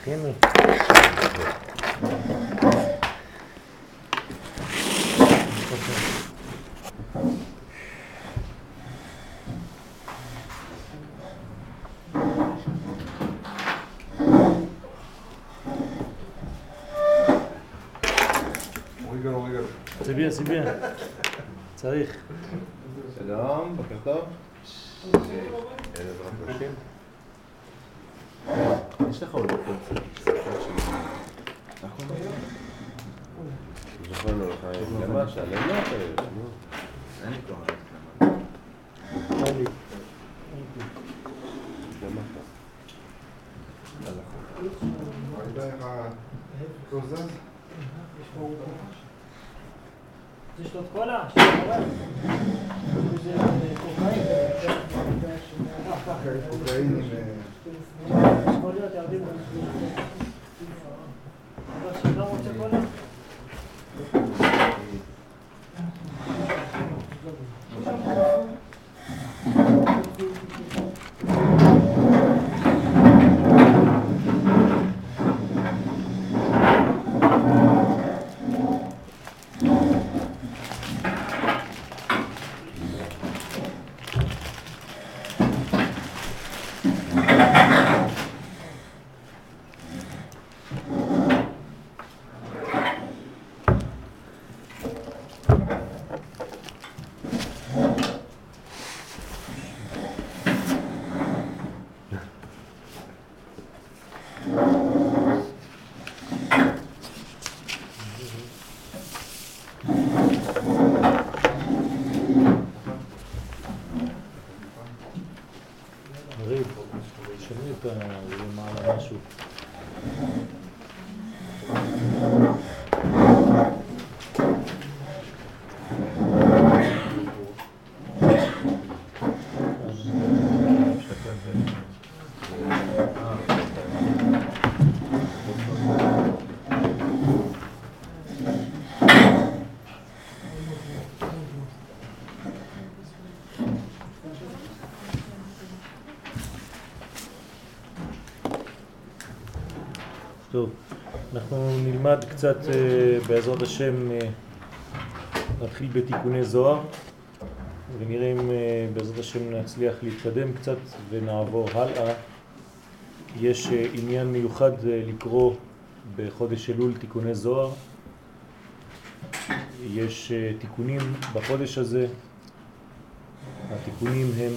תכינו. זה bien. צריך. שלום, בוקר טוב. יש לך עוד בוקר. זוכר לו לך למה שעלינו אין לי כבר אין לי. למה אתה? ראית איך הכל זז? יש לו את קולה? קוקאינים. יכול להיות ירדים אבל שאתה רוצה קולה? למעלה משהו. טוב, אנחנו נלמד קצת בעזרת השם, נתחיל בתיקוני זוהר ונראה אם בעזרת השם נצליח להתקדם קצת ונעבור הלאה. יש עניין מיוחד לקרוא בחודש אלול תיקוני זוהר. יש תיקונים בחודש הזה. התיקונים הם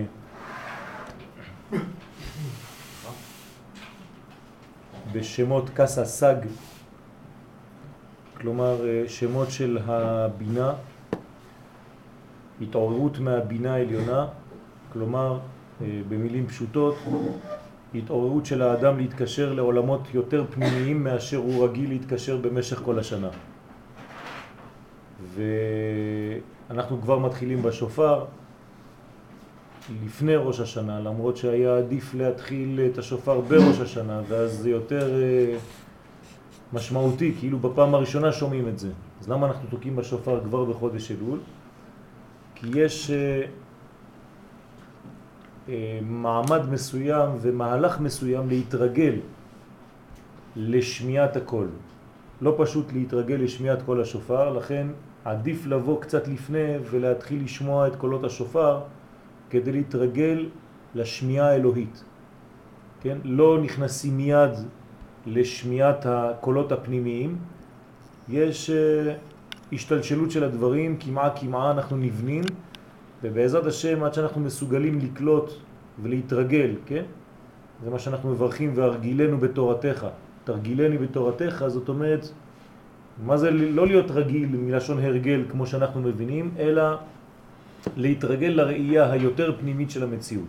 בשמות קסה סג, כלומר שמות של הבינה, התעוררות מהבינה העליונה, כלומר במילים פשוטות, התעוררות של האדם להתקשר לעולמות יותר פנימיים מאשר הוא רגיל להתקשר במשך כל השנה. ואנחנו כבר מתחילים בשופר לפני ראש השנה, למרות שהיה עדיף להתחיל את השופר בראש השנה, ואז זה יותר משמעותי, כאילו בפעם הראשונה שומעים את זה. אז למה אנחנו תוקעים בשופר כבר בחודש אלול? כי יש מעמד מסוים ומהלך מסוים להתרגל לשמיעת הקול. לא פשוט להתרגל לשמיעת קול השופר, לכן עדיף לבוא קצת לפני ולהתחיל לשמוע את קולות השופר, כדי להתרגל לשמיעה האלוהית. כן? לא נכנסים מיד לשמיעת הקולות הפנימיים, יש השתלשלות של הדברים, כמעה אנחנו נבנים, ובעזרת השם עד שאנחנו מסוגלים לקלוט ולהתרגל, כן? זה מה שאנחנו מברכים, והרגילנו בתורתך. תרגילני בתורתך, זאת אומרת, מה זה לא להיות רגיל מלשון הרגל כמו שאנחנו מבינים, אלא להתרגל לראייה היותר פנימית של המציאות.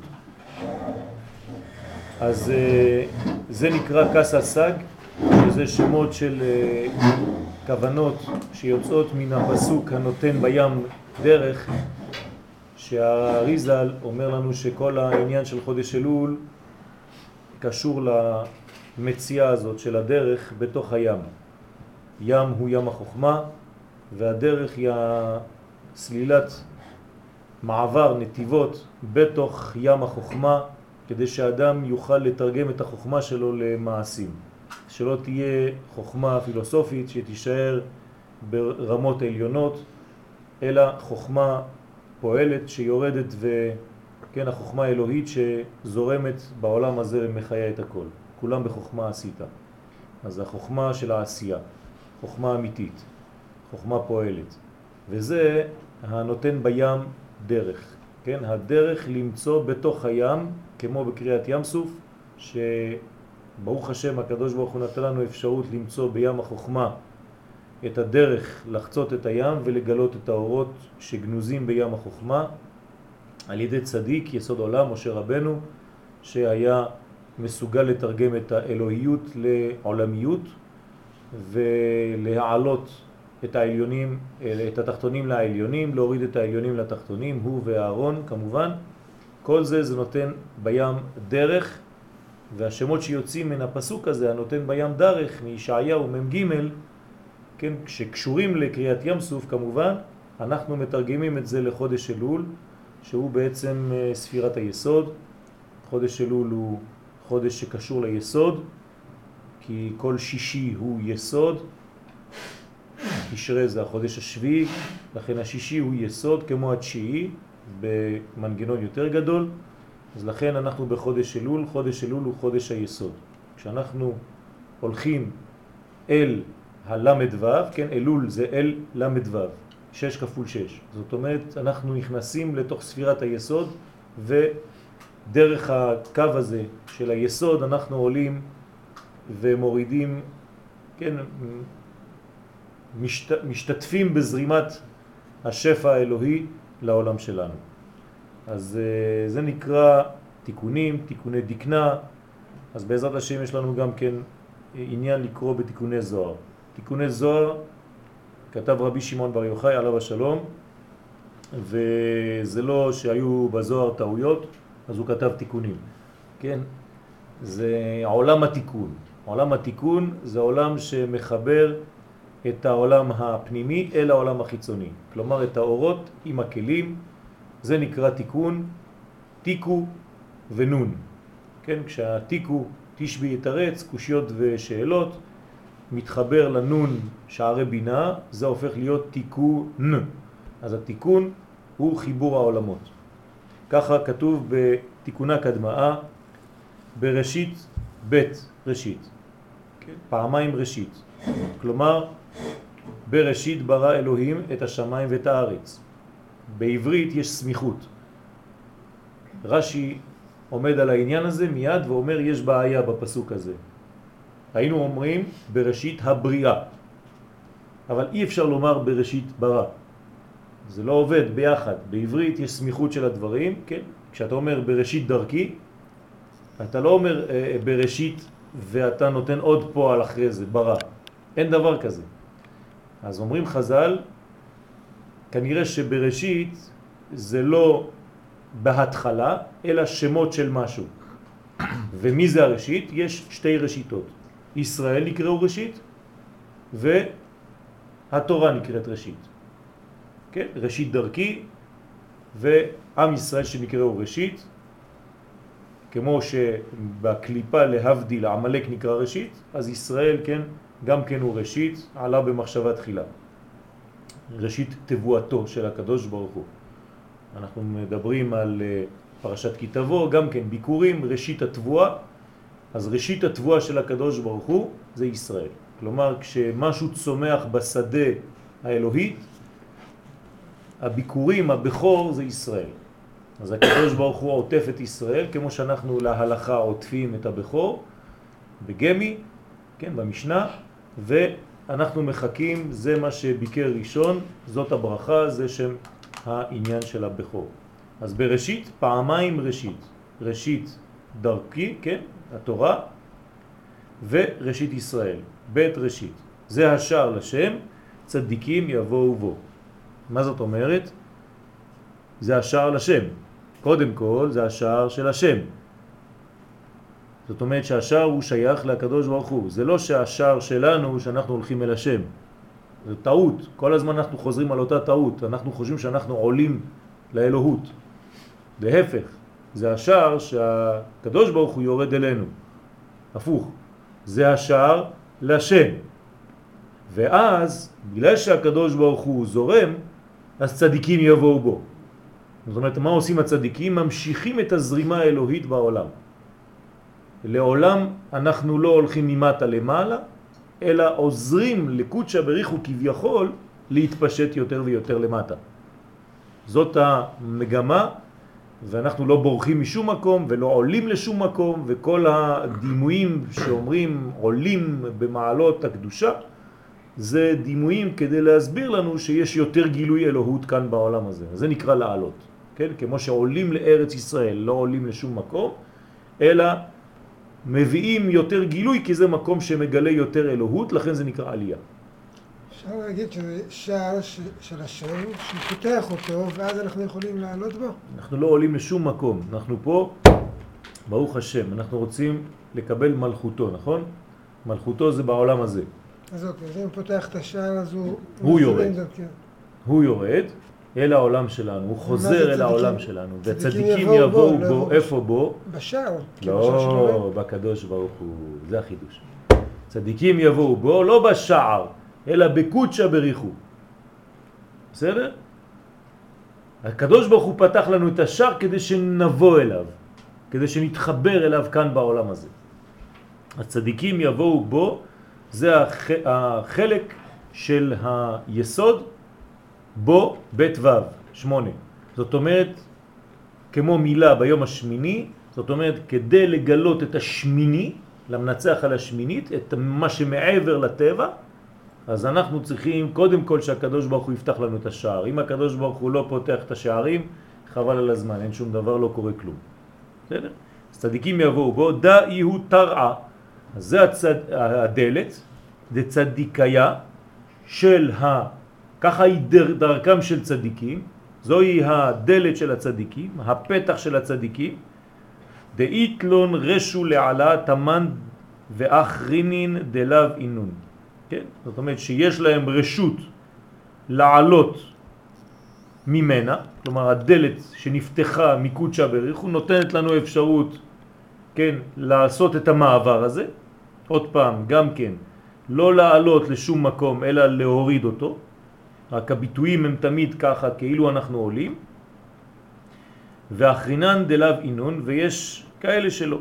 אז זה נקרא קסה סג, שזה שמות של כוונות שיוצאות מן הפסוק הנותן בים דרך, שהאריזל אומר לנו שכל העניין של חודש אלול קשור למציאה הזאת של הדרך בתוך הים. ים הוא ים החוכמה, והדרך היא סלילת מעבר נתיבות בתוך ים החוכמה, כדי שהאדם יוכל לתרגם את החוכמה שלו למעשים. שלא תהיה חוכמה פילוסופית שתישאר ברמות עליונות, אלא חוכמה פועלת שיורדת כן, החוכמה האלוהית שזורמת בעולם הזה ומחיה את הכל. כולם בחוכמה עשית. אז החוכמה של העשייה, חוכמה אמיתית, חוכמה פועלת. וזה הנותן בים דרך. כן, הדרך למצוא בתוך הים, כמו בקריאת ים סוף, שברוך השם הקדוש ברוך הוא נתן לנו אפשרות למצוא בים החוכמה את הדרך לחצות את הים ולגלות את האורות שגנוזים בים החוכמה על ידי צדיק יסוד עולם משה רבנו, שהיה מסוגל לתרגם את האלוהיות לעולמיות ולהעלות את העליונים, את התחתונים לעליונים, להוריד את העליונים לתחתונים, הוא ואהרון כמובן. כל זה נותן בים דרך, והשמות שיוצאים מן הפסוק הזה, הנותן בים דרך, מישעיהו מ"ג, כן, שקשורים לקריאת ים סוף כמובן, אנחנו מתרגמים את זה לחודש אלול, שהוא בעצם ספירת היסוד. חודש אלול הוא חודש שקשור ליסוד, כי כל שישי הוא יסוד, תשרי זה החודש השביעי, לכן השישי הוא יסוד כמו התשיעי במנגנון יותר גדול, אז לכן אנחנו בחודש אלול. חודש אלול הוא חודש היסוד. כשאנחנו הולכים אל הלמד ו', כן, אלול זה אל למד ו', 6 כפול 6. זאת אומרת, אנחנו נכנסים לתוך ספירת היסוד, ודרך הקו הזה של היסוד אנחנו עולים ומורידים, כן, משתתפים בזרימת השפע האלוהי לעולם שלנו. אז זה נקרא תיקונים, תיקוני דקנה. אז בעזרת השם יש לנו גם כן עניין לקרוא בתיקוני זוהר. תיקוני זוהר כתב רבי שמעון בר יוחאי עליו השלום, וזה לא שהיו בזוהר טעויות, אז הוא כתב תיקונים. כן? זה עולם התיקון. עולם התיקון זה עולם שמחבר את העולם הפנימי אל העולם החיצוני. כלומר, את האורות עם הכלים, זה נקרא תיקון, תיקו ונון. כן? כשהתיקו תשבי יתרץ, קושיות ושאלות, מתחבר לנון שערי בינה, זה הופך להיות תיקון. אז התיקון הוא חיבור העולמות. ככה כתוב בתיקונה קדמאה, בראשית בית ראשית. כן? פעמיים ראשית. כלומר, בראשית ברא אלוהים את השמיים ואת הארץ. בעברית יש סמיכות. רש"י עומד על העניין הזה מיד ואומר יש בעיה בפסוק הזה. היינו אומרים בראשית הבריאה, אבל אי אפשר לומר בראשית ברא. זה לא עובד ביחד. בעברית יש סמיכות של הדברים, כן? כשאתה אומר בראשית דרכי, אתה לא אומר בראשית ואתה נותן עוד פועל אחרי זה, ברא. אין דבר כזה. אז אומרים חז"ל, כנראה שבראשית זה לא בהתחלה, אלא שמות של משהו. ומי זה הראשית? יש שתי ראשיתות. ישראל נקראו ראשית, והתורה נקראת ראשית. כן? ראשית דרכי, ועם ישראל שנקראו ראשית, כמו שבקליפה להבדיל עמלק נקרא ראשית, אז ישראל, כן, גם כן הוא ראשית, עלה במחשבה תחילה. ראשית תבואתו של הקדוש ברוך הוא. אנחנו מדברים על פרשת כי תבוא, גם כן ביקורים, ראשית התבואה. אז ראשית התבואה של הקדוש ברוך הוא זה ישראל. כלומר, כשמשהו צומח בשדה האלוהית, הביקורים, הבכור זה ישראל. אז הקדוש ברוך הוא עוטף את ישראל, כמו שאנחנו להלכה עוטפים את הבכור, בגמי, כן, במשנה, ואנחנו מחכים, זה מה שביקר ראשון, זאת הברכה, זה שם העניין של הבכור. אז בראשית, פעמיים ראשית. ראשית דרכי, כן, התורה, וראשית ישראל, בית ראשית. זה השער לשם, צדיקים יבואו בו. מה זאת אומרת? זה השער לשם. קודם כל זה השער של השם. זאת אומרת שהשער הוא שייך לקדוש ברוך הוא. זה לא שהשער שלנו שאנחנו הולכים אל השם. זה טעות. כל הזמן אנחנו חוזרים על אותה טעות. אנחנו חושבים שאנחנו עולים לאלוהות. להפך, זה השער שהקדוש ברוך הוא יורד אלינו. הפוך. זה השער לשם. ואז, בגלל שהקדוש ברוך הוא זורם, אז צדיקים יבואו בו. זאת אומרת, מה עושים הצדיקים? ממשיכים את הזרימה האלוהית בעולם. לעולם אנחנו לא הולכים ממטה למעלה, אלא עוזרים לקודשא בריחו כביכול להתפשט יותר ויותר למטה. זאת המגמה, ואנחנו לא בורחים משום מקום ולא עולים לשום מקום, וכל הדימויים שאומרים עולים במעלות הקדושה, זה דימויים כדי להסביר לנו שיש יותר גילוי אלוהות כאן בעולם הזה. זה נקרא לעלות. כן? כמו שעולים לארץ ישראל, לא עולים לשום מקום, אלא מביאים יותר גילוי, כי זה מקום שמגלה יותר אלוהות, לכן זה נקרא עלייה. אפשר להגיד שזה שער של השם, שפותח אותו, ואז אנחנו יכולים לעלות בו? אנחנו לא עולים לשום מקום. אנחנו פה, ברוך השם, אנחנו רוצים לקבל מלכותו, נכון? מלכותו זה בעולם הזה. אז אוקיי, אז אם פותח את השער, אז הוא יורד. הוא יורד אל העולם שלנו, הוא חוזר אל העולם שלנו. וצדיקים יבואו בו, איפה בו? בשער. לא, בקדוש ברוך הוא, זה החידוש. צדיקים יבואו בו, לא בשער, אלא בקודשא בריחו. בסדר? הקדוש ברוך הוא פתח לנו את השער כדי שנבוא אליו, כדי שנתחבר אליו כאן בעולם הזה. הצדיקים יבואו בו, זה החלק של היסוד בו בית ו' 8. זאת אומרת, כמו מילה ביום השמיני, זאת אומרת, כדי לגלות את השמיני, למנצח על השמינית, את מה שמעבר לטבע, אז אנחנו צריכים קודם כל שהקדוש ברוך הוא יפתח לנו את השער. אם הקדוש ברוך הוא לא פותח את השערים, חבל על הזמן, אין שום דבר, לא קורה כלום. בסדר? צדיקים יבואו בו, דאי הוא תרעה. אז זה הדלת, זה צדיקיה של ככה היא דרכם של צדיקים, זוהי הדלת של הצדיקים, הפתח של הצדיקים, דאיתלון רשו לעלה תמן ואחרינין דלב אינון. כן? זאת אומרת שיש להם רשות לעלות ממנה, כלומר הדלת שנפתחה מקודשא בריחו נותנת לנו אפשרות, כן, לעשות את המעבר הזה. עוד פעם, גם כן, לא לעלות לשום מקום אלא להוריד אותו. רק הביטויים הם תמיד ככה כאילו אנחנו עולים. ואחרינן דלב אינון, ויש כאלה שלא.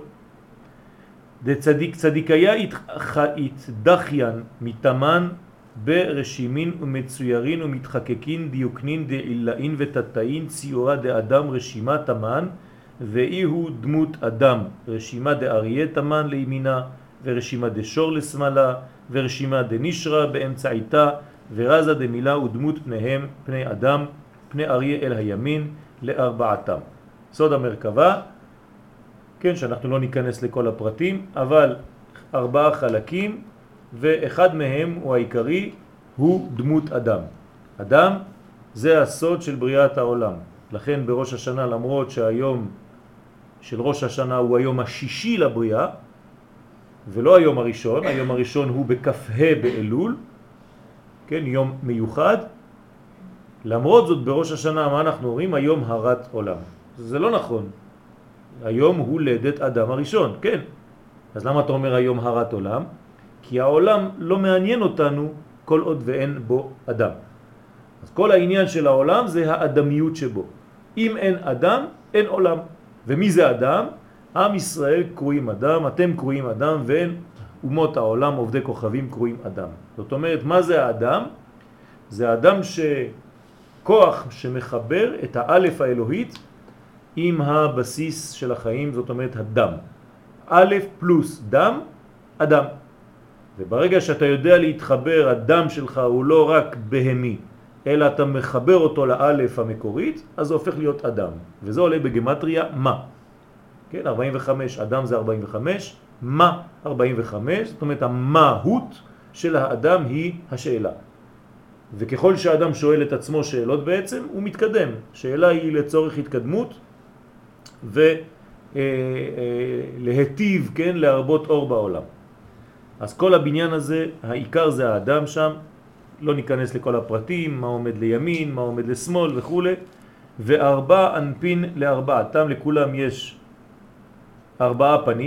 צדיקיה התדחיין מתאמן ברשימין ומצוירין ומתחקקין דיוקנין דעילאין ותתאין ציורה דאדם רשימה תמן, ואי הוא דמות אדם רשימה דאריה תמן לימינה ורשימה דשור לשמאלה ורשימה דנשרה באמצעיתה ורזה דמילה ודמות פניהם פני אדם פני אריה אל הימין לארבעתם. סוד המרכבה, כן, שאנחנו לא ניכנס לכל הפרטים, אבל 4 חלקים, ואחד מהם הוא העיקרי, הוא דמות אדם. אדם זה הסוד של בריאת העולם. לכן בראש השנה, למרות שהיום של ראש השנה הוא היום השישי לבריאה, ולא היום הראשון, היום הראשון הוא בכ"ה באלול, כן, יום מיוחד. למרות זאת בראש השנה מה אנחנו אומרים? היום הרת עולם. זה לא נכון. היום הוא לידת אדם הראשון, כן. אז למה אתה אומר היום הרת עולם? כי העולם לא מעניין אותנו כל עוד ואין בו אדם. אז כל העניין של העולם זה האדמיות שבו. אם אין אדם, אין עולם. ומי זה אדם? עם ישראל קרואים אדם, אתם קרואים אדם, ואין אומות העולם, עובדי כוכבים קרואים אדם. זאת אומרת, מה זה האדם? זה אדם כוח שמחבר את האלף האלוהית עם הבסיס של החיים, זאת אומרת הדם. א' פלוס דם, אדם. וברגע שאתה יודע להתחבר, הדם שלך הוא לא רק בהמי, אלא אתה מחבר אותו לאלף המקורית, אז זה הופך להיות אדם. וזה עולה בגמטריה מה. כן, 45, אדם זה 45, מה 45, זאת אומרת המהות של האדם היא השאלה. וככל שהאדם שואל את עצמו שאלות בעצם, הוא מתקדם. שאלה היא לצורך התקדמות ולהטיב, כן, להרבות אור בעולם. אז כל הבניין הזה, העיקר זה האדם שם, לא ניכנס לכל הפרטים, מה עומד לימין, מה עומד לשמאל וכו'. ו4 אנפין לארבעתם, לכולם יש 4 פנים,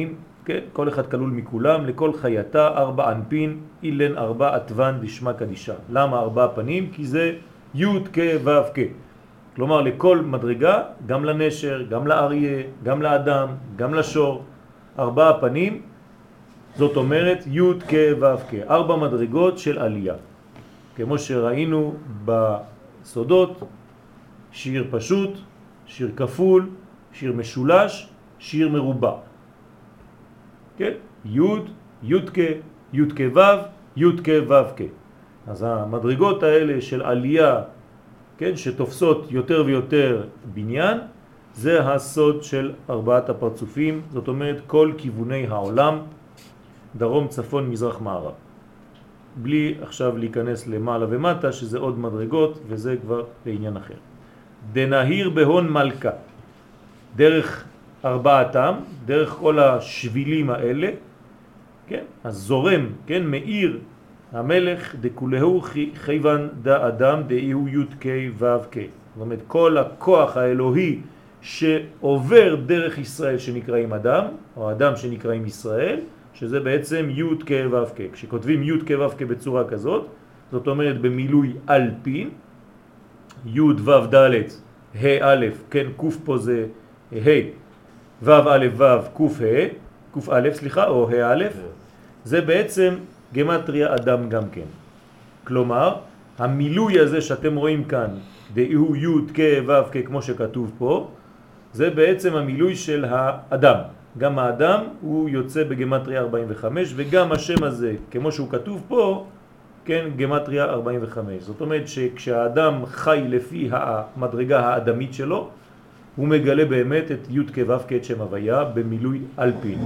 כן? כל אחד כלול מכולם, לכל חייתה 4 אנפין, אילן 4 עטוון דשמה קדישה. למה 4 פנים? כי זה י' כ' ו' כ'. כלומר לכל מדרגה, גם לנשר, גם לאריה, גם לאדם, גם לשור, 4 פנים, זאת אומרת י' כ' ו' כ', 4 מדרגות של עלייה. כמו שראינו בסודות, שיר פשוט, שיר כפול, שיר משולש, שיר מרובע. כן? י', י' כ', י' כ' ו', י' כ' ו' כ'. אז המדרגות האלה של עלייה, כן, שתופסות יותר ויותר בניין, זה הסוד של 4 הפרצופים, זאת אומרת כל כיווני העולם, דרום, צפון, מזרח, מערב. בלי עכשיו להיכנס למעלה ומטה, שזה עוד מדרגות, וזה כבר לעניין אחר. דנהיר בהון מלכה, דרך 4, דרך כל השבילים האלה, כן, אז זורם, כן, מאיר המלך דכולהו חייבן דה אדם דאיהו י' כ' ו' כ'. זאת אומרת, כל הכוח האלוהי שעובר דרך ישראל שנקראים אדם, או אדם שנקראים ישראל, שזה בעצם י' כ' ו' כ'. כשכותבים י' כ' ו' כ' בצורה כזאת, זאת אומרת במילוי אלפין, י' ו' ד' ה' א', כן, ק' פה זה ה', ו' א' ו' ק' א', סליחה, או ה' א', זה בעצם גמטריה אדם גם כן. כלומר, המילוי הזה שאתם רואים כאן, דאיהו י' כ' ו' כ' כמו שכתוב פה, זה בעצם המילוי של האדם. גם האדם הוא יוצא בגמטריה 45, וגם השם הזה, כמו שהוא כתוב פה, כן, גמטריה 45. זאת אומרת שכשהאדם חי לפי המדרגה האדמית שלו, הוא מגלה באמת את י' כ' ו' כ' את שם הוויה במילוי אלפין.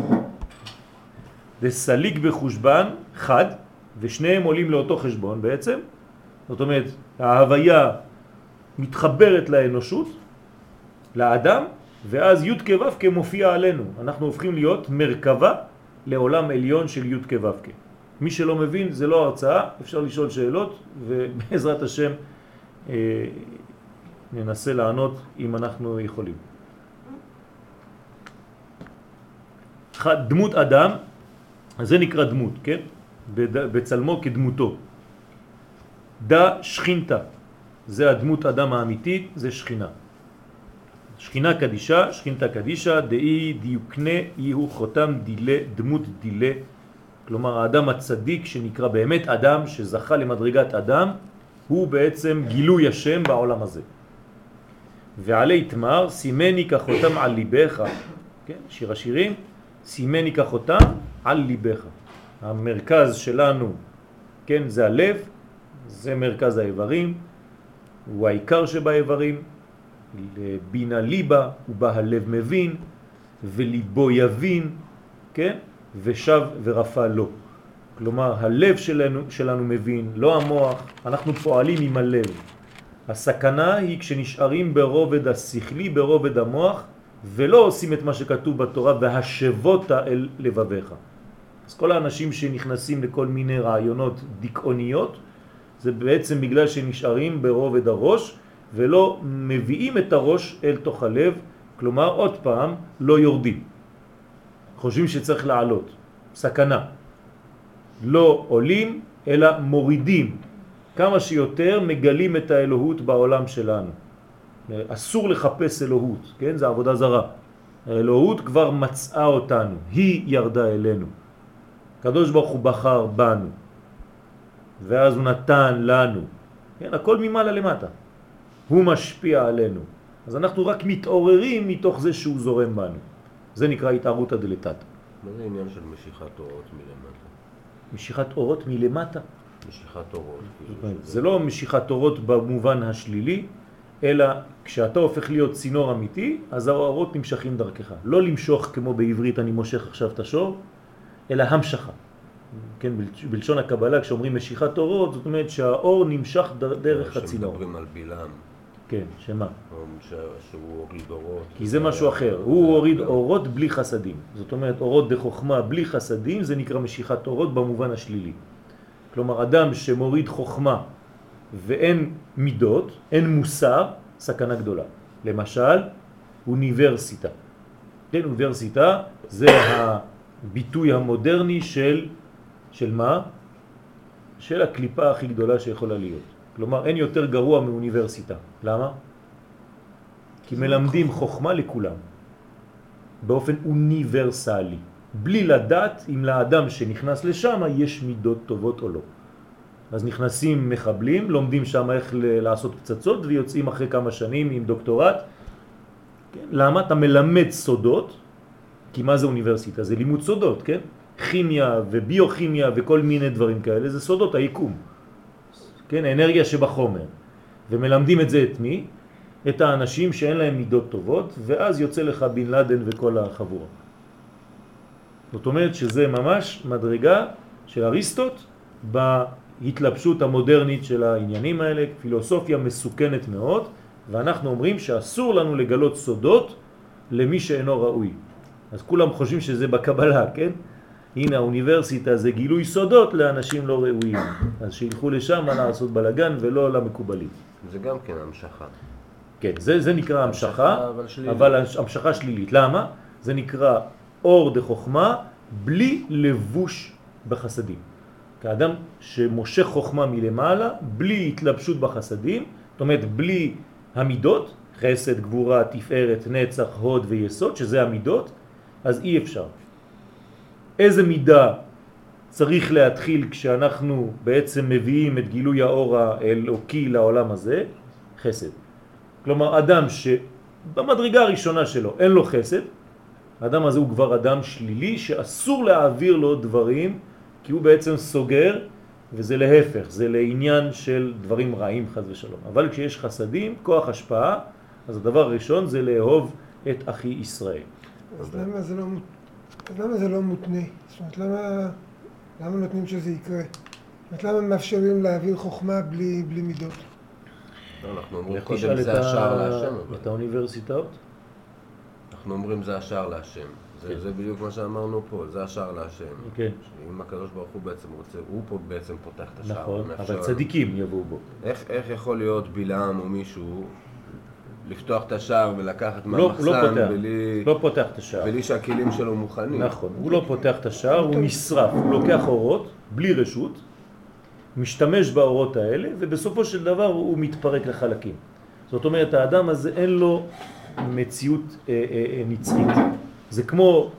וסליק בחושבן חד, ושניהם עולים לאותו חשבון בעצם. זאת אומרת, ההוויה מתחברת לאנושות, לאדם, ואז י' כ' ו' כ' מופיע עלינו. אנחנו הופכים להיות מרכבה לעולם עליון של י' כ' ו' כ'. מי שלא מבין, זה לא הרצאה, אפשר לשאול שאלות, ובעזרת השם ננסה לענות אם אנחנו יכולים. דמות אדם, זה נקרא דמות, כן? בצלמו כדמותו. דה שכינתה, זה הדמות אדם האמיתית, זה שכינה. שכינה קדישה, שכינתה קדישה, דאי דיוקנה יהו חותם דילה, דמות דילה. כלומר, האדם הצדיק שנקרא באמת אדם, שזכה למדרגת אדם, הוא בעצם גילוי השם בעולם הזה. ועלי תמר, סימני כחותם על ליבך, כן? שיר השירים, סימני כחותם על ליבך. המרכז שלנו, כן, זה הלב, זה מרכז האיברים, הוא העיקר שבאיברים, בינה ליבה, ובה הלב מבין, וליבו יבין, כן, ושב ורפא לו. כלומר, הלב שלנו מבין, לא המוח, אנחנו פועלים עם הלב. הסכנה היא כשנשארים ברובד השכלי, ברובד המוח, ולא עושים את מה שכתוב בתורה, והשבות אל לבביך. אז כל האנשים שנכנסים לכל מיני רעיונות דיכאוניות, זה בעצם בגלל שנשארים ברובד הראש, ולא מביאים את הראש אל תוך הלב, כלומר עוד פעם לא יורדים. חושבים שצריך לעלות, סכנה. לא עולים אלא מורידים. כמה שיותר מגלים את האלוהות בעולם שלנו. אסור לחפש אלוהות, כן? זה עבודה זרה. האלוהות כבר מצאה אותנו, היא ירדה אלינו. הקדוש ברוך הוא בחר בנו, ואז הוא נתן לנו. כן? הכל ממעלה למטה. הוא משפיע עלינו. אז אנחנו רק מתעוררים מתוך זה שהוא זורם בנו. זה נקרא התערותא דלתתא. מה זה עניין של משיכת אורות מלמטה? משיכת אורות מלמטה? משיכת אורות. זה לא משיכת אורות במובן השלילי, אלא כשאתה הופך להיות צינור אמיתי, אז האורות נמשכים דרכך. לא למשוך כמו בעברית אני מושך עכשיו את השור, אלא המשכה. כן, בלשון הקבלה כשאומרים משיכת אורות, זאת אומרת שהאור נמשך דרך הצינור. שמדברים על בלעם. כן, שמה? שהוא הוריד אורות. כי זה משהו אחר. הוא הוריד אורות בלי חסדים. זאת אומרת, אורות דחוכמה בלי חסדים, זה נקרא משיכת אורות במובן השלילי. כלומר, אדם שמוריד חוכמה ואין מידות, אין מוסר, סכנה גדולה. למשל, אוניברסיטה. כן, אוניברסיטה זה ביטוי המודרני של מה? של הקליפה הכי גדולה שיכולה להיות. כלומר, אין יותר גרוע מאוניברסיטה. למה? כי מלמדים חוכמה לכולם, באופן אוניברסלי, בלי לדעת אם לאדם שנכנס לשם יש מידות טובות או לא. אז נכנסים מחבלים, לומדים שם איך לעשות פצצות ויוצאים אחרי כמה שנים עם דוקטורט. כן? למה? אתה מלמד סודות, כי מה זה אוניברסיטה? זה לימוד סודות, כן? כימיה וביוכימיה וכל מיני דברים כאלה, זה סודות היקום. כן? האנרגיה שבחומר. ומלמדים את זה את מי? את האנשים שאין להם מידות טובות, ואז יוצא לך בן לאדן וכל החבורה. זאת אומרת שזה ממש מדרגה של אריסטוט בהתלבשות המודרנית של העניינים האלה, פילוסופיה מסוכנת מאוד, ואנחנו אומרים שאסור לנו לגלות סודות למי שאינו ראוי. אז כולם חושבים שזה בקבלה, כן? הנה האוניברסיטה זה גילוי סודות לאנשים לא ראויים. אז שילכו לשם לעשות בלגן ולא למקובלים. זה גם כן המשכה. כן, זה נקרא המשכה, אבל המשכה שלילית. למה? זה נקרא אור דחוכמה בלי לבוש בחסדים. כאדם שמושך חוכמה מלמעלה, בלי התלבשות בחסדים, זאת אומרת בלי המידות, חסד, גבורה, תפארת, נצח, הוד ויסוד, שזה המידות, אז אי אפשר. איזה מידה צריך להתחיל כשאנחנו בעצם מביאים את גילוי האור האלוקי לעולם הזה? חסד. כלומר, אדם שבמדרגה הראשונה שלו אין לו חסד, האדם הזה הוא כבר אדם שלילי שאסור להעביר לו דברים, כי הוא בעצם סוגר, וזה להפך, זה לעניין של דברים רעים חס ושלום. אבל כשיש חסדים, כוח השפעה, אז הדבר הראשון זה לאהוב את אחי ישראל. אז למה זה לא מותנה? זאת אומרת, למה נותנים שזה יקרה? זאת אומרת, למה מאפשרים להעביר חוכמה בלי מידות? אנחנו אומרים קודם זה השער להשם. את האוניברסיטאות? אנחנו אומרים זה השער להשם. זה בדיוק מה שאמרנו פה, זה השער להשם. כן. אם הקדוש ברוך הוא בעצם רוצה, הוא פה בעצם פותח את השער. נכון, אבל צדיקים יבואו בו. איך יכול להיות בלעם או מישהו לפתוח את השער ולקחת מהמחסן לא פותח את השער. בלי שהכלים שלו מוכנים? נכון, הוא לא פותח את השער, הוא נשרף, הוא לוקח אורות בלי רשות, משתמש באורות האלה, ובסופו של דבר הוא מתפרק לחלקים. זאת אומרת, האדם הזה אין לו מציאות נצחית. זה כמו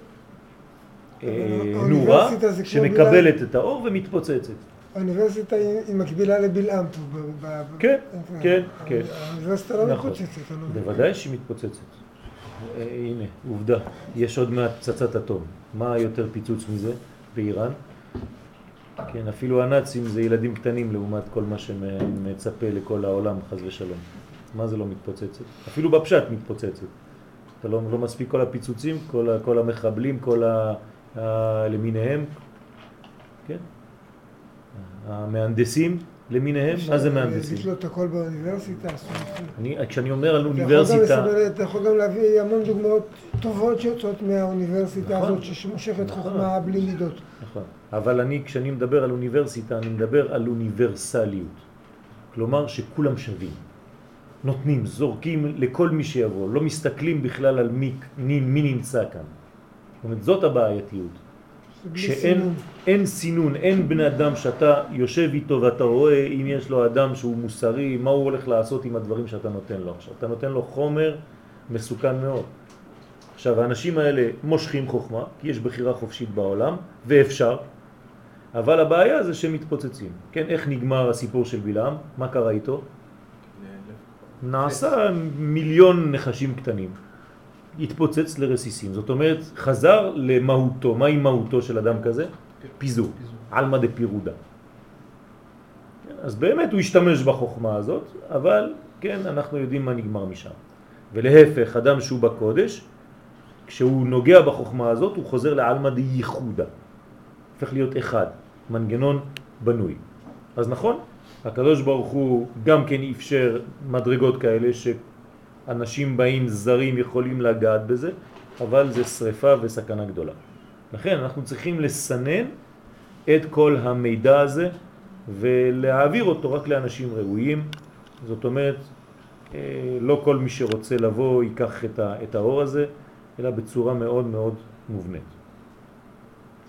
נורה שמקבלת את האור ומתפוצצת. האוניברסיטה היא מקבילה לבלעם פה. כן, כן, כן. האוניברסיטה לא מתפוצצת. בוודאי שהיא מתפוצצת. הנה, עובדה, יש עוד מעט פצצת אטום. מה יותר פיצוץ מזה באיראן? כן, אפילו הנאצים זה ילדים קטנים לעומת כל מה שמצפה לכל העולם, חס ושלום. מה זה לא מתפוצצת? אפילו בפשט מתפוצצת. אתה לא מספיק כל הפיצוצים, כל המחבלים, כל למיניהם, כן? המהנדסים למיניהם, מה זה מהנדסים? יש לו את הכל באוניברסיטה. כשאני אומר על אוניברסיטה... אתה יכול גם להביא המון דוגמאות טובות שיוצאות מהאוניברסיטה הזאת, שמושכת חוכמה בלי מידות. נכון, אבל כשאני מדבר על אוניברסיטה, אני מדבר על אוניברסליות. כלומר שכולם שווים. נותנים, זורקים לכל מי שיבוא, לא מסתכלים בכלל על מי נמצא כאן. זאת אומרת, זאת הבעייתיות. שאין סינון, אין בן אדם שאתה יושב איתו ואתה רואה אם יש לו אדם שהוא מוסרי, מה הוא הולך לעשות עם הדברים שאתה נותן לו. עכשיו, אתה נותן לו חומר מסוכן מאוד. עכשיו, האנשים האלה מושכים חוכמה, כי יש בחירה חופשית בעולם, ואפשר, אבל הבעיה זה שהם מתפוצצים. כן, איך נגמר הסיפור של בלעם? מה קרה איתו? נעשה מיליון נחשים קטנים. התפוצץ לרסיסים. זאת אומרת, חזר למהותו. מהי מהותו של אדם כזה? פיזור. עלמא דפירודה. אז באמת הוא השתמש בחוכמה הזאת, אבל כן, אנחנו יודעים מה נגמר משם. ולהפך, אדם שהוא בקודש, כשהוא נוגע בחוכמה הזאת, הוא חוזר לעלמא דייחודה. הופך להיות אחד. מנגנון בנוי. אז נכון, הקדוש ברוך הוא גם כן אפשר מדרגות כאלה שאנשים באים זרים יכולים לגעת בזה, אבל זה שריפה וסכנה גדולה. לכן אנחנו צריכים לסנן את כל המידע הזה ולהעביר אותו רק לאנשים ראויים. זאת אומרת, לא כל מי שרוצה לבוא ייקח את האור הזה, אלא בצורה מאוד מאוד מובנית.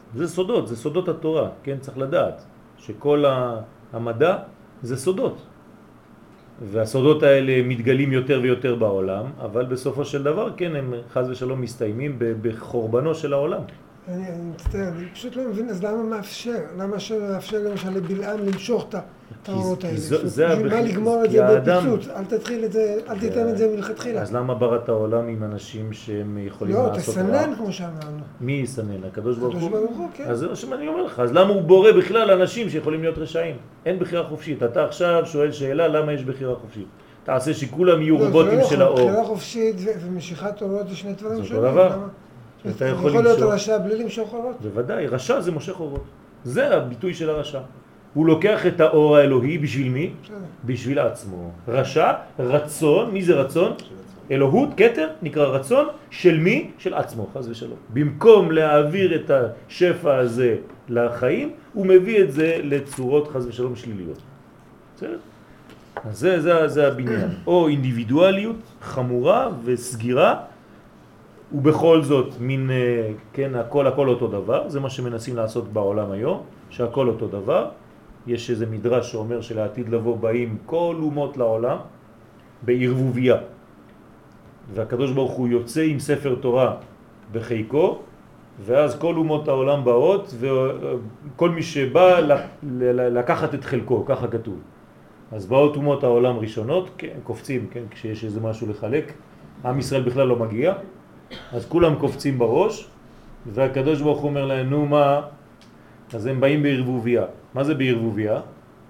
זה סודות, זה סודות התורה, כן? צריך לדעת שכל המדע זה סודות. והסודות האלה מתגלים יותר ויותר בעולם, אבל בסופו של דבר, כן, הם חס ושלום מסתיימים בחורבנו של העולם. אני מצטער, אני פשוט לא מבין, אז למה מאפשר? למה שמאפשר למשל לבלעם למשוך את האורות האלה? בשביל מה לגמור את זה בפיצוץ? אל תתחיל את זה, אל תיתן את זה מלכתחילה. אז למה בראת העולם עם אנשים שהם יכולים לעשות רע? לא, תסנן כמו שאמרנו. מי יסנן? הקדוש ברוך הוא? הקדוש ברוך הוא, כן. אז זה מה שאני אומר לך, אז למה הוא בורא בכלל אנשים שיכולים להיות רשעים? אין בחירה חופשית. אתה עכשיו שואל שאלה, למה יש בחירה חופשית? תעשה שכולם יהיו רובוטים של האור. בחירה חופשית ומשיכת אורות זה שני דברים שונים. זה אותו דבר. אתה יכול להיות רשע בלי למשוך אורות? בוודאי, רשע זה מושך אורות. זה הביטוי של הרשע. הוא לוקח את האור האלוהי בשביל מי? בשביל עצמו. רשע, רצון, מי זה רצון? אלוהות, כתר, נקרא רצון, של מי? של עצמו, חס ושלום. במקום להעביר את השפע הזה לחיים, הוא מביא את זה לצורות חס ושלום שליליות. בסדר? אז זה הבניין. או אינדיבידואליות חמורה וסגירה, ובכל זאת מין, כן, הכל אותו דבר. זה מה שמנסים לעשות בעולם היום, שהכל אותו דבר. יש איזה מדרש שאומר שלעתיד לבוא באים כל אומות לעולם בערבוביה. והקדוש ברוך הוא יוצא עם ספר תורה בחיקו, ואז כל אומות העולם באות, וכל מי שבא לקחת את חלקו, ככה כתוב. אז באות אומות העולם ראשונות, כן, קופצים, כן, כשיש איזה משהו לחלק. עם ישראל בכלל לא מגיע, אז כולם קופצים בראש, והקדוש ברוך הוא אומר להם, נו מה? אז הם באים בערבוביה. מה זה בערבוביה?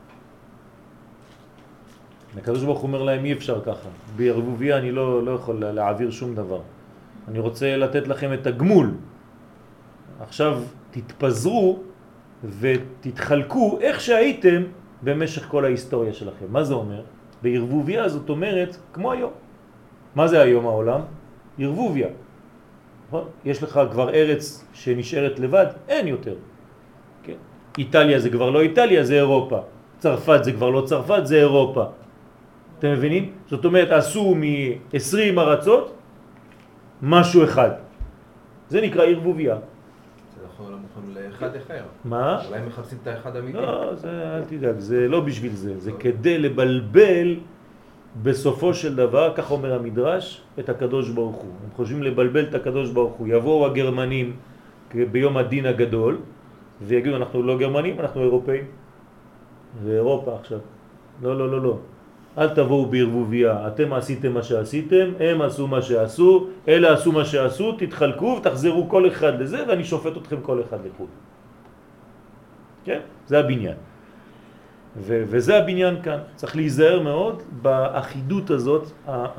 הקדוש ברוך הוא אומר להם, אי אפשר ככה. בערבוביה אני לא יכול להעביר שום דבר. אני רוצה לתת לכם את הגמול. עכשיו תתפזרו ותתחלקו איך שהייתם במשך כל ההיסטוריה שלכם. מה זה אומר? בערבוביה זאת אומרת כמו היום. מה זה היום העולם? ערבוביה. יש לך כבר ארץ שנשארת לבד? אין יותר. כן? איטליה זה כבר לא איטליה, זה אירופה. צרפת זה כבר לא צרפת, זה אירופה. אתם מבינים? זאת אומרת, עשו מ-20 ארצות משהו אחד. זה נקרא ערבוביה. זה נכון, לא מוכן לאחד אחר. מה? אולי מחפשים את האחד אמיתי. לא, אל תדאג, זה לא בשביל זה. זה כדי לבלבל בסופו של דבר, כך אומר המדרש, את הקדוש ברוך הוא. הם חושבים לבלבל את הקדוש ברוך הוא. יבואו הגרמנים ביום הדין הגדול, ויגידו, אנחנו לא גרמנים, אנחנו אירופאים. זה אירופה עכשיו. לא. אל תבואו בערבוביה, אתם עשיתם מה שעשיתם, הם עשו מה שעשו, אלה עשו מה שעשו, תתחלקו ותחזרו כל אחד לזה, ואני שופט אתכם כל אחד לחוד. כן? זה הבניין. וזה הבניין כאן. צריך להיזהר מאוד באחידות הזאת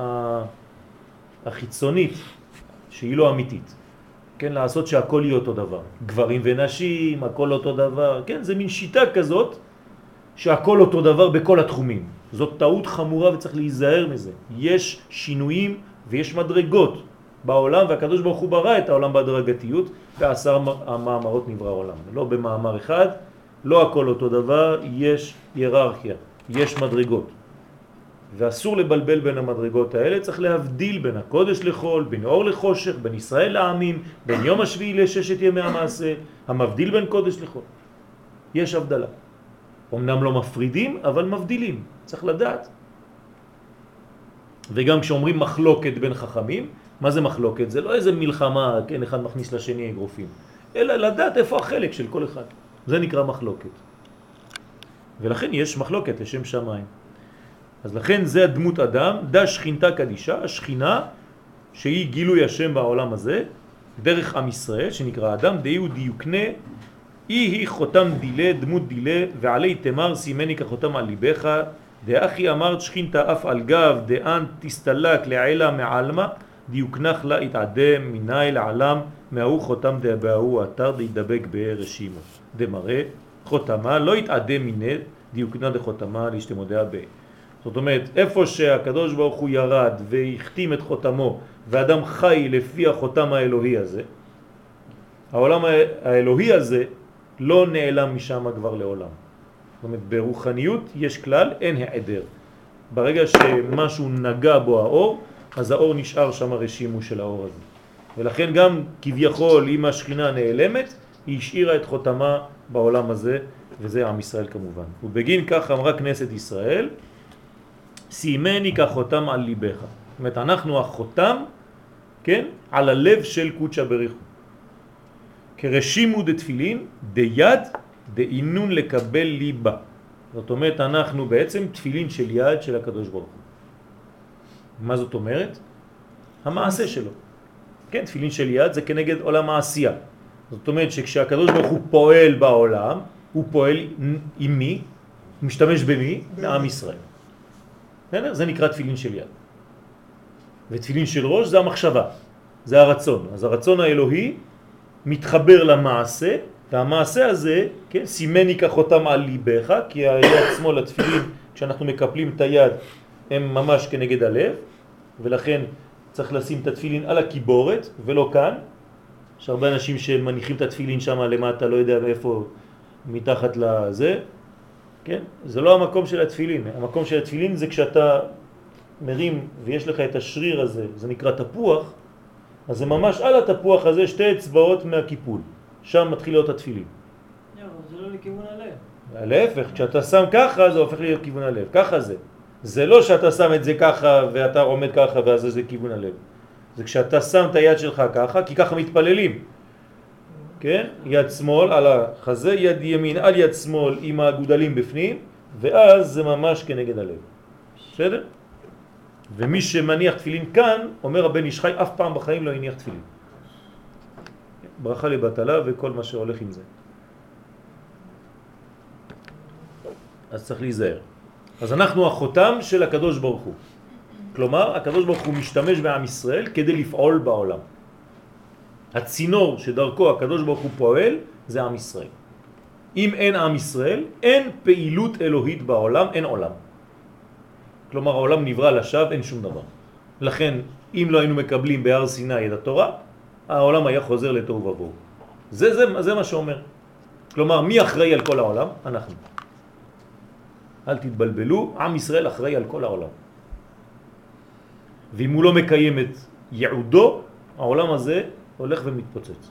החיצונית, שהיא לא אמיתית. כן? לעשות שהכל יהיה אותו דבר. גברים ונשים, הכל אותו דבר. כן? זה מין שיטה כזאת שהכל אותו דבר בכל התחומים. זאת טעות חמורה וצריך להיזהר מזה. יש שינויים ויש מדרגות בעולם, והקדוש ברוך הוא ברא את העולם בהדרגתיות, ו10 המאמרות נברא העולם. לא במאמר אחד, לא הכל אותו דבר, יש היררכיה, יש מדרגות. ואסור לבלבל בין המדרגות האלה, צריך להבדיל בין הקודש לחול, בין אור לחושך, בין ישראל לעמים, בין יום השביעי לששת ימי המעשה, המבדיל בין קודש לחול. יש הבדלה. אמנם לא מפרידים, אבל מבדילים. צריך לדעת. וגם כשאומרים מחלוקת בין חכמים, מה זה מחלוקת? זה לא איזה מלחמה, כן, אחד מכניס לשני אגרופים, אלא לדעת איפה החלק של כל אחד. זה נקרא מחלוקת. ולכן יש מחלוקת לשם שמיים. אז לכן זה הדמות אדם, דה שכינתה קדישה, השכינה שהיא גילוי השם בעולם הזה, דרך עם ישראל שנקרא אדם, דהיו דיוקנה, היא חותם דילה, דמות דילה, ועלי תמר סימני כחותם על ליבך, דאחי אמרת שכינתה אף על גב, דאן תסתלק לעילה מעלמה, דיוקנך לה התעדם מיני לעלם, מההוא חותם דהבאו אתר דידבק ברשימו. דמראה חותמה לא התעדם מיני, דיוקנה דחותמה להשתמודיה בה. זאת אומרת, איפה שהקדוש ברוך הוא ירד והחתים את חותמו, ואדם חי לפי החותם האלוהי הזה, העולם האלוהי הזה לא נעלם משם כבר לעולם. זאת אומרת, ברוחניות יש כלל, אין העדר. ברגע שמשהו נגע בו האור, אז האור נשאר שם רשימו של האור הזה. ולכן גם כביכול אם השכינה נעלמת, היא השאירה את חותמה בעולם הזה, וזה עם ישראל כמובן. ובגין כך אמרה כנסת ישראל, שימני כחותם על ליבך. זאת אומרת, אנחנו החותם, כן, על הלב של קודשא בריך הוא. כרשימו דתפילין, דיד, דאינון לקבל ליבה. זאת אומרת, אנחנו בעצם תפילין של יד של הקדוש ברוך הוא. מה זאת אומרת? המעשה שלו. כן, תפילין של יד זה כנגד עולם העשייה. זאת אומרת שכשהקדוש ברוך הוא פועל בעולם, הוא פועל עם מי? הוא משתמש במי? מעם ישראל. זה נקרא תפילין של יד. ותפילין של ראש זה המחשבה, זה הרצון. אז הרצון האלוהי מתחבר למעשה, והמעשה הזה, כן, סימני כחותם על ליבך, כי היד שמאל התפילין, כשאנחנו מקפלים את היד, הם ממש כנגד הלב, ולכן צריך לשים את התפילין על הקיבורת, ולא כאן. יש הרבה אנשים שמניחים את התפילין שם למטה, לא יודע איפה, מתחת לזה. כן? זה לא המקום של התפילין. המקום של התפילין זה כשאתה מרים ויש לך את השריר הזה, זה נקרא תפוח, אז זה ממש על התפוח הזה שתי אצבעות מהקיפול. שם מתחיל להיות התפילין. זה לא לכיוון הלב. להפך, כשאתה שם ככה זה הופך להיות כיוון הלב. ככה זה. זה לא שאתה שם את זה ככה ואתה עומד ככה ואז זה כיוון הלב. זה כשאתה שם את היד שלך ככה, כי ככה מתפללים. כן? יד שמאל על החזה, יד ימין על יד שמאל עם הגודלים בפנים, ואז זה ממש כנגד הלב. בסדר? ומי שמניח תפילין כאן, אומר הבן איש חי, אף פעם בחיים לא יניח תפילין. ברכה לבטלה וכל מה שהולך עם זה. אז צריך להיזהר. אז אנחנו החותם של הקדוש ברוך הוא. כלומר, הקדוש ברוך הוא משתמש בעם ישראל כדי לפעול בעולם. הצינור שדרכו הקדוש ברוך הוא פועל זה עם ישראל. אם אין עם ישראל, אין פעילות אלוהית בעולם, אין עולם. כלומר, העולם נברא לשווא, אין שום דבר. לכן, אם לא היינו מקבלים בהר סיני את התורה, העולם היה חוזר לתוהו ובוהו. זה מה שאומר. כלומר, מי אחראי על כל העולם? אנחנו. אל תתבלבלו, עם ישראל אחראי על כל העולם. ואם הוא לא מקיים את ייעודו, העולם הזה הולך ומתפוצץ.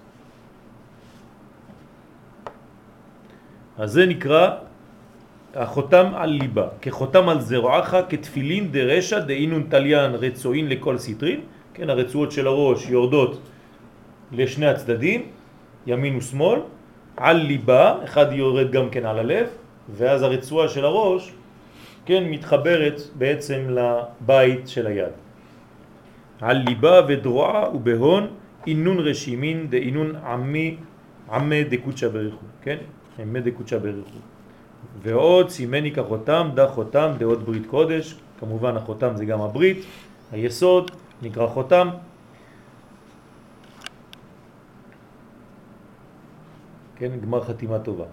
אז זה נקרא החותם על ליבה, כחותם על זרועך, כתפילין דרשע דאינון תליין רצוין לכל סטרין. כן, הרצועות של הראש יורדות לשני הצדדים, ימין ושמאל, על ליבה, אחד יורד גם כן על הלב, ואז הרצועה של הראש, כן, מתחברת בעצם לבית של היד. על ליבה ודרועה ובהון אינון רשימין דאינון עמי דקודשא בריך הוא, כן? עמי דקודשא בריך הוא. ועוד סימני כחותם דה חותם דעות ברית קודש, כמובן החותם זה גם הברית, היסוד נקרא חותם. כן, גמר חתימה טובה.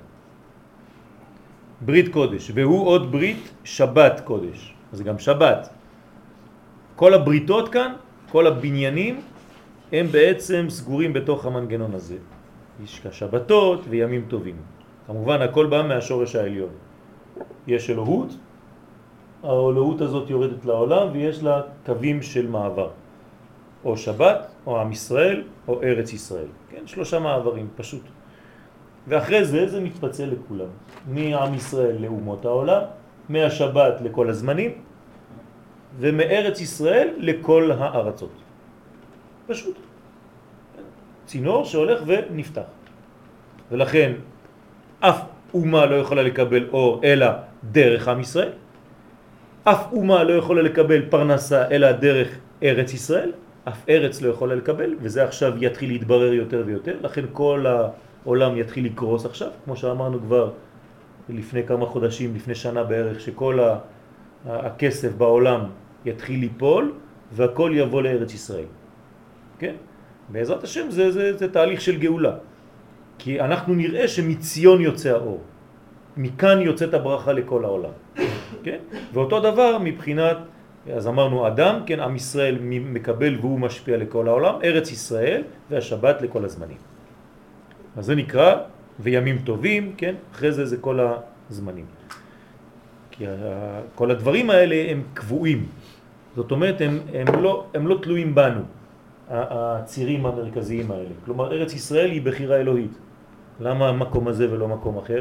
ברית קודש, והוא עוד ברית שבת קודש, אז גם שבת. כל הבריתות כאן, כל הבניינים, הם בעצם סגורים בתוך המנגנון הזה. יש שבתות וימים טובים. כמובן הכל בא מהשורש העליון. יש אלוהות, האלוהות הזאת יורדת לעולם ויש לה קווים של מעבר. או שבת, או עם ישראל, או ארץ ישראל. כן, 3 מעברים, פשוט. ואחרי זה מתפצל לכולם. מעם ישראל לאומות העולם, מהשבת לכל הזמנים, ומארץ ישראל לכל הארצות. פשוט. צינור שהולך ונפתח. ולכן אף אומה לא יכולה לקבל אור אלא דרך עם ישראל. אף אומה לא יכולה לקבל פרנסה אלא דרך ארץ ישראל. אף ארץ לא יכולה לקבל, וזה עכשיו יתחיל להתברר יותר ויותר. לכן כל העולם יתחיל לקרוס עכשיו, כמו שאמרנו כבר לפני כמה חודשים, לפני שנה בערך, שכל הכסף בעולם יתחיל ליפול והכל יבוא לארץ ישראל. כן? בעזרת השם זה תהליך של גאולה. כי אנחנו נראה שמציון יוצא האור. מכאן יוצאת הברכה לכל העולם. כן? ואותו דבר מבחינת, אז אמרנו אדם, כן, עם ישראל מקבל והוא משפיע לכל העולם, ארץ ישראל והשבת לכל הזמנים. אז זה נקרא וימים טובים, כן? אחרי זה כל הזמנים. כי כל הדברים האלה הם קבועים. זאת אומרת, הם לא תלויים בנו, הצירים המרכזיים האלה. כלומר, ארץ ישראל היא בחירה אלוהית. למה המקום הזה ולא מקום אחר?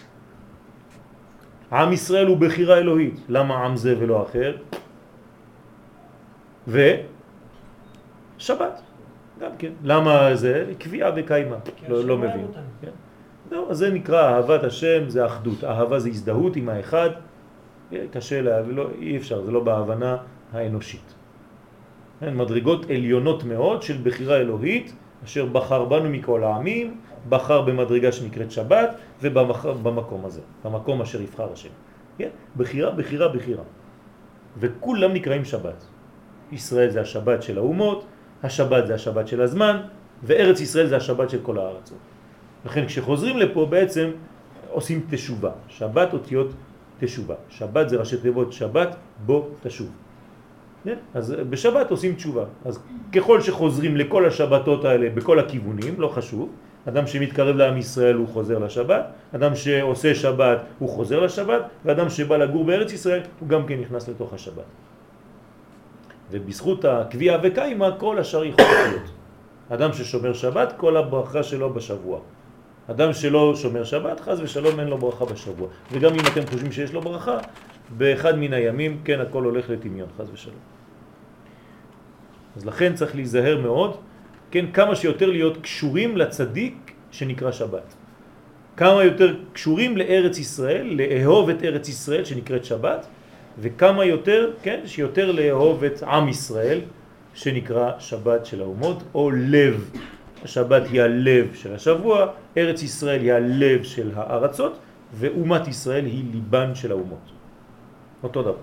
עם ישראל הוא בחירה אלוהית, למה עם זה ולא אחר? ושבת, גם כן. למה זה? קביעה וקיימה, לא מבין. כן? לא, אז זה נקרא אהבת השם, זה אחדות. אהבה זה הזדהות עם האחד, קשה אי אפשר, זה לא בהבנה האנושית. מדרגות עליונות מאוד של בחירה אלוהית, אשר בחר בנו מכל העמים, בחר במדרגה שנקראת שבת, ובחר במקום הזה, במקום אשר יבחר השם. כן? בחירה, בחירה, בחירה. וכולם נקראים שבת. ישראל זה השבת של האומות, השבת זה השבת של הזמן, וארץ ישראל זה השבת של כל הארצות. לכן כשחוזרים לפה בעצם עושים תשובה. שבת אותיות תשובה. שבת זה ראשי תיבות שבת, בו תשוב. אז בשבת עושים תשובה. אז ככל שחוזרים לכל השבתות האלה בכל הכיוונים, לא חשוב, אדם שמתקרב לעם ישראל הוא חוזר לשבת, אדם שעושה שבת הוא חוזר לשבת, ואדם שבא לגור בארץ ישראל הוא גם כן נכנס לתוך השבת. ובזכות הקביעה וקיימה כל השאר יכול להיות. אדם ששומר שבת, כל הברכה שלו בשבוע. אדם שלא שומר שבת, חס ושלום אין לו ברכה בשבוע. וגם אם אתם חושבים שיש לו ברכה, באחד מן הימים, כן, הכל הולך לטמיון, חס ושלום. אז לכן צריך להיזהר מאוד, כן, כמה שיותר להיות קשורים לצדיק שנקרא שבת. כמה יותר קשורים לארץ ישראל, לאהוב את ארץ ישראל שנקראת שבת, וכמה יותר, כן, שיותר לאהוב את עם ישראל שנקרא שבת של האומות, או לב. השבת היא הלב של השבוע, ארץ ישראל היא הלב של הארצות, ואומת ישראל היא ליבן של האומות. אותו דבר.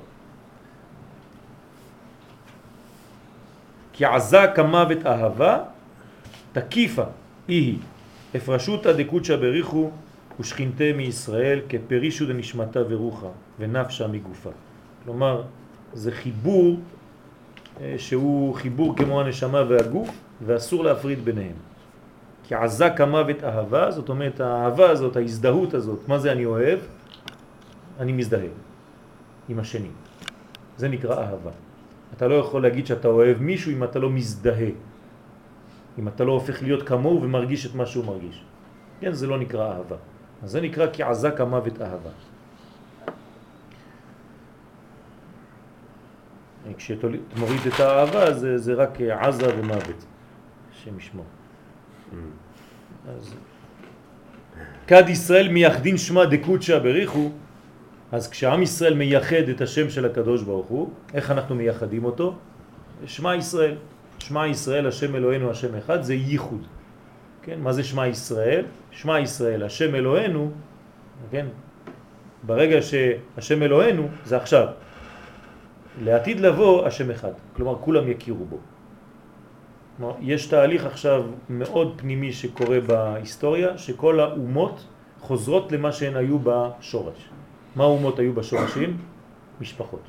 כי עזה כמוות אהבה, תקיפה היא, הפרשותה דקודשא בריחו ושכינתה מישראל כפרישו דנשמתה ורוחה ונפשה מגופה. כלומר, זה חיבור שהוא חיבור כמו הנשמה והגוף, ואסור להפריד ביניהם. כי עזה כמוות אהבה, זאת אומרת האהבה הזאת, ההזדהות הזאת, מה זה אני אוהב? אני מזדהה עם השני. זה נקרא אהבה. אתה לא יכול להגיד שאתה אוהב מישהו אם אתה לא מזדהה. אם אתה לא הופך להיות כמוהו ומרגיש את מה שהוא מרגיש. כן, זה לא נקרא אהבה. אז זה נקרא כי עזה כמוות אהבה. כשתמוריד את האהבה זה רק עזה ומוות. השם ישמור. אז כד ישראל מייחדין שמה דקודשא בריחו, אז כשעם ישראל מייחד את השם של הקדוש ברוך הוא, איך אנחנו מייחדים אותו? שמה ישראל. שמה ישראל, השם אלוהינו, השם אחד, זה ייחוד. כן? מה זה שמה ישראל? שמה ישראל, השם אלוהינו, כן? ברגע שהשם אלוהינו, זה עכשיו. לעתיד לבוא, השם אחד. כלומר, כולם יכירו בו. כלומר, יש תהליך עכשיו מאוד פנימי שקורה בהיסטוריה, שכל האומות חוזרות למה שהן היו בשורש. מה האומות היו בשורשים? משפחות.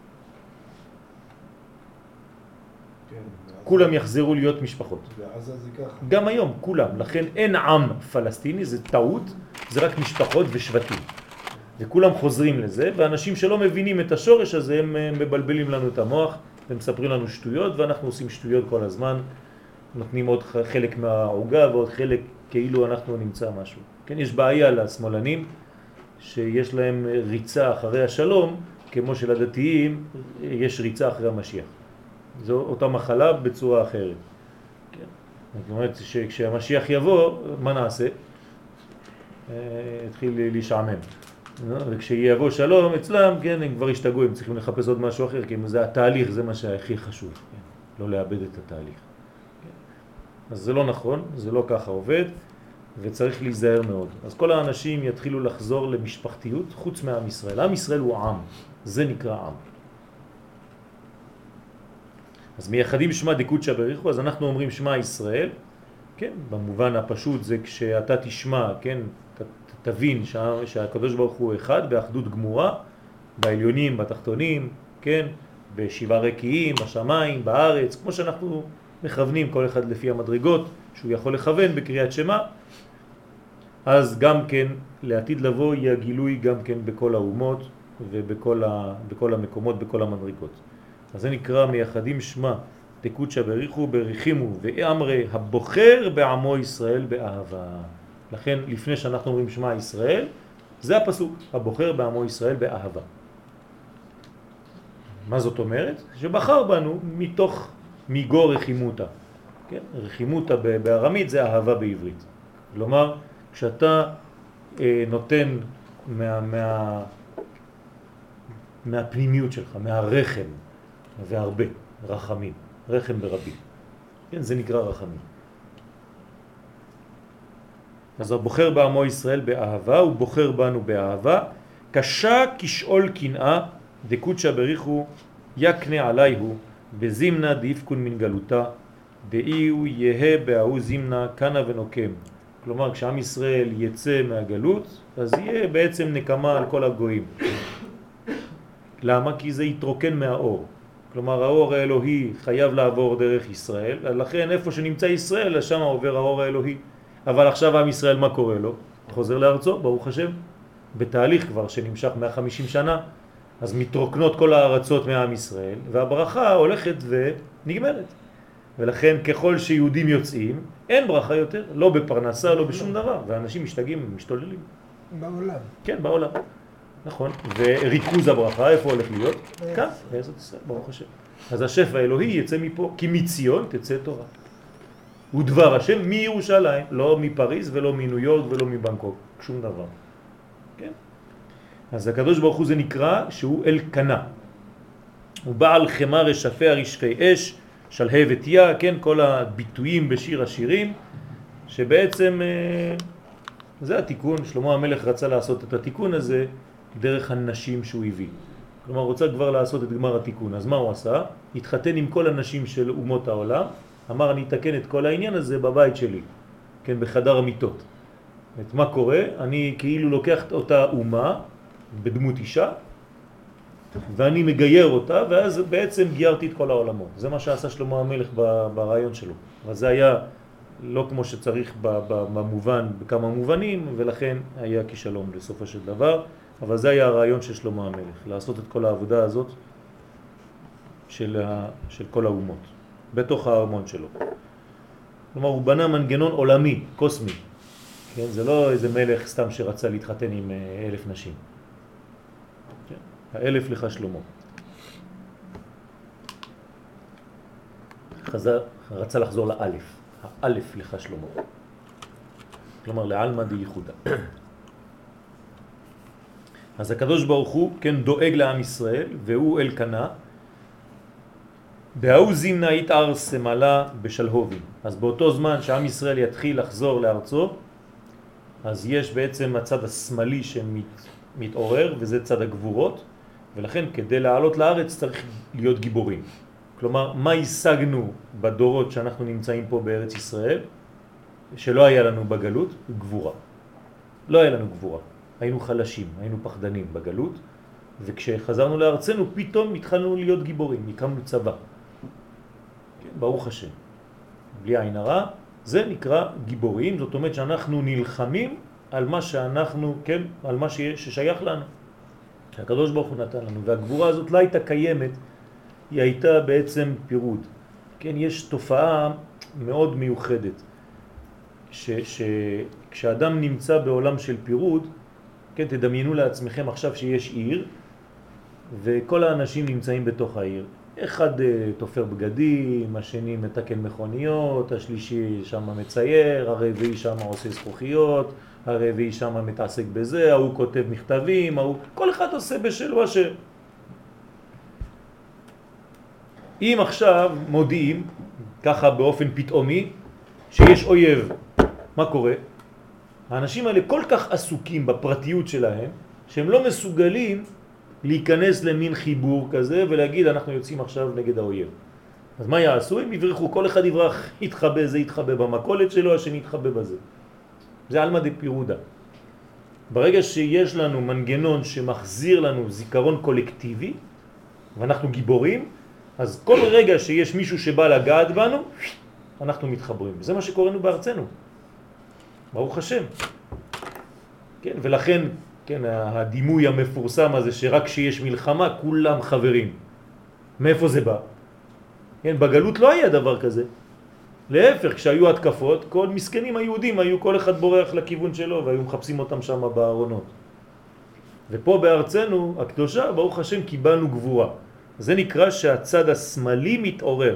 כולם יחזרו להיות משפחות. ועזה זה ככה. גם היום, כולם. לכן אין עם פלסטיני, זה טעות, זה רק משפחות ושבטים. וכולם חוזרים לזה, ואנשים שלא מבינים את השורש הזה, הם מבלבלים לנו את המוח, הם מספרים לנו שטויות, ואנחנו עושים שטויות כל הזמן, נותנים עוד חלק מהעוגה ועוד חלק כאילו אנחנו נמצא משהו. כן, יש בעיה לשמאלנים, שיש להם ריצה אחרי השלום, כמו שלדתיים יש ריצה אחרי המשיח. זו אותה מחלה בצורה אחרת. כן. זאת אומרת שכשהמשיח יבוא, מה נעשה? התחיל להישעמם. וכשיבוא שלום אצלם, כן, הם כבר ישתגעו, הם צריכים לחפש עוד משהו אחר, כי זה התהליך, זה מה שהכי חשוב. כן. לא לאבד את התהליך. כן. אז זה לא נכון, זה לא ככה עובד, וצריך להיזהר מאוד. אז כל האנשים יתחילו לחזור למשפחתיות חוץ מעם ישראל. עם ישראל הוא עם, זה נקרא עם. אז מייחדים שמה דקודשא בריחו, אז אנחנו אומרים שמה ישראל, כן, במובן הפשוט זה כשאתה תשמע, כן, תבין שהקדוש ברוך הוא אחד באחדות גמורה, בעליונים, בתחתונים, כן, בשבעה רקיעים, בשמיים, בארץ, כמו שאנחנו מכוונים כל אחד לפי המדרגות שהוא יכול לכוון בקריאת שמה, אז גם כן לעתיד לבוא יהיה גילוי גם כן בכל האומות ובכל המקומות, בכל המדרגות. אז זה נקרא מייחדים שמה דקודשא בריחו בריחימו ואמרי הבוחר בעמו ישראל באהבה. לכן לפני שאנחנו אומרים שמע ישראל, זה הפסוק, הבוחר בעמו ישראל באהבה. מה זאת אומרת? שבחר בנו מתוך מיגו רחימותה. כן? רחימותה בארמית זה אהבה בעברית. כלומר, כשאתה נותן מהפנימיות שלך, מהרחם, והרבה, רחמים, רחם ברבים. כן? זה נקרא רחמים. אז הבוחר בעמו ישראל באהבה, הוא בוחר בנו באהבה, קשה כשאול קנאה, דקודשא בריחו יקנה עליהו, בזימנה דיפקון מן גלותה, דאיהו יהה בהוא זימנה קנה ונוקם. כלומר, כשעם ישראל יצא מהגלות, אז יהיה בעצם נקמה על כל הגויים. למה? כי זה יתרוקן מהאור. כלומר, האור האלוהי חייב לעבור דרך ישראל, ולכן איפה שנמצא ישראל, שם עובר האור האלוהי. אבל עכשיו עם ישראל, מה קורה לו? חוזר לארצו, ברוך השם, בתהליך כבר שנמשך 150 שנה, אז מתרוקנות כל הארצות מעם ישראל, והברכה הולכת ונגמרת. ולכן ככל שיהודים יוצאים, אין ברכה יותר, לא בפרנסה, לא בשום דבר, ואנשים משתגעים, משתוללים. בעולם. כן, בעולם. נכון. וריכוז הברכה, איפה הולך להיות? כאן, בארץ ישראל, ברוך השם. אז השפע האלוהי יצא מפה, כי מציון תצא תורה. ודבר השם מירושלים, לא מפריז ולא מניו יורק ולא מבנקוק, שום דבר. כן? אז הקדוש ברוך הוא זה נקרא שהוא אלקנה. הוא בעל חמר רשפי הרשפי אש, שלהבת יה, כן? כל הביטויים בשיר השירים, שבעצם זה התיקון, שלמה המלך רצה לעשות את התיקון הזה דרך הנשים שהוא הביא. כלומר, רוצה כבר לעשות את גמר התיקון. אז מה הוא עשה? התחתן עם כל הנשים של אומות העולם, אמר אני אתקן את כל העניין הזה בבית שלי, כן, בחדר המיטות. את מה קורה? אני כאילו לוקח אותה אומה בדמות אישה, ואני מגייר אותה, ואז בעצם גיירתי את כל העולמות. זה מה שעשה שלמה המלך ברעיון שלו. אבל זה היה לא כמו שצריך במובן, בכמה מובנים, ולכן היה כישלום בסופו של דבר. אבל זה היה הרעיון של שלמה המלך, לעשות את כל העבודה הזאת של כל האומות, בתוך הארמון שלו. כלומר, הוא בנה מנגנון עולמי, קוסמי. כן? זה לא איזה מלך סתם שרצה להתחתן עם 1,000 נשים. כן? 1,000 לך שלמה. רצה לחזור לאלף. האלף לך שלמה. כלומר, לעלמא דייחודה. אז הקדוש ברוך הוא, כן, דואג לעם ישראל, והוא אלקנה. בהוא זימנה יתאר סמלה בשלהובים. אז באותו זמן שעם ישראל יתחיל לחזור לארצו, אז יש בעצם הצד השמאלי שמתעורר, וזה צד הגבורות, ולכן כדי לעלות לארץ צריך להיות גיבורים. כלומר, מה השגנו בדורות שאנחנו נמצאים פה בארץ ישראל, שלא היה לנו בגלות? גבורה. לא היה לנו גבורה. היינו חלשים, היינו פחדנים בגלות, וכשחזרנו לארצנו פתאום התחלנו להיות גיבורים, הקמנו צבא. כן, ברוך השם. בלי עין הרע, זה נקרא גיבורים, זאת אומרת שאנחנו נלחמים על מה שאנחנו, כן, על מה ששייך לנו. הקדוש ברוך הוא נתן לנו, והגבורה הזאת לא הייתה קיימת, היא הייתה בעצם פירוד. כן, יש תופעה מאוד מיוחדת, כשאדם נמצא בעולם של פירוד, כן, תדמיינו לעצמכם עכשיו שיש עיר, וכל האנשים נמצאים בתוך העיר. אחד תופר בגדים, השני מתקן מכוניות, השלישי שם מצייר, הרביעי שם עושה זכוכיות, הרביעי שם מתעסק בזה, הוא כותב מכתבים, כל אחד עושה בשלו אשר. אם עכשיו מודיעים, ככה באופן פתאומי, שיש אויב, מה קורה? האנשים האלה כל כך עסוקים בפרטיות שלהם, שהם לא מסוגלים להיכנס למין חיבור כזה ולהגיד אנחנו יוצאים עכשיו נגד האויב. אז מה יעשו? הם יברחו, כל אחד יברח, יתחבא, זה יתחבא במקולת שלו, השני יתחבא בזה. זה אלמא דפירודה. ברגע שיש לנו מנגנון שמחזיר לנו זיכרון קולקטיבי, ואנחנו גיבורים, אז כל רגע שיש מישהו שבא לגעת בנו, אנחנו מתחברים. זה מה שקורנו בארצנו. ברוך השם. כן, ולכן, כן, הדימוי המפורסם הזה שרק כשיש מלחמה כולם חברים. מאיפה זה בא? כן, בגלות לא היה דבר כזה. להפך, כשהיו התקפות, כל מסכנים היהודים היו כל אחד בורח לכיוון שלו והיו מחפשים אותם שם בארונות. ופה בארצנו הקדושה, ברוך השם, קיבלנו גבורה. זה נקרא שהצד השמאלי מתעורר.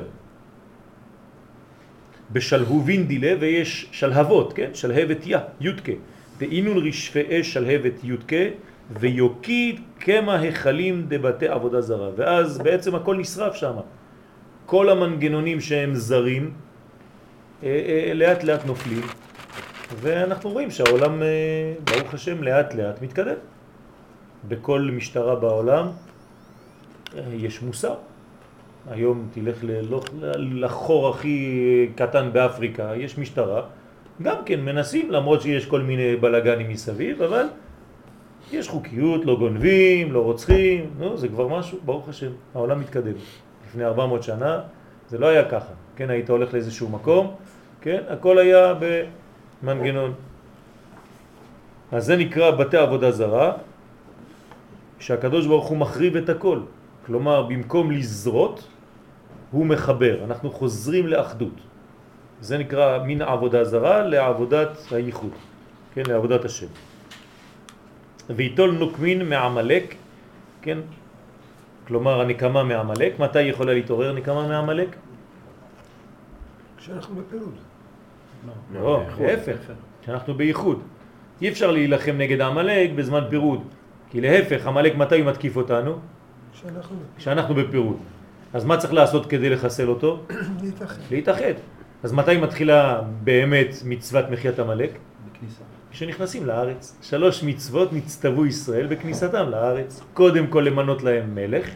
בשלהובין דילה, ויש שלהבות, כן? שלהבת יודקה. ואינון רשפי אש שלהבת יודקה, ויוקיד כמה החלים דבתי עבודה זרה. ואז בעצם הכל נשרף שם. כל המנגנונים שהם זרים, לאט לאט נופלים. ואנחנו רואים שהעולם, ברוך השם, לאט לאט מתקדם. בכל משטרה בעולם יש מוסר. היום תלך לחור הכי קטן באפריקה, יש משטרה, גם כן מנסים, למרות שיש כל מיני בלגנים מסביב, אבל יש חוקיות, לא גונבים, לא רוצחים, זה כבר משהו, ברוך השם, העולם מתקדם. לפני 400 שנה זה לא היה ככה, כן, היית הולך לאיזשהו מקום, כן, הכל היה במנגנון. אז זה נקרא בתי עבודה זרה, שהקדוש ברוך הוא מחריב את הכל. כלומר, במקום לזרות, הוא מחבר. אנחנו חוזרים לאחדות. זה נקרא מן עבודה זרה לעבודת הייחוד. כן, לעבודת השם. ויתול נוקמין מעמלק, כן? כלומר, הנקמה מעמלק. מתי יכולה להתעורר נקמה מעמלק? כשאנחנו בפירוד. לא, להפך. כשאנחנו בייחוד. אי אפשר להילחם נגד העמלק בזמן פירוד. כי להפך, עמלק מתי הוא מתקיף אותנו? כשאנחנו בפירוד. אז מה צריך לעשות כדי לחסל אותו? להתאחד. אז מתי מתחילה באמת מצוות מחיית עמלק? בכניסה. כשנכנסים לארץ. 3 מצוות נצטוו ישראל בכניסתם לארץ. קודם כל למנות להם מלך,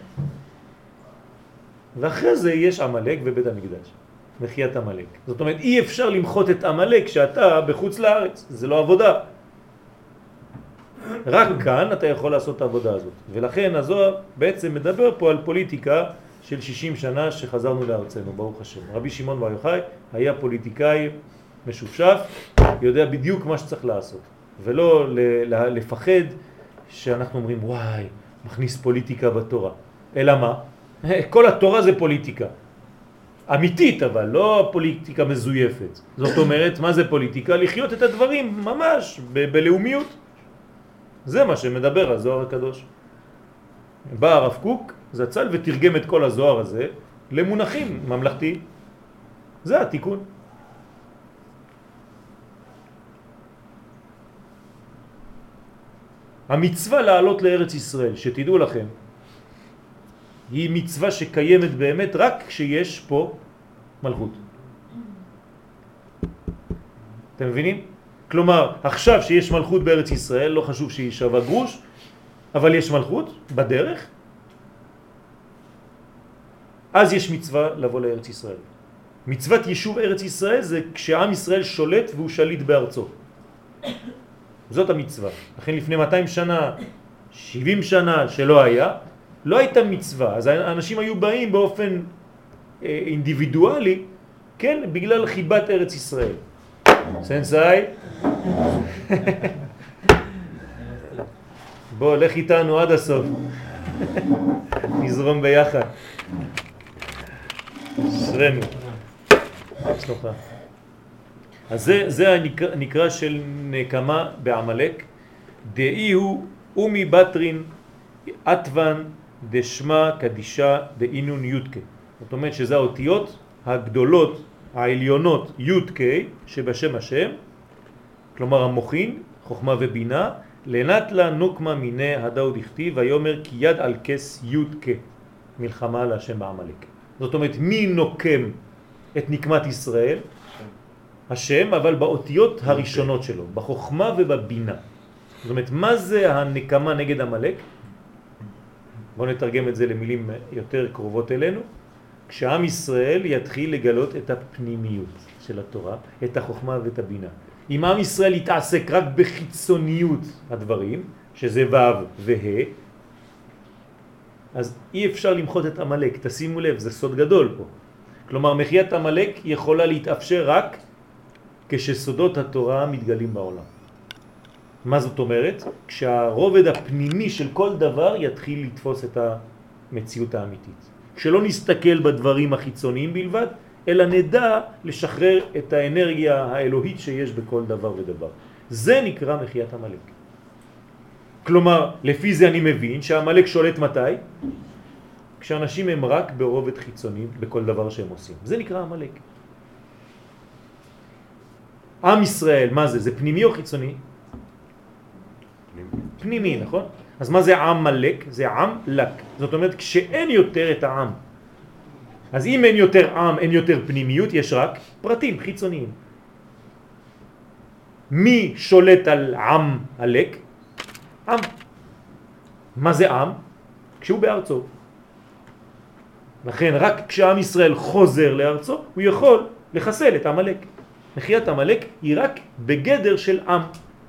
ואחרי זה יש עמלק ובית המקדש. מחיית עמלק. זאת אומרת, אי אפשר למחות את עמלק כשאתה בחוץ לארץ. זה לא עבודה. רק כאן אתה יכול לעשות את העבודה הזאת. ולכן הזוהר בעצם מדבר פה על פוליטיקה של 60 שנה שחזרנו לארצנו, ברוך השם. רבי שמעון בר יוחאי היה פוליטיקאי משופשף, יודע בדיוק מה שצריך לעשות. ולא לפחד שאנחנו אומרים, וואי, מכניס פוליטיקה בתורה. אלא מה? כל התורה זה פוליטיקה. אמיתית, אבל לא פוליטיקה מזויפת. זאת אומרת, מה זה פוליטיקה? לחיות את הדברים ממש בלאומיות. זה מה שמדבר הזוהר הקדוש. בא הרב קוק, זצ"ל, ותרגם את כל הזוהר הזה למונחים ממלכתיים. זה התיקון. המצווה לעלות לארץ ישראל, שתדעו לכם, היא מצווה שקיימת באמת רק כשיש פה מלכות. אתם מבינים? כלומר, עכשיו שיש מלכות בארץ ישראל, לא חשוב שהיא שווה גרוש, אבל יש מלכות בדרך, אז יש מצווה לבוא לארץ ישראל. מצוות יישוב ארץ ישראל זה כשעם ישראל שולט והוא שליט בארצו. זאת המצווה. לכן לפני 200 שנה, 70 שנה שלא היה, לא הייתה מצווה. אז האנשים היו באים באופן אינדיבידואלי, כן, בגלל חיבת ארץ ישראל. סנסאי, בוא, לך איתנו עד הסוף. נזרום ביחד. שרנו. סלוחה. אז זה הנקרא של נקמה בעמלק. דאי הוא אומי בטרין עטוון דשמה קדישה דאינון יודקה. זאת אומרת שזה האותיות הגדולות, העליונות יודקה שבשם השם, כלומר המוחין, חוכמה ובינה, לנטלה נוקמה מיני הדאו דכתיב ויאמר כי יד על כס יודקה, מלחמה להשם בעמלק. זאת אומרת מי נוקם את נקמת ישראל? השם, אבל באותיות הראשונות שלו, בחוכמה ובבינה. זאת אומרת, מה זה הנקמה נגד עמלק? בואו נתרגם את זה למילים יותר קרובות אלינו. כשעם ישראל יתחיל לגלות את הפנימיות של התורה, את החוכמה ואת הבינה. אם עם ישראל יתעסק רק בחיצוניות הדברים, שזה ו' וה', אז אי אפשר למחות את עמלק. תשימו לב, זה סוד גדול פה. כלומר, מחיית עמלק יכולה להתאפשר רק כשסודות התורה מתגלים בעולם. מה זאת אומרת? כשהרובד הפנימי של כל דבר יתחיל לתפוס את המציאות האמיתית. כשלא נסתכל בדברים החיצוניים בלבד, אלא נדע לשחרר את האנרגיה האלוהית שיש בכל דבר ודבר. זה נקרא מחיית המלאק. כלומר, לפי זה אני מבין שהמלאק שולט מתי? כשאנשים הם רק ברובד חיצוני בכל דבר שהם עושים. זה נקרא המלאק. עם ישראל, מה זה? זה פנימי או חיצוני? פנימי, נכון? אז מה זה עם מלאק? זה עם לק. זאת אומרת, כשאין יותר את העם. אז אם אין יותר עם, אין יותר פנימיות, יש רק פרטים חיצוניים. מי שולט על עם הלק? עם. מה זה עם? כשהוא בארצו. לכן רק כשעם ישראל חוזר לארצו, הוא יכול לחסל את המלאק. מחיית המלאק היא רק בגדר של עם.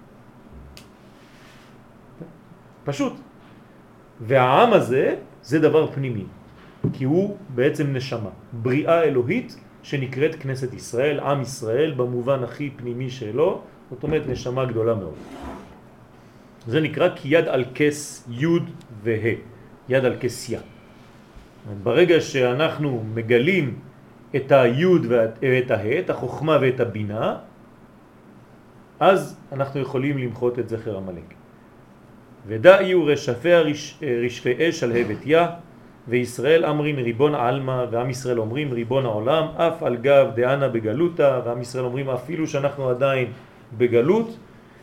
פשוט. והעם הזה זה דבר פנימי, כי הוא בעצם נשמה, בריאה אלוהית שנקראת כנסת ישראל, עם ישראל במובן הכי פנימי שלו, זאת אומרת נשמה גדולה מאוד. זה נקרא כי יד על כס יוד וה', יד על כס יא. ברגע שאנחנו מגלים את היוד ואת הה', את החוכמה ואת הבינה, אז אנחנו יכולים למחות את זכר המלאק. ודאיו רשפיה רשפי אש על הבט יא, וישראל אמרין ריבון עלמא, ועם ישראל אומרים ריבון העולם, אף על גב דענה בגלותה, ועם ישראל אומרים אפילו שאנחנו עדיין בגלות,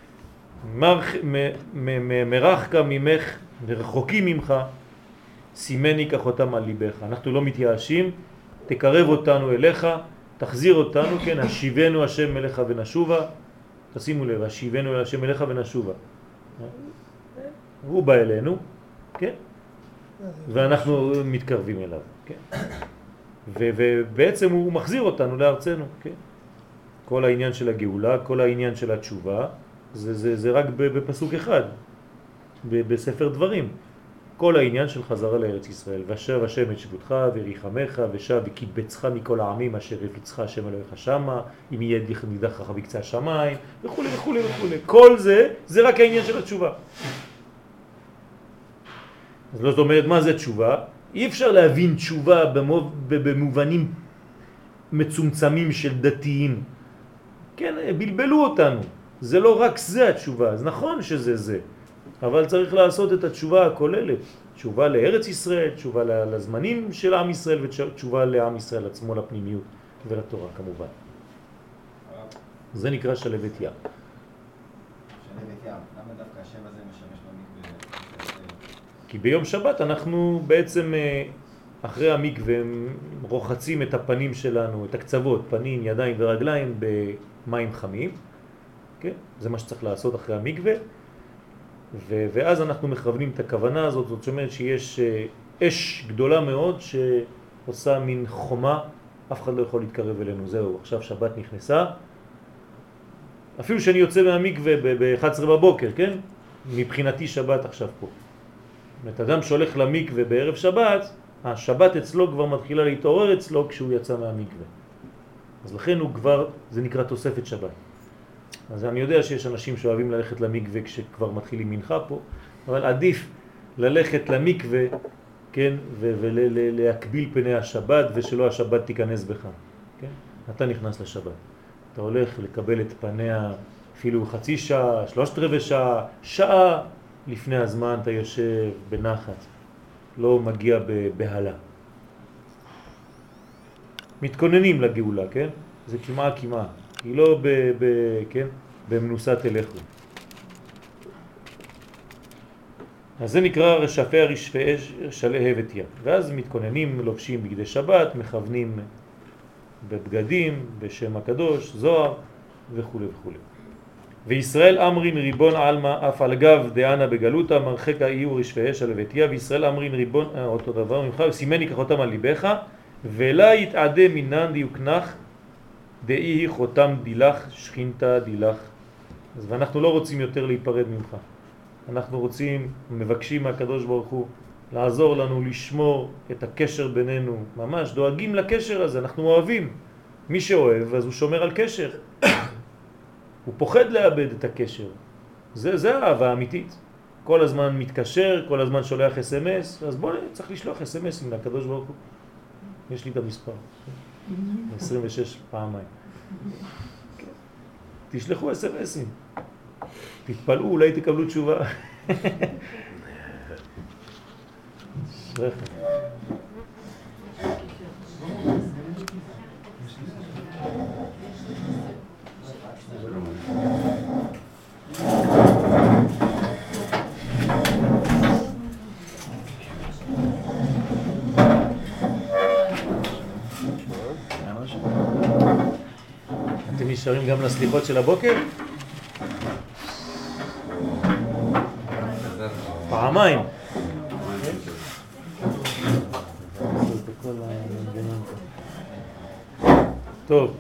מרחקה ממך ורחוקים ממך, סימני כחותם על ליבך. אנחנו לא מתייאשים, תקרב אותנו אליך, תחזיר אותנו, כן, השיבנו השם אליך ונשובה. תשימו לב, השיבנו השם אליך ונשובה. הוא בא אלינו, כן? ואנחנו מתקרבים אליו, כן? ובעצם הוא מחזיר אותנו לארצנו, כן? כל העניין של הגאולה, כל העניין של התשובה, זה רק בפסוק אחד, בספר דברים. כל העניין של חזרה לארץ ישראל, ושב השם את שבותך וריחמך ושב וקיבצך מכל העמים אשר הפיצך השם אלוהיך שמה, אם יהיה נידחך בקצה השמיים וכו' וכו' וכו'. כל זה רק העניין של התשובה. אז לא זאת אומרת מה זה תשובה? אי אפשר להבין תשובה במובנים מצומצמים של דתיים. כן, בלבלו אותנו. זה לא רק זה התשובה, אז נכון שזה זה. אבל צריך לעשות את התשובה הכוללת, תשובה לארץ ישראל, תשובה לזמנים של עם ישראל ותשובה לעם ישראל עצמו, לפנימיות ולתורה כמובן. זה נקרא שלבת ים. שלבת ים, למה דווקא השם הזה משמש במקווה? כי ביום שבת אנחנו בעצם אחרי המקווה רוחצים את הפנים שלנו, את הקצוות, פנים, ידיים ורגליים במים חמים. כן? זה מה שצריך לעשות אחרי המקווה. ואז אנחנו מכוונים את הכוונה הזאת, זאת אומרת שיש אש גדולה מאוד שעושה מין חומה, אף אחד לא יכול להתקרב אלינו, זהו, עכשיו שבת נכנסה. אפילו שאני יוצא מהמקווה ב-11 בבוקר, כן? מבחינתי שבת עכשיו פה. זאת אדם שהולך למקווה בערב שבת, השבת אצלו כבר מתחילה להתעורר אצלו כשהוא יצא מהמקווה. אז לכן הוא כבר, זה נקרא תוספת שבת. אז אני יודע שיש אנשים שאוהבים ללכת למקווה כשכבר מתחילים מנחה פה, אבל עדיף ללכת למקווה, כן, ולהקביל פני השבת ושלא השבת תיכנס בך, כן? אתה נכנס לשבת. אתה הולך לקבל את פניה אפילו חצי שעה, 3/4 שעה, שעה לפני הזמן אתה יושב בנחת, לא מגיע בבהלה. מתכוננים לגאולה, כן? זה כמעט, היא לא כן? במנוסה תלכו. אז זה נקרא רשפי רשפי אש שלהבת ים. ואז מתכוננים, לובשים בגדי שבת, מכוונים בבגדים, בשם הקדוש, זוהר וכו' וכו'. וישראל אמרין ריבון עלמא אף על גב דענה בגלותה מרחק האיור רשפי אש שלהבת ים. וישראל אמרין ריבון, אותו דבר ממך, וסימני כחותם על ליבך, ולה יתעדה מינן דיוקנך דאי חותם דילך שכינתה דילך. אז ואנחנו לא רוצים יותר להיפרד ממך. אנחנו רוצים, מבקשים מהקדוש ברוך הוא לעזור לנו לשמור את הקשר בינינו, ממש דואגים לקשר הזה, אנחנו אוהבים. מי שאוהב אז הוא שומר על קשר. הוא פוחד לאבד את הקשר. זה האהבה האמיתית. כל הזמן מתקשר, כל הזמן שולח SMS, אז בוא צריך לשלוח SMS לקדוש ברוך הוא. יש לי את המספר. 26 פעמיים. תשלחו SMS'ים. תתפלאו, אולי תקבלו תשובה. שרחם. אתם נשארים גם לסליחות של הבוקר? פעמיים. טוב,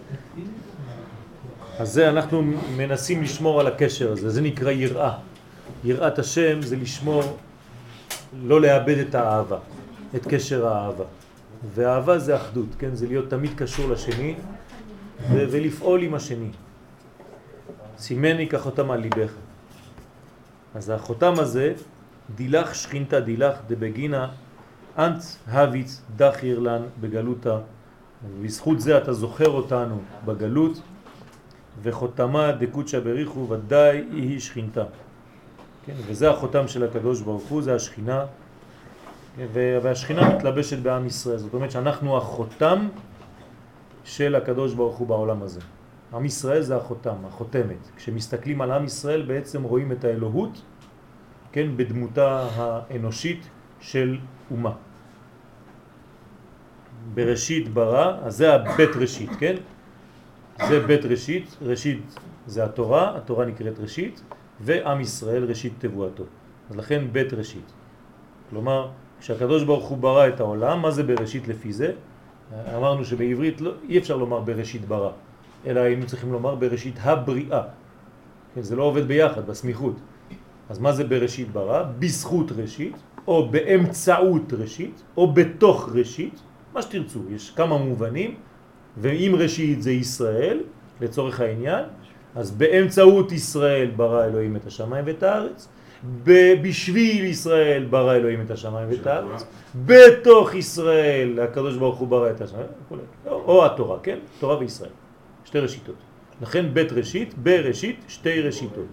אז זה אנחנו מנסים לשמור על הקשר הזה, זה נקרא יראה. יראת השם זה לשמור, לא לאבד את האהבה, את קשר האהבה. והאהבה זה אחדות, כן? זה להיות תמיד קשור לשני ולפעול עם השני. סימני כחותם על ליבך. אז החותם הזה, דילך שכינתה דילך דבגינה אנט הוויץ דחיר לן בגלותה. ובזכות זה אתה זוכר אותנו בגלות, וחותמה דקודשא בריחו ודאי היא שכינתה. כן? וזה החותם של הקדוש ברוך הוא, זה השכינה, והשכינה מתלבשת בעם ישראל. זאת אומרת שאנחנו החותם של הקדוש ברוך הוא בעולם הזה. עם ישראל זה החותם, החותמת. כשמסתכלים על עם ישראל בעצם רואים את האלוהות, כן, בדמותה האנושית של אומה. בראשית ברא, אז זה הבית ראשית, כן? זה בית ראשית, ראשית זה התורה, התורה נקראת ראשית, ועם ישראל ראשית תבואתו. אז לכן בית ראשית. כלומר, כשהקדוש ברוך הוא ברא את העולם, מה זה בראשית לפי זה? אמרנו שבעברית אי אפשר לומר בראשית ברא, אלא היינו צריכים לומר בראשית הבריאה. כן, זה לא עובד ביחד, בסמיכות. אז מה זה בראשית ברא? בזכות ראשית, או באמצעות ראשית, או בתוך ראשית, מה שתרצו. יש כמה מובנים, ואם ראשית זה ישראל, לצורך העניין, אז באמצעות ישראל ברא אלוהים את השמיים ואת הארץ, בשביל ישראל ברא אלוהים את השמיים ואת הארץ, בתוך ישראל הקדוש ברוך הוא ברא את השמיים, או התורה, כן? תורה וישראל, שתי ראשיתות. לכן בית ראשית, בראשית, שתי ראשיתות.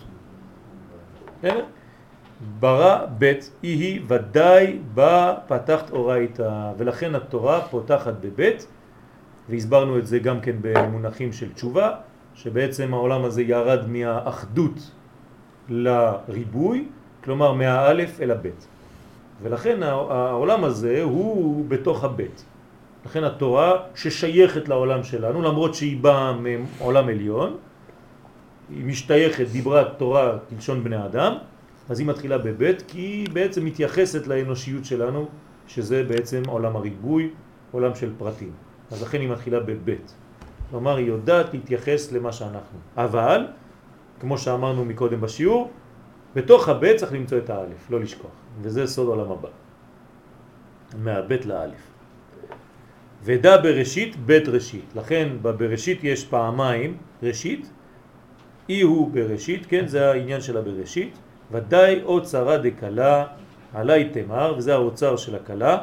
ברא בית היא ודאי בה פתחת אורייתא, ולכן התורה פותחת בבית, והסברנו את זה גם כן במונחים של תשובה, שבעצם העולם הזה ירד מהאחדות לריבוי, כלומר מהאלף אל הבית. ולכן העולם הזה הוא בתוך הבית. לכן התורה ששייכת לעולם שלנו, למרות שהיא באה מעולם עליון, היא משתייכת, דיברה תורה כלשון בני אדם, אז היא מתחילה בבית, כי היא בעצם מתייחסת לאנושיות שלנו, שזה בעצם עולם הריבוי, עולם של פרטים. אז לכן היא מתחילה בבית. כלומר, היא יודעת להתייחס למה שאנחנו. אבל, כמו שאמרנו מקודם בשיעור, בתוך הבית צריך למצוא את האלף, לא לשכוח. וזה סוד עולם הבא. מהבית לאלף. ודע בראשית, בית ראשית. לכן בבראשית יש פעמיים ראשית, אי הוא בראשית, כן, זה העניין של הבראשית. ודאי אוצרה דקלה עלי תמר, וזה האוצר של הקלה.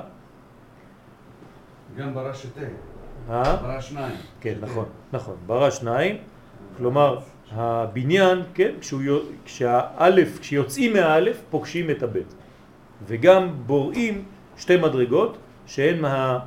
גם ברא שתי. ברא שניים. כן, נכון, נכון. ברא שניים, כלומר הבניין, כן, כשיוצאים מהאלף פוגשים את הבית. וגם בוראים שתי מדרגות שהן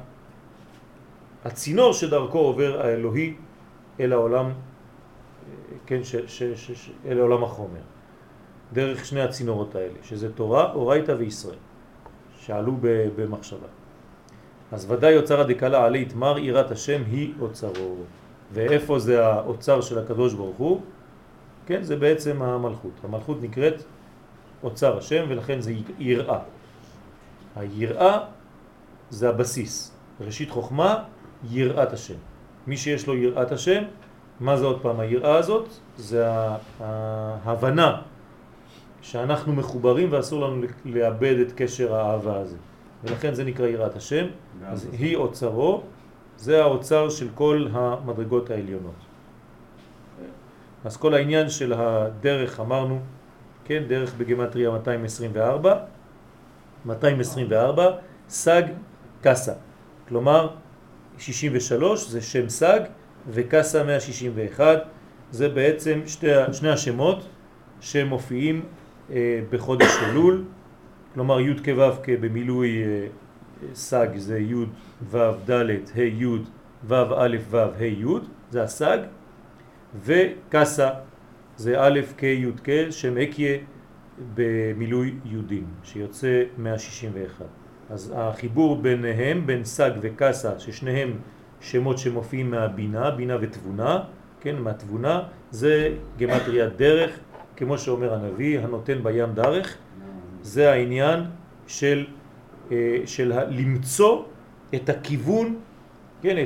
הצינור שדרכו עובר האלוהי אל העולם, כן, אל העולם החומר. דרך שני הצינורות האלה, שזה תורה, אורייתא וישראל, שעלו במחשבה. אז ודאי אוצר הדקלה עלי תמר, יראת השם היא אוצרו. ואיפה זה האוצר של הקדוש ברוך הוא? כן, זה בעצם המלכות. המלכות נקראת אוצר השם, ולכן זה יראה. היראה זה הבסיס. ראשית חוכמה, יראת השם. מי שיש לו יראת השם, מה זה עוד פעם היראה הזאת? זה ההבנה שאנחנו מחוברים ואסור לנו לאבד את קשר האהבה הזה. ולכן זה נקרא יראת השם. אז היא אוצרו, זה האוצר של כל המדרגות העליונות. אז כל העניין של הדרך אמרנו, כן, דרך בגמטריה 224, 224, סג קסה. כלומר, 63 זה שם סג, וקסה 161 זה בעצם שני השמות שמופיעים בחודש אלול, כלומר י' כו' במילוי סג זה י' ו' ד' ה' י' ו' א' ו' ה' י' זה הסג, וקסה זה א' כ' י' כ' שם אקיה במילוי יודים שיוצא 161. אז החיבור ביניהם, בין סג וקסה, ששניהם שמות שמופיעים מהבינה, בינה ותבונה, כן, מהתבונה, זה גמטריה דרך, כמו שאומר הנביא, הנותן בים דרך. זה העניין של למצוא את הכיוון, כן,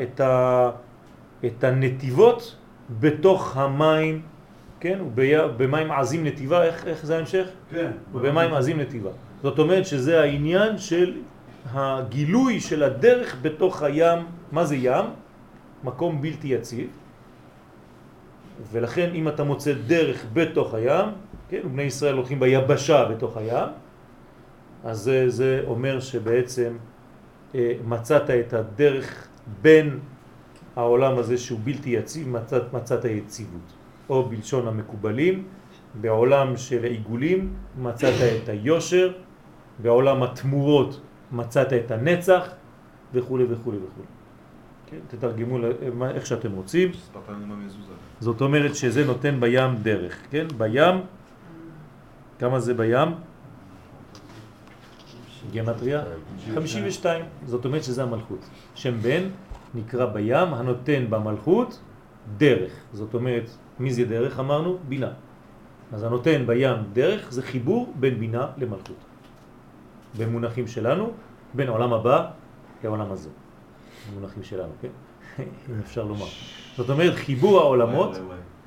את הנתיבות בתוך המים, כן, ובמים עזים נתיבה, איך זה ההמשך? כן. ובמים עזים נתיבה. זאת אומרת שזה העניין של הגילוי של הדרך בתוך הים. מה זה ים? מקום בלתי יציב. ולכן אם אתה מוצא דרך בתוך הים, כן, ובני ישראל הולכים ביבשה בתוך הים, אז זה אומר שבעצם מצאת את הדרך בין העולם הזה שהוא בלתי יציב, מצאת יציבות. או בלשון המקובלים, בעולם של העיגולים מצאת את היושר, בעולם התמורות מצאת את הנצח, וכו' וכו' וכו'. כן, תתרגמו איך שאתם רוצים. זאת אומרת שזה נותן בים דרך, כן? בים, כמה זה בים? גמטריה? 52. זאת אומרת שזה המלכות. שם בן נקרא בים הנותן במלכות דרך. זאת אומרת, מי זה דרך אמרנו? בינה. אז הנותן בים דרך זה חיבור בין בינה למלכות. במונחים שלנו, בין העולם הבא לעולם הזה. במונחים שלנו, כן? אם אפשר לומר. זאת אומרת, חיבור העולמות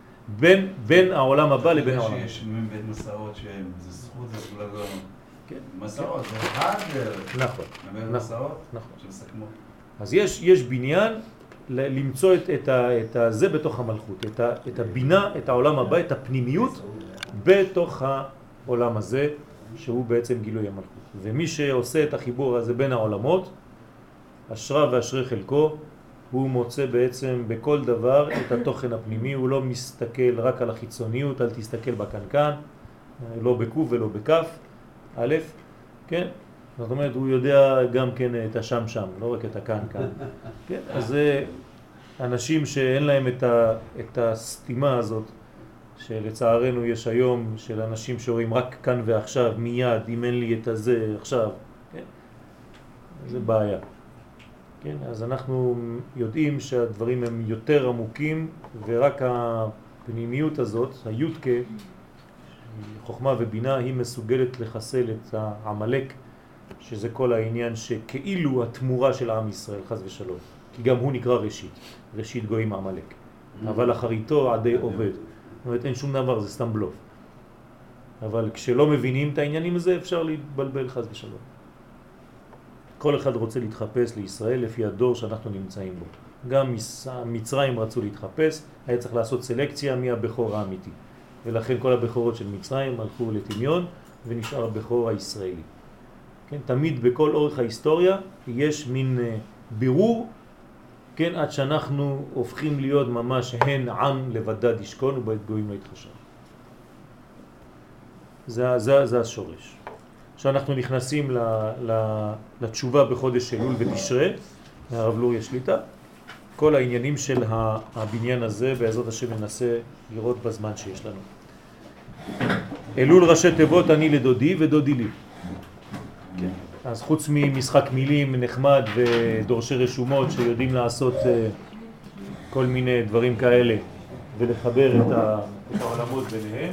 בין העולם הבא לבין העולם. שיש בית מסעות שזה זכות, זה כולה לא... כן. מסעות, זה אחד דרך. נכון. בית מסעות? נכון. שמסכמו. אז יש בניין למצוא את זה בתוך המלכות, את הבינה, את העולם הבא, את הפנימיות בתוך העולם הזה, שהוא בעצם גילוי המלכות. ומי שעושה את החיבור הזה בין העולמות, אשרה ואשרי חלקו, הוא מוצא בעצם בכל דבר את התוכן הפנימי, הוא לא מסתכל רק על החיצוניות, אל תסתכל בקנקן, לא בקוף ולא בכף, א', כן? זאת אומרת, הוא יודע גם כן את השם שם, לא רק את הקנקן. כן? אז זה אנשים שאין להם את הסתימה הזאת, שלצערנו יש היום של אנשים שרואים רק כאן ועכשיו, מיד, אם אין לי את הזה עכשיו, כן? זה בעיה. כן? אז אנחנו יודעים שהדברים הם יותר עמוקים, ורק הפנימיות הזאת, היודקה, חוכמה ובינה, היא מסוגלת לחסל את העמלק, שזה כל העניין שכאילו התמורה של עם ישראל, חס ושלום. כי גם הוא נקרא ראשית, ראשית גויים עמלק. אבל אחריתו עדי עובד. זאת אומרת, אין שום דבר, זה סתם בלוף. אבל כשלא מבינים את העניינים הזה, אפשר להתבלבל חס ושלום. כל אחד רוצה להתחפש לישראל לפי הדור שאנחנו נמצאים בו. גם מצרים רצו להתחפש, היה צריך לעשות סלקציה מי הבכור האמיתי. ולכן כל הבכורות של מצרים הלכו לתמיון ונשאר הבכור הישראלי. כן, תמיד בכל אורך ההיסטוריה יש מין בירור, כן, עד שאנחנו הופכים להיות ממש הן עם לבדד ישכון ובית גויים לא יתחשב. זה השורש. שאנחנו נכנסים לתשובה בחודש אלול ותשרה, מהרב לוריה שליטה, כל העניינים של הבניין הזה, בעזרת השם ננסה לראות בזמן שיש לנו. אלול ראשי תיבות אני לדודי ודודי לי. כן. אז חוץ ממשחק מילים נחמד ודורשי רשומות שיודעים לעשות כל מיני דברים כאלה ולחבר את העולמות ביניהם,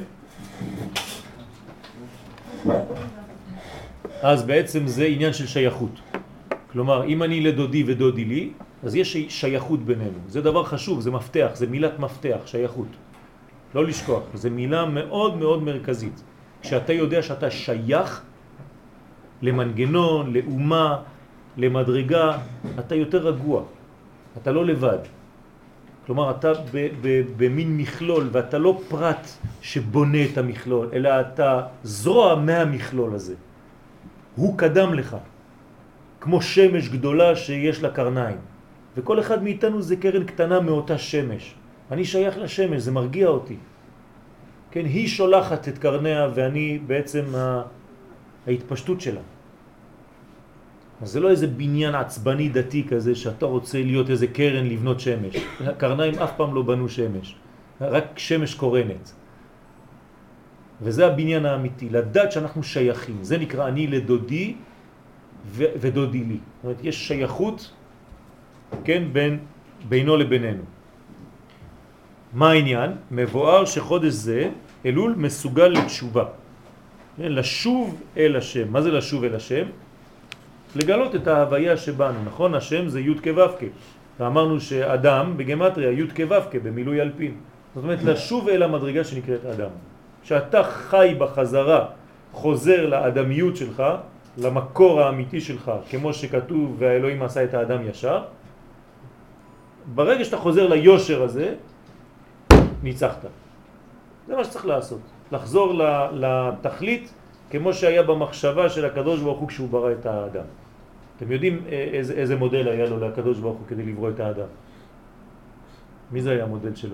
אז בעצם זה עניין של שייכות. כלומר, אם אני לדודי ודודי לי, אז יש שייכות בינינו. זה דבר חשוב, זה מפתח, זה מילת מפתח, שייכות. לא לשכוח, זה מילה מאוד מאוד מרכזית. כשאתה יודע שאתה שייך למנגנון, לאומה, למדרגה, אתה יותר רגוע. אתה לא לבד. כלומר, אתה במין מכלול, ואתה לא פרט שבונה את המכלול, אלא אתה זרוע מהמכלול הזה. הוא קדם לך, כמו שמש גדולה שיש לה קרניים. וכל אחד מאיתנו זה קרן קטנה מאותה שמש. אני שייך לשמש, זה מרגיע אותי. כן, היא שולחת את קרניה ואני בעצם ההתפשטות שלה. אז זה לא איזה בניין עצבני דתי כזה שאתה רוצה להיות איזה קרן לבנות שמש. הקרניים אף פעם לא בנו שמש, רק שמש קורנת. וזה הבניין האמיתי, לדעת שאנחנו שייכים. זה נקרא אני לדודי ודודי לי. זאת אומרת, יש שייכות, כן, בינו לבינינו. מה העניין? מבואר שחודש זה, אלול, מסוגל לתשובה. לשוב אל השם. מה זה לשוב אל השם? לגלות את ההוויה שבנו, נכון? השם זה י' כו' כ'. ואמרנו שאדם בגמטריה י' כו' כ' במילוי אלפין. זאת אומרת, לשוב אל המדרגה שנקראת אדם. שאתה חי בחזרה, חוזר לאדמיות שלך, למקור האמיתי שלך, כמו שכתוב והאלוהים עשה את האדם ישר, ברגע שאתה חוזר ליושר הזה, ניצחת. זה מה שצריך לעשות. לחזור לתכלית כמו שהיה במחשבה של הקדוש ברוך הוא כשהוא ברא את האדם. אתם יודעים איזה מודל היה לו לקדוש ברוך הוא כדי לברוא את האדם? מי זה היה המודל שלו?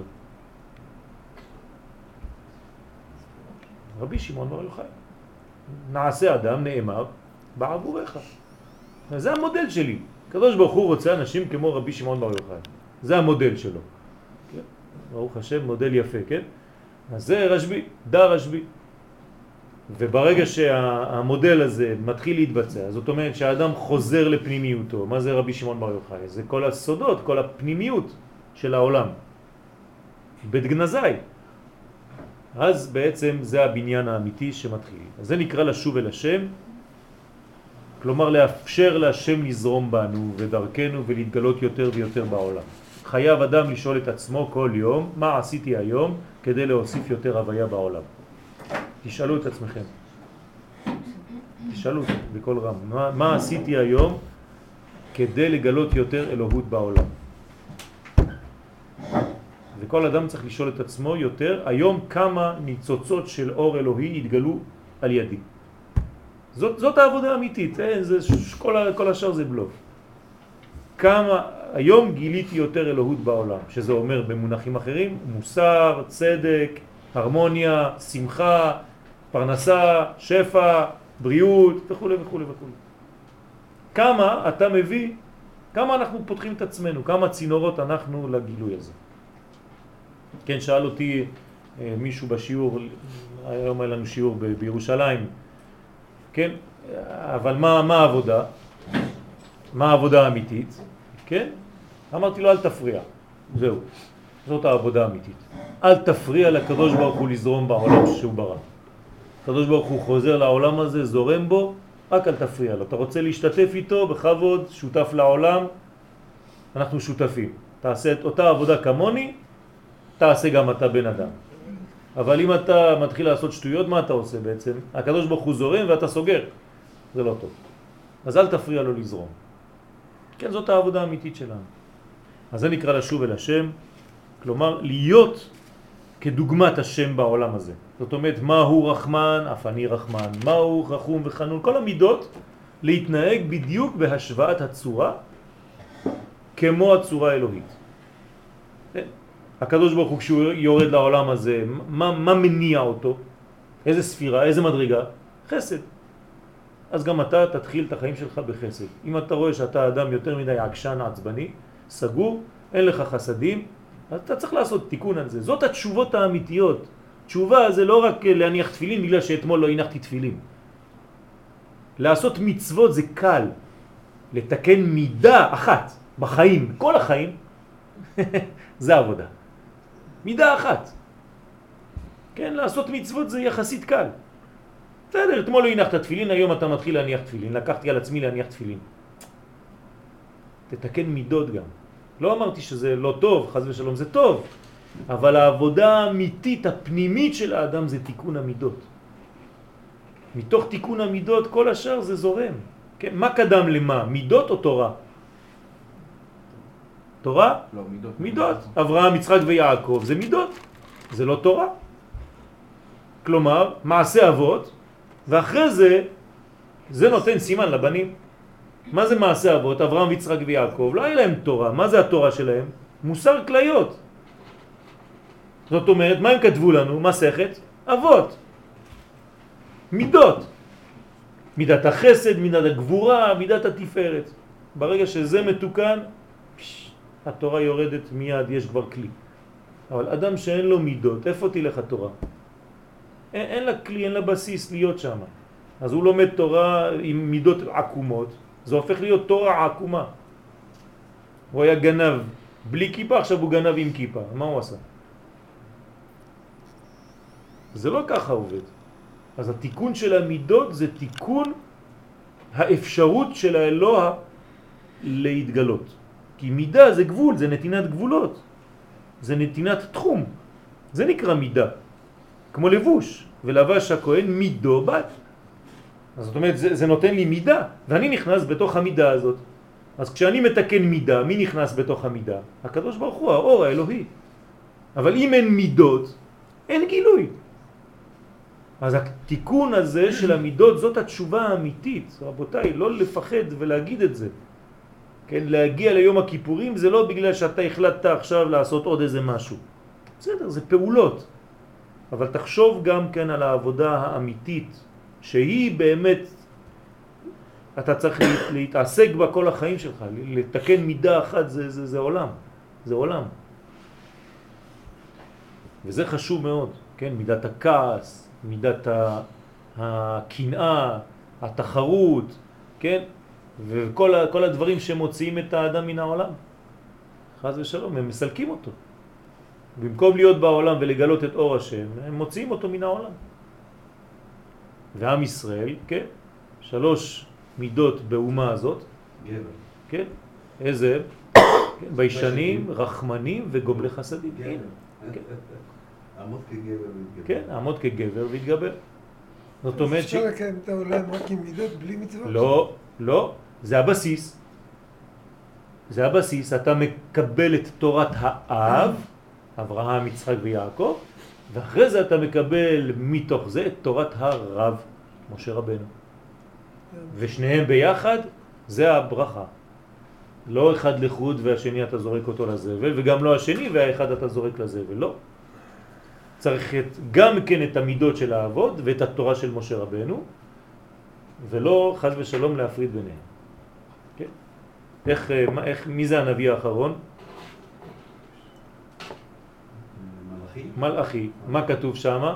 רבי שמעון בר יוחאי. נעשה אדם, נאמר, בעבורך. זה המודל שלי. הקדוש ברוך הוא רוצה אנשים כמו רבי שמעון בר יוחאי. זה המודל שלו. כן? ברוך השם, מודל יפה, כן? אז זה רשב"י, דה רשב"י. וברגע שהמודל הזה מתחיל להתבצע, זאת אומרת שהאדם חוזר לפנימיותו. מה זה רבי שמעון בר יוחאי? זה כל הסודות, כל הפנימיות של העולם. בית גנזי. אז בעצם זה הבניין האמיתי שמתחיל. אז זה נקרא לשוב אל השם, כלומר לאפשר להשם לזרום בנו ודרכנו ולהתגלות יותר ויותר בעולם. חייב אדם לשאול את עצמו כל יום, מה עשיתי היום כדי להוסיף יותר הוויה בעולם? תשאלו את עצמכם. תשאלו בכל רם. מה עשיתי היום כדי לגלות יותר אלוהות בעולם? וכל אדם צריך לשאול את עצמו יותר, היום כמה ניצוצות של אור אלוהי התגלו על ידי. זאת העבודה האמיתית, כל השאר זה בלוף. כמה, היום גיליתי יותר אלוהות בעולם, שזה אומר במונחים אחרים, מוסר, צדק, הרמוניה, שמחה, פרנסה, שפע, בריאות וכו' וכו' וכו'. כמה אתה מביא, כמה אנחנו פותחים את עצמנו, כמה צינורות אנחנו לגילוי הזה. כן, שאל אותי מישהו בשיעור, היום היה לנו שיעור בירושלים, כן, אבל מה העבודה? מה העבודה האמיתית? כן? אמרתי לו, אל תפריע. זהו, זאת העבודה האמיתית. אל תפריע לקדוש ברוך הוא לזרום בעולם שהוא ברא. הקדוש ברוך הוא חוזר לעולם הזה, זורם בו, רק אל תפריע לו. אתה רוצה להשתתף איתו בכבוד, שותף לעולם, אנחנו שותפים. תעשה את אותה עבודה כמוני, תעשה גם אתה בן אדם. אבל אם אתה מתחיל לעשות שטויות, מה אתה עושה בעצם? הקדוש ברוך הוא זורם ואתה סוגר. זה לא טוב. אז אל תפריע לו לזרום. כן, זאת העבודה האמיתית שלנו. אז זה נקרא לשוב אל השם, כלומר להיות כדוגמת השם בעולם הזה. זאת אומרת, מהו רחמן, אף אני רחמן, מהו רחום וחנון, כל המידות להתנהג בדיוק בהשוואת הצורה כמו הצורה האלוהית. הקדוש ברוך הוא כשהוא יורד לעולם הזה, מה מניע אותו? איזה ספירה, איזה מדרגה? חסד. אז גם אתה תתחיל את החיים שלך בחסד. אם אתה רואה שאתה אדם יותר מדי עקשן עצבני, סגור, אין לך חסדים, אז אתה צריך לעשות תיקון על זה. זאת התשובות האמיתיות. תשובה זה לא רק להניח תפילין בגלל שאתמול לא הנחתי תפילין. לעשות מצוות זה קל. לתקן מידה אחת בחיים, כל החיים, זה עבודה. מידה אחת. כן, לעשות מצוות זה יחסית קל. בסדר, אתמול לא הנחת תפילין, היום אתה מתחיל להניח תפילין. לקחתי על עצמי להניח תפילין. תתקן מידות גם. לא אמרתי שזה לא טוב, חס ושלום זה טוב, אבל העבודה האמיתית, הפנימית של האדם זה תיקון המידות. מתוך תיקון המידות כל השאר זה זורם. כן? מה קדם למה? מידות או תורה? תורה? לא, מידות. מידות. אברהם, יצחק ויעקב זה מידות. זה לא תורה. כלומר, מעשה אבות, ואחרי זה, זה נותן סימן לבנים. מה זה מעשה אבות? אברהם ויצחק ויעקב, לא היה להם תורה. מה זה התורה שלהם? מוסר כליות. זאת אומרת, מה הם כתבו לנו? מסכת אבות. מידות. מידת החסד, מידת הגבורה, מידת התפארת. ברגע שזה מתוקן, התורה יורדת מיד, יש כבר כלי. אבל אדם שאין לו מידות, איפה תלך התורה? אין לה כלי, אין לה בסיס להיות שם. אז הוא לומד תורה עם מידות עקומות, זה הופך להיות תורה עקומה. הוא היה גנב בלי כיפה, עכשיו הוא גנב עם כיפה. מה הוא עשה? זה לא ככה עובד. אז התיקון של המידות זה תיקון האפשרות של האלוה להתגלות. כי מידה זה גבול, זה נתינת גבולות. זה נתינת תחום. זה נקרא מידה. כמו לבוש. ולבש הכהן מידו בת. אז זאת אומרת, זה נותן לי מידה. ואני נכנס בתוך המידה הזאת. אז כשאני מתקן מידה, מי נכנס בתוך המידה? הקדוש ברוך הוא, האור האלוהי. אבל אם אין מידות, אין גילוי. אז התיקון הזה של המידות זאת התשובה האמיתית. רבותיי, לא לפחד ולהגיד את זה. כן, להגיע ליום הכיפורים זה לא בגלל שאתה החלטת עכשיו לעשות עוד איזה משהו. בסדר, זה פעולות. אבל תחשוב גם כן על העבודה האמיתית, שהיא באמת, אתה צריך להתעסק בה כל החיים שלך, לתקן מידה אחת, זה עולם. זה עולם. וזה חשוב מאוד, כן? מידת הכעס, מידת הקנאה, התחרות, כן? וכל הדברים שמוציאים את האדם מן העולם. חס ושלום, הם מסלקים אותו. במקום להיות בעולם ולגלות את אור השם, הם מוציאים אותו מן העולם. ועם ישראל, כן? 3 מידות באומה הזאת. גבר. כן? איזה? כן? ביישנים, רחמנים וגומלי חסדים. גבר. כן. עמוד כגבר והתגבר. כן, עמוד כגבר והתגבר. זאת אומרת אפשר לקיים את העולם רק עם מידות בלי מצוות? לא, לא. זה הבסיס. זה הבסיס. אתה מקבל את תורת האב, אברהם, יצחק ויעקב, ואחרי זה אתה מקבל מתוך זה את תורת הרב, משה רבנו. ושניהם ביחד, זה הברכה. לא אחד לחוד והשני אתה זורק אותו לזבל, וגם לא השני והאחד אתה זורק לזבל, לא. צריך גם כן את המידות של האבות ואת התורה של משה רבנו, ולא חס ושלום להפריד ביניהם. כן? מי זה הנביא האחרון? מלאכי. מה כתוב שם?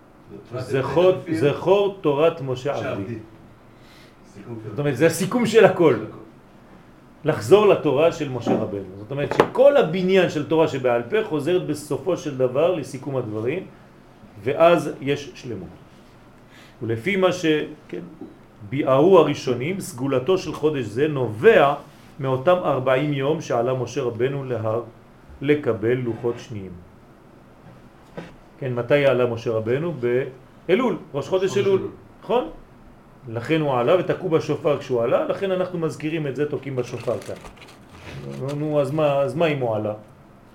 זכור תורת משה עבדי. זאת אומרת, זה הסיכום של הכל. לחזור לתורה של משה רבנו. זאת אומרת שכל הבניין של תורה שבעל פה חוזרת בסופו של דבר לסיכום הדברים, ואז יש שלמות. ולפי מה שביארו הראשונים, סגולתו של חודש זה נובע מאותם 40 יום שעלה משה רבנו להר לקבל לוחות שניים. כן, מתי עלה משה רבנו? באלול, ראש חודש אלול, נכון? לכן הוא עלה ותקעו בשופר כשהוא עלה, לכן אנחנו מזכירים את זה, תוקעים בשופר כאן. נו, אז מה אם הוא עלה?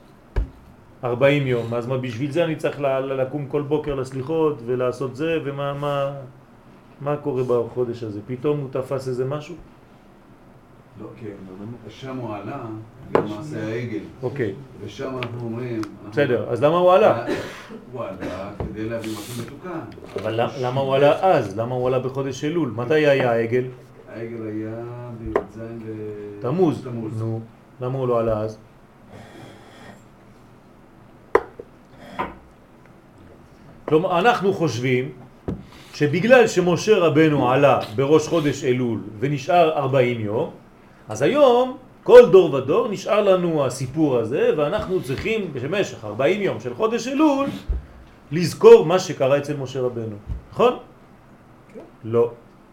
40 יום, אז מה בשביל זה אני צריך לקום כל בוקר לסליחות ולעשות זה, מה קורה בחודש הזה? פתאום הוא תפס איזה משהו? לא, כן, שם הוא עלה, למעשה העגל. אוקיי. ושם אנחנו אומרים... בסדר, אז למה הוא עלה? הוא עלה כדי להביא משהו מתוקן. אבל למה הוא עלה אז? למה הוא עלה בחודש אלול? מתי היה העגל? העגל היה בי"ז תמוז. נו, למה הוא לא עלה אז? כלומר, אנחנו חושבים שבגלל שמשה רבנו עלה בראש חודש אלול ונשאר 40 יום, אז היום כל דור ודור נשאר לנו הסיפור הזה, ואנחנו צריכים במשך 40 יום של חודש אלול לזכור מה שקרה אצל משה רבנו. נכון? לא.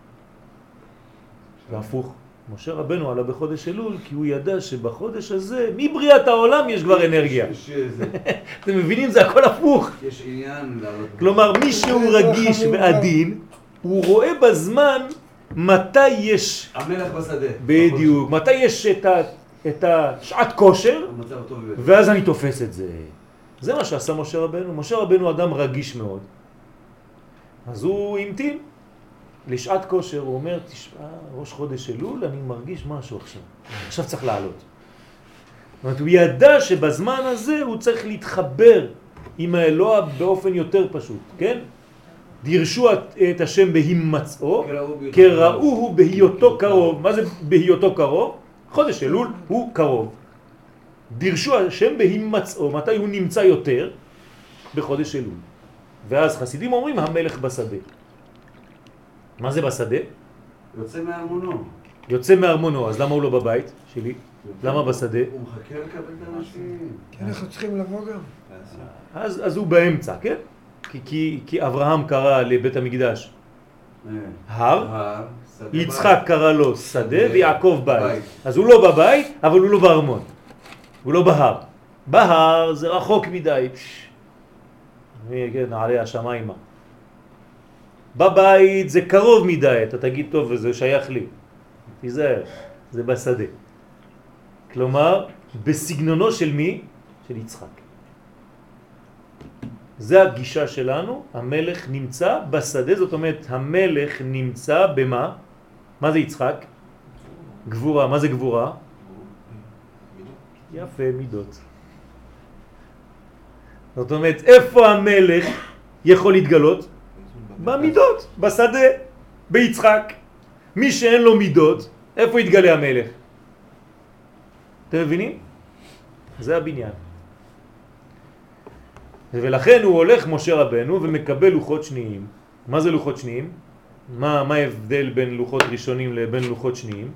להפוך. משה רבנו עלה בחודש אלול כי הוא ידע שבחודש הזה, מבריאת העולם יש כבר אנרגיה. אתם מבינים? זה הכל הפוך. יש עניין... כלומר, מי שהוא רגיש ועדין, הוא רואה בזמן מתי יש... המלך בשדה. בדיוק. מתי יש את השעת כושר, ואז אני תופס את זה. זה מה שעשה משה רבנו. משה רבנו אדם רגיש מאוד. אז הוא המתין. לשעת כושר, הוא אומר, תשמע, ראש חודש אלול, אני מרגיש משהו עכשיו צריך לעלות. זאת אומרת, הוא ידע שבזמן הזה הוא צריך להתחבר עם האלוה באופן יותר פשוט, כן? דירשו את השם בהימצאו, קראוהו בהיותו קרוב. מה זה בהיותו קרוב? חודש אלול הוא קרוב. דירשו השם בהימצאו, מתי הוא נמצא יותר? בחודש אלול. ואז חסידים אומרים המלך בשדה. מה זה בשדה? יוצא מארמונו. יוצא מארמונו, אז למה הוא לא בבית שלי? למה בשדה? הוא מחכה לקבל את האנשים. כי אנחנו צריכים לבוא גם. אז הוא באמצע, כן? כי אברהם קרא לבית המקדש הר, יצחק קרא לו שדה ויעקב בית. אז הוא לא בבית, אבל הוא לא בארמון. הוא לא בהר. בהר זה רחוק מדי. נעלי השמיימה. בבית זה קרוב מדי, אתה תגיד טוב וזה שייך לי. תיזהר, זה בשדה. כלומר, בסגנונו של מי? של יצחק. זה הגישה שלנו, המלך נמצא בשדה, זאת אומרת, המלך נמצא במה? מה זה יצחק? גבורה, מה זה גבורה? יפה, מידות. זאת אומרת, איפה המלך יכול להתגלות? במידות, בשדה, ביצחק. מי שאין לו מידות, איפה יתגלה המלך? אתם מבינים? זה הבניין. ולכן הוא הולך משה רבנו ומקבל לוחות שניים. מה זה לוחות שניים? מה ההבדל בין לוחות ראשונים לבין לוחות שניים?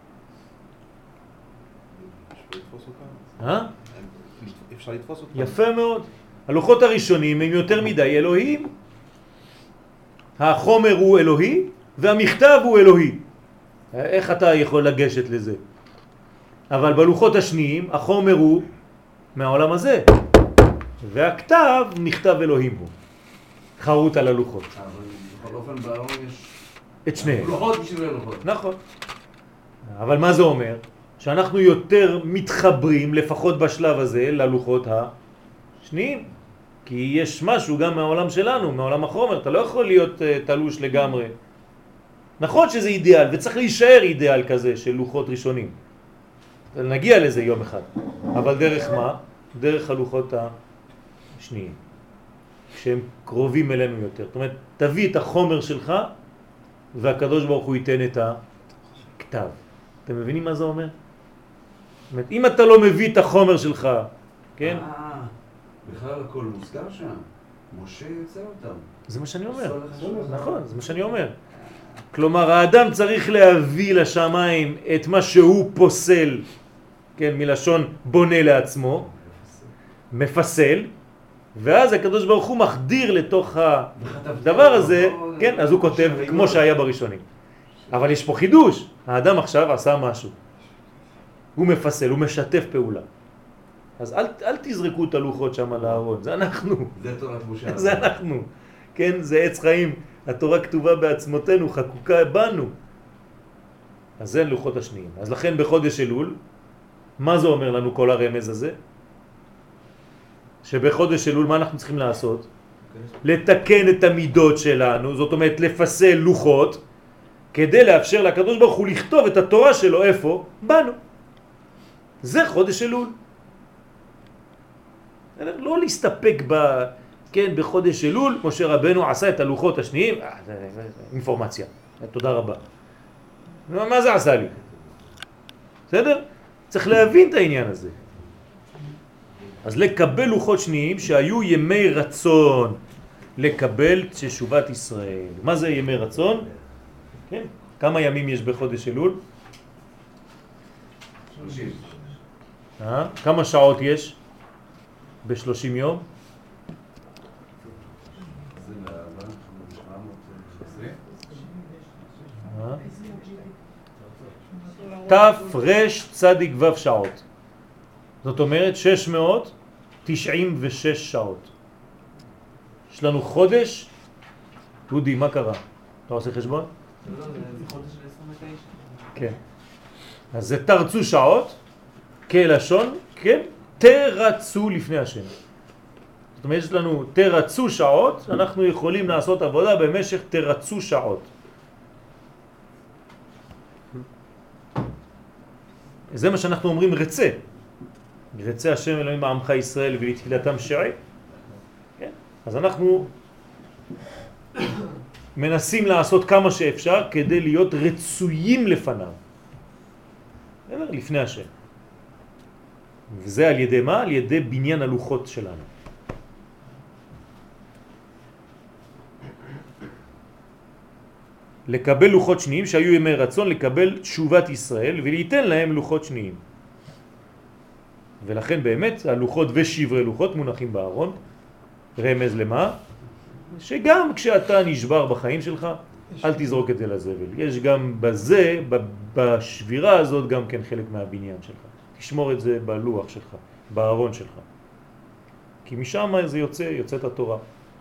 אפשר לתפוס אותם. יפה מאוד. הלוחות הראשונים הם יותר מדי אלוהים. החומר הוא אלוהי והמכתב הוא אלוהי. איך אתה יכול לגשת לזה? אבל בלוחות השניים החומר הוא מהעולם הזה. והכתב נכתב אלוהים בו. חרוט על הלוחות. אבל בכל אופן בארון יש... את שניהם. לוחות בשביל הלוחות. נכון. אבל מה זה אומר? שאנחנו יותר מתחברים, לפחות בשלב הזה, ללוחות השניים. כי יש משהו גם מהעולם שלנו, מהעולם החומר. אתה לא יכול להיות תלוש לגמרי. נכון שזה אידיאל, וצריך להישאר אידיאל כזה של לוחות ראשונים. נגיע לזה יום אחד. אבל דרך מה? דרך הלוחות השניים. כשהם קרובים אלינו יותר. זאת אומרת, תביא את החומר שלך, והקדוש ברוך הוא ייתן את הכתב. אתם מבינים מה זה אומר? זאת אומרת, אם אתה לא מביא את החומר שלך, כן? בכלל הכל מוזכר שם. משה יוצא אותם. זה מה שאני אומר. נכון, זה מה שאני אומר. כלומר, האדם צריך להביא לשמיים את מה שהוא פוסל, כן, מלשון בונה לעצמו, מפסל, ואז הקדוש ברוך הוא מחדיר לתוך הדבר הזה, כן, אז הוא כותב כמו שהיה בראשונים. אבל יש פה חידוש, האדם עכשיו עשה משהו. הוא מפסל, הוא משתף פעולה. אז אל תזרקו את הלוחות שם על הארון, זה אנחנו. זה תורת משה. זה אנחנו. כן, זה עץ חיים. התורה כתובה בעצמותינו, חקוקה בנו. אז זה לוחות השניים. אז לכן בחודש אלול, מה זה אומר לנו כל הרמז הזה? שבחודש אלול מה אנחנו צריכים לעשות? לתקן את המידות שלנו, זאת אומרת לפסל לוחות, כדי לאפשר לקדוש ברוך הוא לכתוב את התורה שלו, איפה? בנו. זה חודש אלול. לא להסתפק כן, בחודש אלול, משה רבנו עשה את הלוחות השניים, אינפורמציה, תודה רבה. מה זה עשה לי? בסדר? צריך להבין את העניין הזה. אז לקבל לוחות שניים שהיו ימי רצון, לקבל תשובת ישראל. מה זה ימי רצון? כן, כמה ימים יש בחודש אלול? 30. כמה שעות יש ב-30 יום? ת' צדיק ו' שעות. זאת אומרת 696 שעות. יש לנו חודש. דודי, מה קרה? אתה עושה חשבון? לא, זה חודש של 29. כן. אז זה תרצו שעות, כלשון, כן? תרצו לפני השם. זאת אומרת, יש לנו תרצו שעות, אנחנו יכולים לעשות עבודה במשך תרצו שעות. זה מה שאנחנו אומרים רצה. רצה השם אלוהים בעמך ישראל ולתפילתם שעי. כן? אז אנחנו מנסים לעשות כמה שאפשר כדי להיות רצויים לפניו. לפני השם. וזה על ידי מה? על ידי בניין הלוחות שלנו. לקבל לוחות שניים שהיו ימי רצון, לקבל תשובת ישראל ולהיתן להם לוחות שניים. ולכן באמת הלוחות ושברי לוחות מונחים בארון. רמז למה? שגם כשאתה נשבר בחיים שלך, אל תזרוק את זה לזבל. יש גם בזה, בשבירה הזאת גם כן חלק מהבניין שלך. תשמור את זה בלוח שלך, בארון שלך. כי משם זה יוצאת התורה.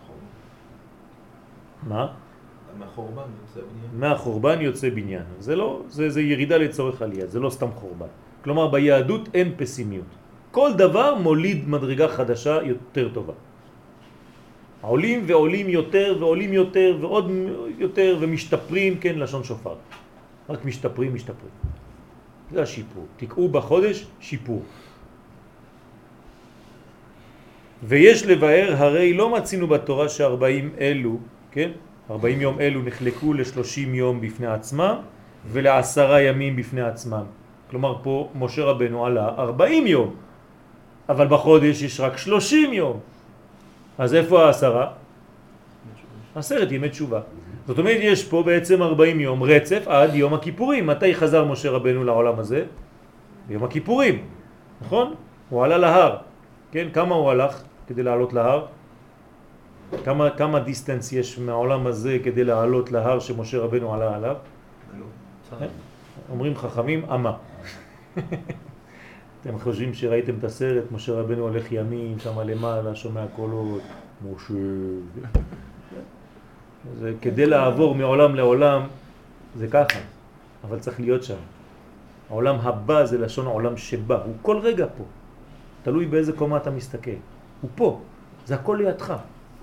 מה? מהחורבן יוצא בניין. מהחורבן יוצא בניין. זה ירידה לצורך עלייה, זה לא סתם חורבן. כלומר ביהדות אין פסימיות. כל דבר מוליד מדרגה חדשה יותר טובה. עולים ועולים יותר ועולים יותר ועוד יותר ומשתפרים, כן, לשון שופר. רק משתפרים. זה השיפור. תקעו בחודש שיפור. ויש לבאר, הרי לא מצינו בתורה ש40 אלו, כן? 40 יום אלו נחלקו ל30 יום בפני עצמם ול10 ימים בפני עצמם. כלומר פה משה רבנו עלה 40 יום, אבל בחודש יש רק 30 יום. אז איפה 10? 10 ימי תשובה. זאת אומרת יש פה בעצם 40 יום רצף עד יום הכיפורים. מתי חזר משה רבנו לעולם הזה? ביום הכיפורים, נכון? הוא עלה להר. כן, כמה הוא הלך כדי לעלות להר? כמה דיסטנס יש מהעולם הזה כדי לעלות להר שמשה רבנו עלה עליו? אומרים חכמים, אמה. אתם חושבים שראיתם את הסרט, משה רבנו הולך ימים, שם למעלה, שומע קולות, משה. זה כדי לעבור מעולם לעולם, זה ככה, אבל צריך להיות שם. העולם הבא זה לשון העולם שבא, הוא כל רגע פה. תלוי באיזה קומה אתה מסתכל. הוא פה, זה הכל לידך.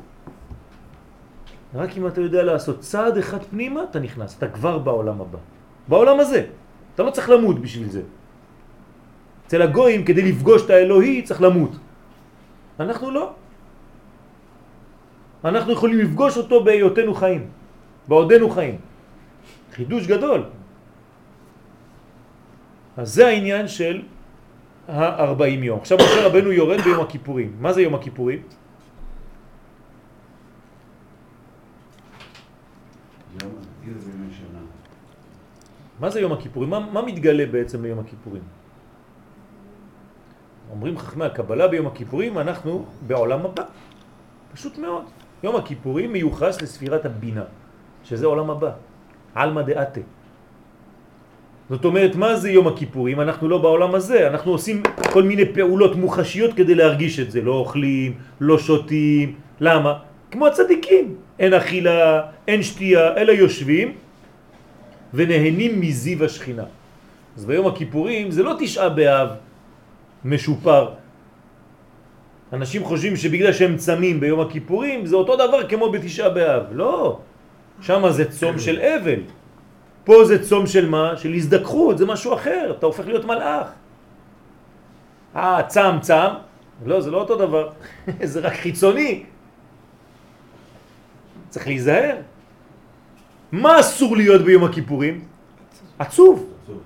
רק אם אתה יודע לעשות צעד אחד פנימה, אתה נכנס, אתה כבר בעולם הבא. בעולם הזה. אתה לא צריך למות בשביל זה. אצל הגויים, כדי לפגוש את האלוהי, צריך למות. אנחנו לא. אנחנו יכולים לפגוש אותו בהיותנו חיים. בעודנו חיים. חידוש גדול. אז זה העניין של 40 יום. עכשיו משה רבנו יורד ביום הכיפורים. מה זה יום הכיפורים? מה זה יום הכיפורים? מה מתגלה בעצם ביום הכיפורים? אומרים חכמי הקבלה ביום הכיפורים אנחנו בעולם הבא. פשוט מאוד. יום הכיפורים מיוחס לספירת הבינה, שזה עולם הבא. עלמא דעתה. זאת אומרת, מה זה יום הכיפורים? אנחנו לא בעולם הזה, אנחנו עושים כל מיני פעולות מוחשיות כדי להרגיש את זה. לא אוכלים, לא שותים. למה? כמו הצדיקים. אין אכילה, אין שתייה, אלא יושבים ונהנים מזיו השכינה. אז ביום הכיפורים זה לא 9 באב משופר. אנשים חושבים שבגלל שהם צמים ביום הכיפורים זה אותו דבר כמו ב9 באב. לא. שם זה צום של אבל. פה זה צום של מה? של הזדכחות, זה משהו אחר. אתה הופך להיות מלאך. צם. לא, זה לא אותו דבר. זה רק חיצוני. צריך להיזהר. מה אסור להיות ביום הכיפורים? עצוב.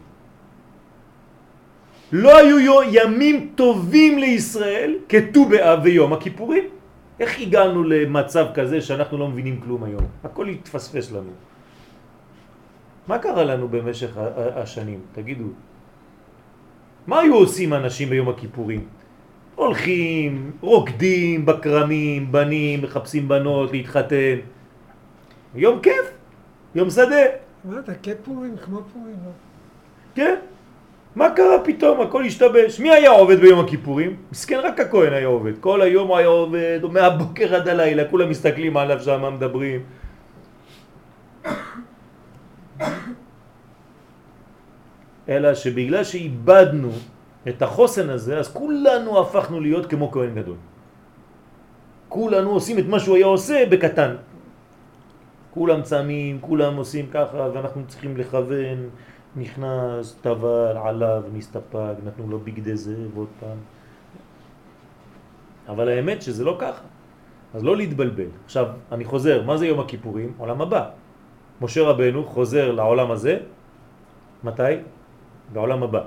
לא היו ימים טובים לישראל כט"ו באב ויום הכיפורים. איך הגענו למצב כזה שאנחנו לא מבינים כלום היום? הכל התפספס לנו. מה קרה לנו במשך השנים? תגידו. מה היו עושים אנשים ביום הכיפורים? הולכים, רוקדים בקרמים, בנים, מחפשים בנות, להתחתן. יום כיף, יום שדה. מה אתה, כפורים, כמו פורים? כן. מה קרה פתאום? הכל השתבש. מי היה עובד ביום הכיפורים? מסכן, רק הכהן היה עובד. כל היום הוא היה עובד, מהבוקר עד הלילה, כולם מסתכלים עליו שם, מה מדברים. אלא שבגלל שאיבדנו את החוסן הזה, אז כולנו הפכנו להיות כמו כהן גדול. כולנו עושים את מה שהוא היה עושה בקטן. כולם צמים, כולם עושים ככה, ואנחנו צריכים לכוון נכנס, טבל, עליו, נסתפק, נתנו לו בגדי זהב עוד פעם. אבל האמת שזה לא ככה. אז לא להתבלבל. עכשיו, אני חוזר, מה זה יום הכיפורים? עולם הבא. משה רבנו חוזר לעולם הזה, מתי? בעולם הבא.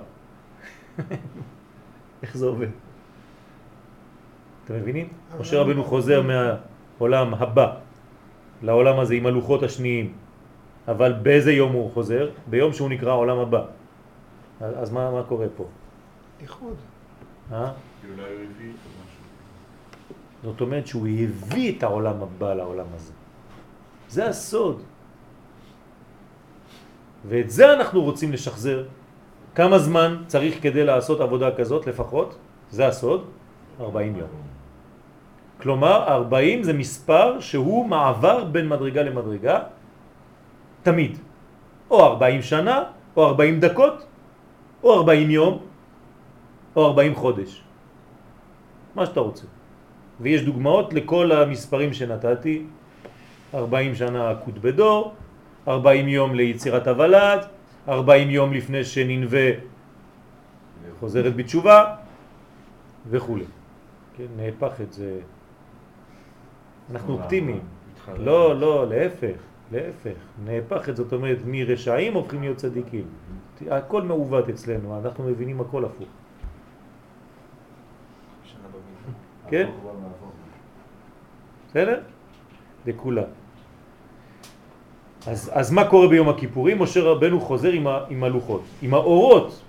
איך זה עובד? אתם מבינים? משה רבנו חוזר מהעולם הבא לעולם הזה עם הלוחות השניים. אבל באיזה יום הוא חוזר? ביום שהוא נקרא עולם הבא. אז מה קורה פה? איחוד. זאת אומרת שהוא הביא את העולם הבא לעולם הזה. זה הסוד. ואת זה אנחנו רוצים לשחזר. כמה זמן צריך כדי לעשות עבודה כזאת לפחות? זה הסוד. 40 יום. כלומר 40 זה מספר שהוא מעבר בין מדרגה למדרגה תמיד. או 40 שנה, או 40 דקות, או 40 יום, או 40 חודש. מה שאתה רוצה. ויש דוגמאות לכל המספרים שנתתי. 40 שנה עקוד בדור, 40 יום ליצירת הוולד, 40 יום לפני שננווה חוזרת בתשובה, וכו'. כן, נהפך את זה. אנחנו אופטימיים. לא, להפך. נהפך את זאת אומרת, מרשעים הופכים להיות צדיקים. הכל מעוות אצלנו, אנחנו מבינים הכל הפוך. כן? בסדר? לכולה. אז מה קורה ביום הכיפורים? משה רבנו חוזר עם הלוחות, עם האורות.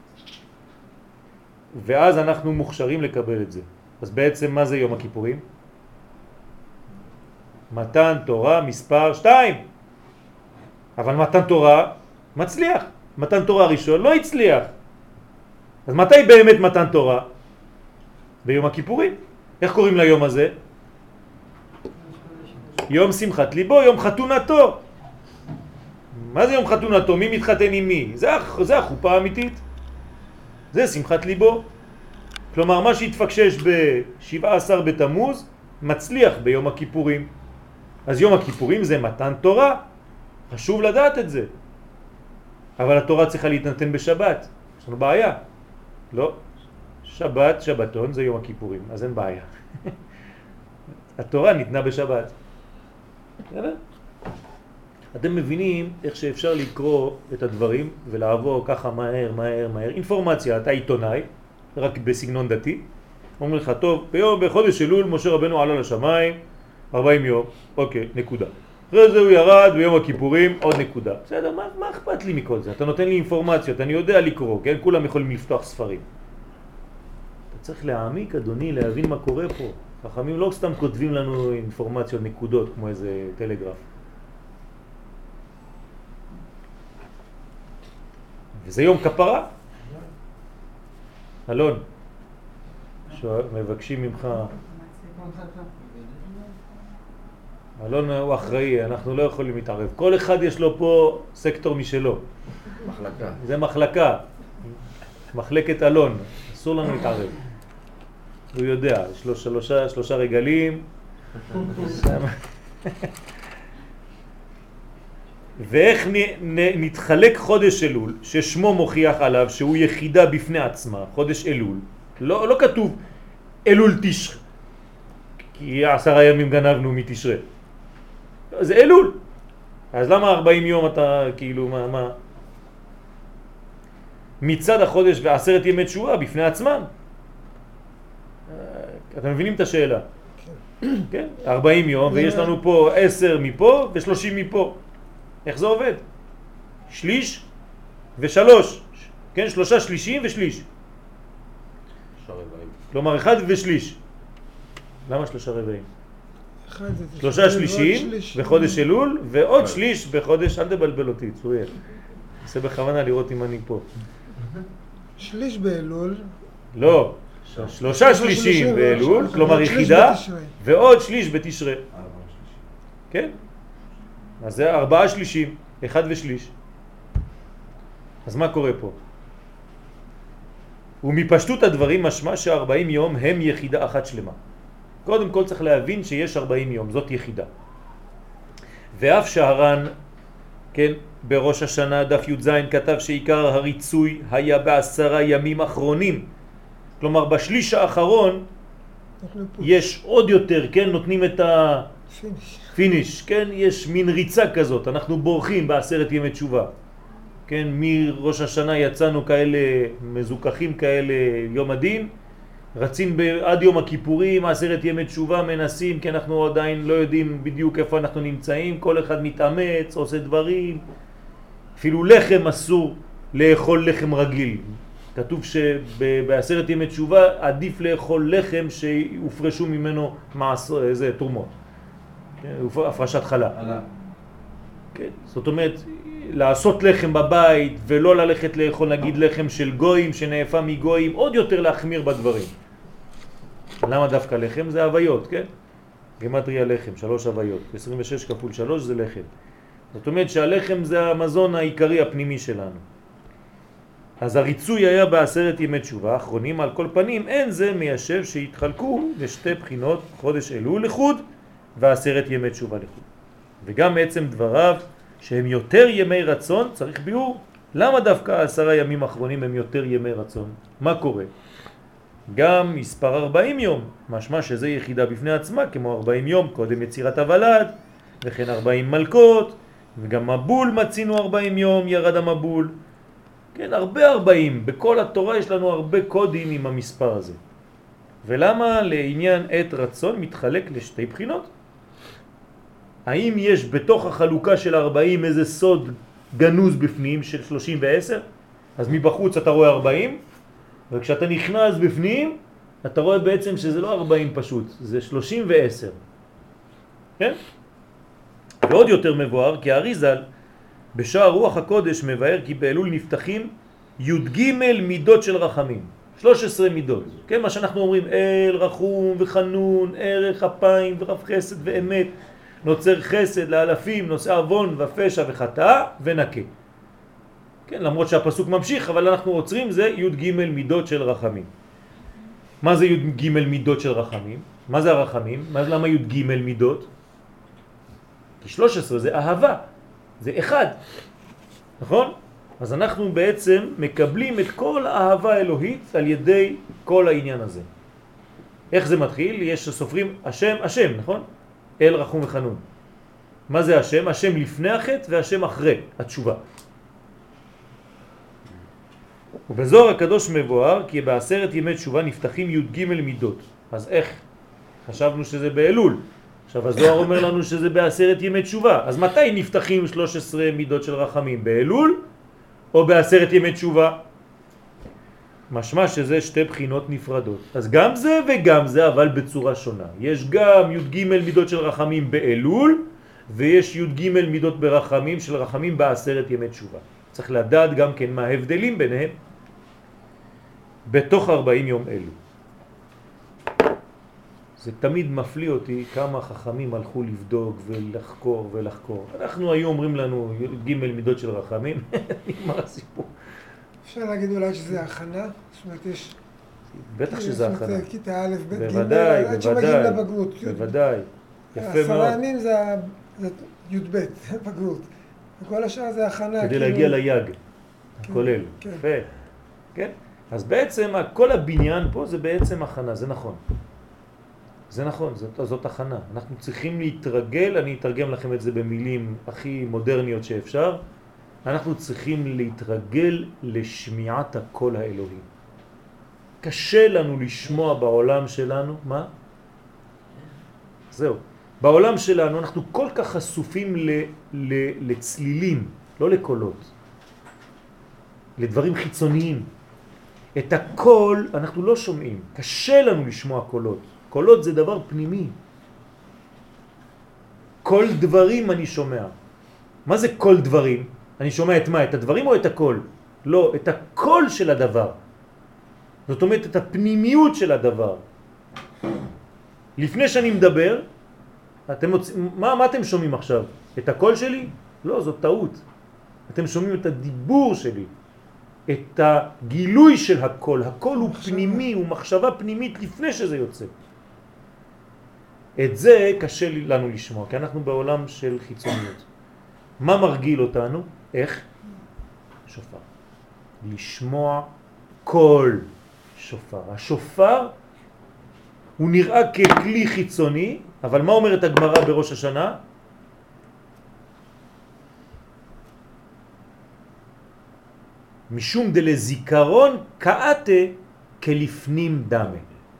ואז אנחנו מוכשרים לקבל את זה. אז בעצם מה זה יום הכיפורים? מתן תורה מספר 2. אבל מתן תורה מצליח. מתן תורה ראשון לא הצליח. אז מתי באמת מתן תורה? ביום הכיפורים. איך קוראים ליום הזה? יום שמחת ליבו, יום חתונתו. מה זה יום חתונתו? מי מתחתן עם מי? זה החופה האמיתית. זה שמחת ליבו. כלומר, מה שהתפקשש ב-17 בתמוז מצליח ביום הכיפורים. אז יום הכיפורים זה מתן תורה. חשוב לדעת את זה. אבל התורה צריכה להתנתן בשבת. יש לנו בעיה. לא. שבת, שבתון זה יום הכיפורים, אז אין בעיה. התורה ניתנה בשבת. אתם מבינים איך שאפשר לקרוא את הדברים ולעבור ככה מהר. אינפורמציה, אתה עיתונאי, רק בסגנון דתי. אומר לך, טוב, בחודש אלול משה רבנו עלה לשמיים, 40 יום, אוקיי, נקודה. אחרי זה הוא ירד ביום הכיפורים, עוד נקודה. בסדר, מה אכפת לי מכל זה? אתה נותן לי אינפורמציות, אני יודע לקרוא, כן? כולם יכולים לפתוח ספרים. אתה צריך להעמיק, אדוני, להבין מה קורה פה. חכמים לא סתם כותבים לנו אינפורמציות, נקודות, כמו איזה טלגרף. וזה יום כפרה. אלון, מבקשים ממך. אלון הוא אחראי, אנחנו לא יכולים להתערב. כל אחד יש לו פה סקטור משלו. מחלקה. זה מחלקה. מחלקת אלון. אסור לנו להתערב. הוא יודע, יש לו שלושה רגלים. ואיך נתחלק חודש אלול, ששמו מוכיח עליו שהוא יחידה בפני עצמה, חודש אלול. לא כתוב אלול תשרי, כי 10 ימים גנבנו מתשרי. זה אלול. אז למה 40 יום אתה כאילו מה? מצד החודש ו10 ימי תשובה בפני עצמם. אתם מבינים את השאלה? כן? 40 יום ויש לנו פה 10 מפה ו30 מפה. איך זה עובד? שליש ושלוש. כן? 3 שלישים ושליש. כלומר 1 ושליש. למה 3 רבעים? 3 שלישים בחודש אלול ועוד שליש בחודש, אל תבלבל אותי, צוריאל. עושה בכוונה לראות אם אני פה. שליש באלול. לא. 3 שלישים באלול, כלומר יחידה, ועוד שליש בתשרי. כן? אז זה 4 שלישים, 1 ושליש. אז מה קורה פה? ומפשטות הדברים משמע ש40 יום הם יחידה אחת שלמה. קודם כל צריך להבין שיש 40 יום, זאת יחידה. ואף שהר"ן, כן, בראש השנה דף י"ז כתב שעיקר הריצוי היה ב10 ימים אחרונים. כלומר בשליש האחרון יש עוד יותר, כן, נותנים את הפיניש, כן, יש מין ריצה כזאת, אנחנו בורחים ב10 ימי תשובה. כן, מראש השנה יצאנו כאלה מזוכחים כאלה יום הדין, רצים עד יום הכיפורים, 10 ימי תשובה מנסים, כי אנחנו עדיין לא יודעים בדיוק איפה אנחנו נמצאים, כל אחד מתאמץ, עושה דברים, אפילו לחם אסור לאכול לחם רגיל. כתוב שב10 ימי תשובה עדיף לאכול לחם שהופרשו ממנו איזה תרומות, הפרשת חלה. כן, זאת אומרת, לעשות לחם בבית ולא ללכת לאכול נגיד לחם של גויים שנאפה מגויים, עוד יותר להחמיר בדברים. למה דווקא לחם? זה הוויות, כן? גמטריה לחם, 3 הוויות, 26 כפול 3 זה לחם. זאת אומרת שהלחם זה המזון העיקרי הפנימי שלנו. אז הריצוי היה ב10 ימי תשובה האחרונים. על כל פנים אין זה מיישב שהתחלקו לשתי בחינות, חודש אלול לחוד ו10 ימי תשובה לחוד. וגם בעצם דבריו שהם יותר ימי רצון, צריך ביאור. למה דווקא 10 ימים האחרונים הם יותר ימי רצון? מה קורה? גם מספר 40 יום, משמע שזה יחידה בפני עצמה, כמו 40 יום קודם יצירת הוולד, וכן 40 מלכות, וגם מבול מצינו 40 יום, ירד המבול. כן, הרבה 40, בכל התורה יש לנו הרבה קודים עם המספר הזה. ולמה לעניין עת רצון מתחלק לשתי בחינות? האם יש בתוך החלוקה של 40 איזה סוד גנוז בפנים של 30 ו-10? אז מבחוץ אתה רואה 40, וכשאתה נכנס בפנים, אתה רואה בעצם שזה לא 40 פשוט, זה 30 ו-10. כן? ועוד יותר מבואר, כי האריז"ל בשער רוח הקודש מבאר כי באלול נפתחים י"ג מידות של רחמים. 13 מידות. כן, מה שאנחנו אומרים, אל, רחום וחנון, ערך אפיים ורב חסד ואמת, נוצר חסד לאלפים, נושא עוון ופשע וחטאה ונקה. כן, למרות שהפסוק ממשיך, אבל אנחנו עוצרים, זה י"ג מידות של רחמים. מה זה י"ג מידות של רחמים? מה זה הרחמים? למה י"ג מידות? כי 13 זה אהבה, זה אחד, נכון? אז אנחנו בעצם מקבלים את כל האהבה האלוהית על ידי כל העניין הזה. איך זה מתחיל? יש סופרים השם, השם, נכון? אל, רחום וחנון. מה זה השם? השם לפני החטא והשם אחרי התשובה. ובזוהר הקדוש מבואר כי ב10 ימי תשובה נפתחים י"ג מידות. אז איך? חשבנו שזה באלול. עכשיו הזוהר אומר לנו שזה ב10 ימי תשובה. אז מתי נפתחים 13 מידות של רחמים? באלול או ב10 ימי תשובה? משמע שזה שתי בחינות נפרדות. אז גם זה וגם זה, אבל בצורה שונה. יש גם י"ג מידות של רחמים באלול, ויש י"ג מידות ברחמים של רחמים ב10 ימי תשובה. צריך לדעת גם כן מה ההבדלים ביניהם בתוך 40 יום אלו. זה תמיד מפליא אותי כמה חכמים הלכו לבדוק ולחקור ולחקור. אנחנו היום אומרים לנו י"ג מידות של רחמים, נגמר הסיפור. אפשר להגיד אולי שזה הכנה? זאת אומרת, יש... בטח שזה הכנה. כיתה א', ב', ג', בוודאי, עד שמגיעים לבגרות. בוודאי. יפה מאוד. 10 ימים זה י"ב, בגרות. וכל השאר זה הכנה. כדי להגיע ליג, הכולל. יפה. כן? אז בעצם כל הבניין פה זה בעצם הכנה, זה נכון. זה נכון, זאת הכנה. אנחנו צריכים להתרגל, אני אתרגם לכם את זה במילים הכי מודרניות שאפשר. אנחנו צריכים להתרגל לשמיעת הקול האלוהי. קשה לנו לשמוע בעולם שלנו, מה? זהו. בעולם שלנו אנחנו כל כך חשופים לצלילים, לא לקולות. לדברים חיצוניים. את הקול אנחנו לא שומעים. קשה לנו לשמוע קולות. קולות זה דבר פנימי. כל דברים אני שומע. מה זה כל דברים? אני שומע את מה? את הדברים או את הקול? לא, את הקול של הדבר. זאת אומרת, את הפנימיות של הדבר. לפני שאני מדבר, מה אתם שומעים עכשיו? את הקול שלי? לא, זאת טעות. אתם שומעים את הדיבור שלי. את הגילוי של הקול. הקול הוא פנימי, הוא מחשבה פנימית לפני שזה יוצא. את זה קשה לנו לשמוע, כי אנחנו בעולם של חיצוניות. מה מרגיל אותנו? איך? שופר. לשמוע כל שופר. השופר הוא נראה ככלי חיצוני, אבל מה אומרת הגמרא בראש השנה? משום דלזיכרון כאתה כלפנים דמה.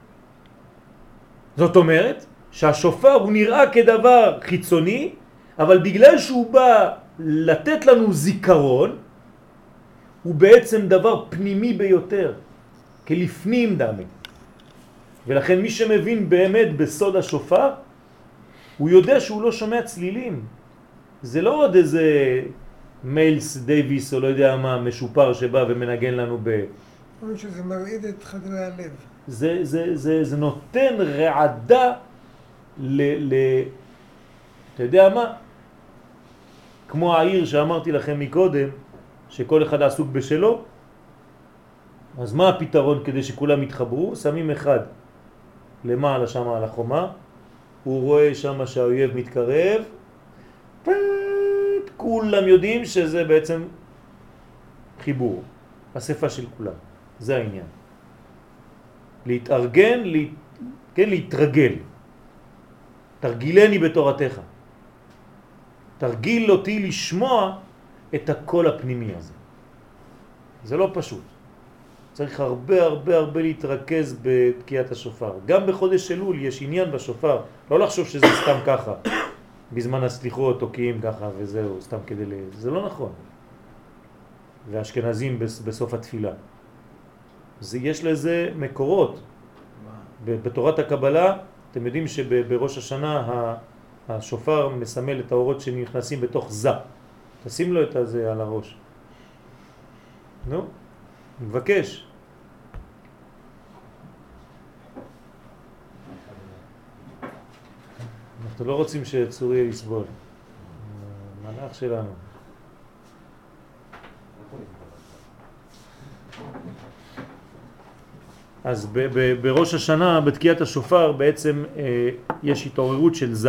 זאת אומרת שהשופר הוא נראה כדבר חיצוני, אבל בגלל שהוא בא לתת לנו זיכרון, הוא בעצם דבר פנימי ביותר, כלפנים דמה. ולכן מי שמבין באמת בסוד השופר, הוא יודע שהוא לא שומע צלילים. זה לא עוד איזה מיילס דייביס או לא יודע מה, משופר שבא ומנגן לנו אומרים שזה מרעיד את חדרי הלב. זה נותן רעדה אתה יודע מה? כמו העיר שאמרתי לכם מקודם, שכל אחד עסוק בשלו, אז מה הפתרון כדי שכולם יתחברו? שמים אחד למעלה שם על החומה, הוא רואה שם שהאויב מתקרב, כולם יודעים שזה בעצם חיבור, אספה של כולם. זה העניין. להתארגן, כן, להתרגל. תרגילני בתורתך. תרגיל אותי לשמוע את הקול הפנימי הזה. זה לא פשוט. צריך הרבה להתרכז בתקיעת השופר. גם בחודש אלול יש עניין בשופר. לא לחשוב שזה סתם ככה. בזמן הסליחות תוקעים ככה וזהו, סתם כדי זה לא נכון. והאשכנזים בסוף התפילה. יש לזה מקורות. בתורת הקבלה, אתם יודעים שבראש השנה השופר מסמל את האורות שנכנסים בתוך זה. תשים לו את זה על הראש. נו, מבקש. אנחנו לא רוצים שצורי יסבול. מלאך שלנו. אז בראש השנה, בתקיעת השופר, בעצם יש התעוררות של זה.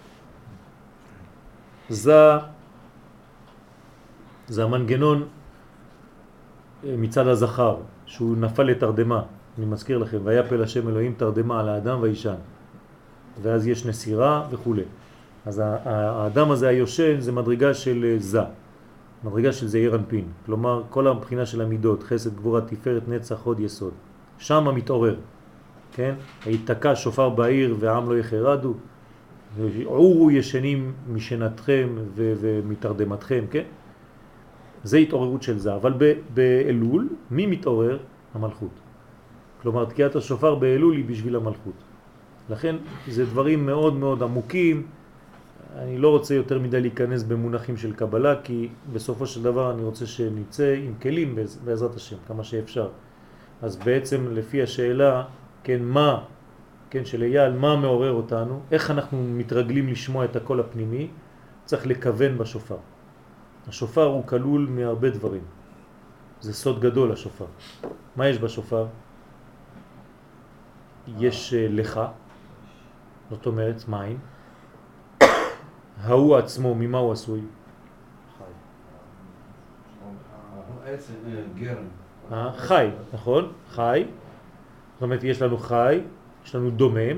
זה המנגנון מצד הזכר, שהוא נפל לתרדמה. אני מזכיר לכם, ויפל השם אלוהים תרדמה על האדם וישן. ואז יש נסירה וכו'. אז האדם הזה היושן זה מדרגה של זה. מדרגה של זעיר אנפין. כלומר, כל הבחינה של המידות, חסד, גבורה, תפארת, נצח, הוד, יסוד. שם מתעורר. כן? היתקע שופר בעיר והעם לא יחרדו. עורו ישנים משנתכם ומתרדמתכם, כן? זה התעוררות של זה. אבל באלול, מי מתעורר? המלכות. כלומר, תקיעת השופר באלול היא בשביל המלכות. לכן זה דברים מאוד עמוקים. אני לא רוצה יותר מדי להיכנס במונחים של קבלה, כי בסופו של דבר אני רוצה שנצא עם כלים בעזרת השם, כמה שאפשר. אז בעצם לפי השאלה, כן, מה, כן, של אייל, מה מעורר אותנו, איך אנחנו מתרגלים לשמוע את הקול הפנימי, צריך לכוון בשופר. השופר הוא כלול מהרבה דברים. זה סוד גדול השופר. מה יש בשופר? יש לך, זאת אומרת מים. ההוא עצמו, ממה הוא עשוי? גרם. חי, נכון? חי. זאת אומרת, יש לנו חי, יש לנו דומם.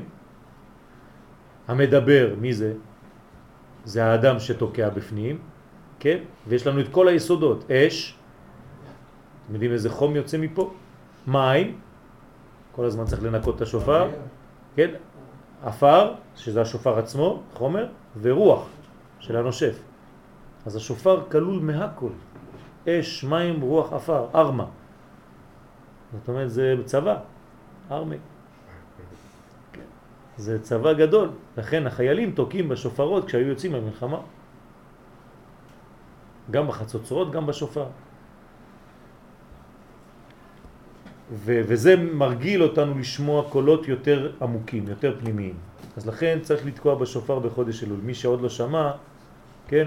המדבר, מי זה? זה האדם שתוקע בפנים, כן? ויש לנו את כל היסודות. אש, אתם יודעים איזה חום יוצא מפה? מים, כל הזמן צריך לנקות את השופר, כן? אפר, שזה השופר עצמו, חומר, ורוח של הנושף. אז השופר כלול מהכל. אש, מים, רוח, אפר, ארמה. זאת אומרת, זה צבא, ארמה. זה צבא גדול. לכן החיילים תוקים בשופרות כשהיו יוצאים למלחמה. גם בחצוצרות, גם בשופר. וזה מרגיל אותנו לשמוע קולות יותר עמוקים, יותר פנימיים. אז לכן צריך לתקוע בשופר בחודש אלול. מי שעוד לא שמע, כן,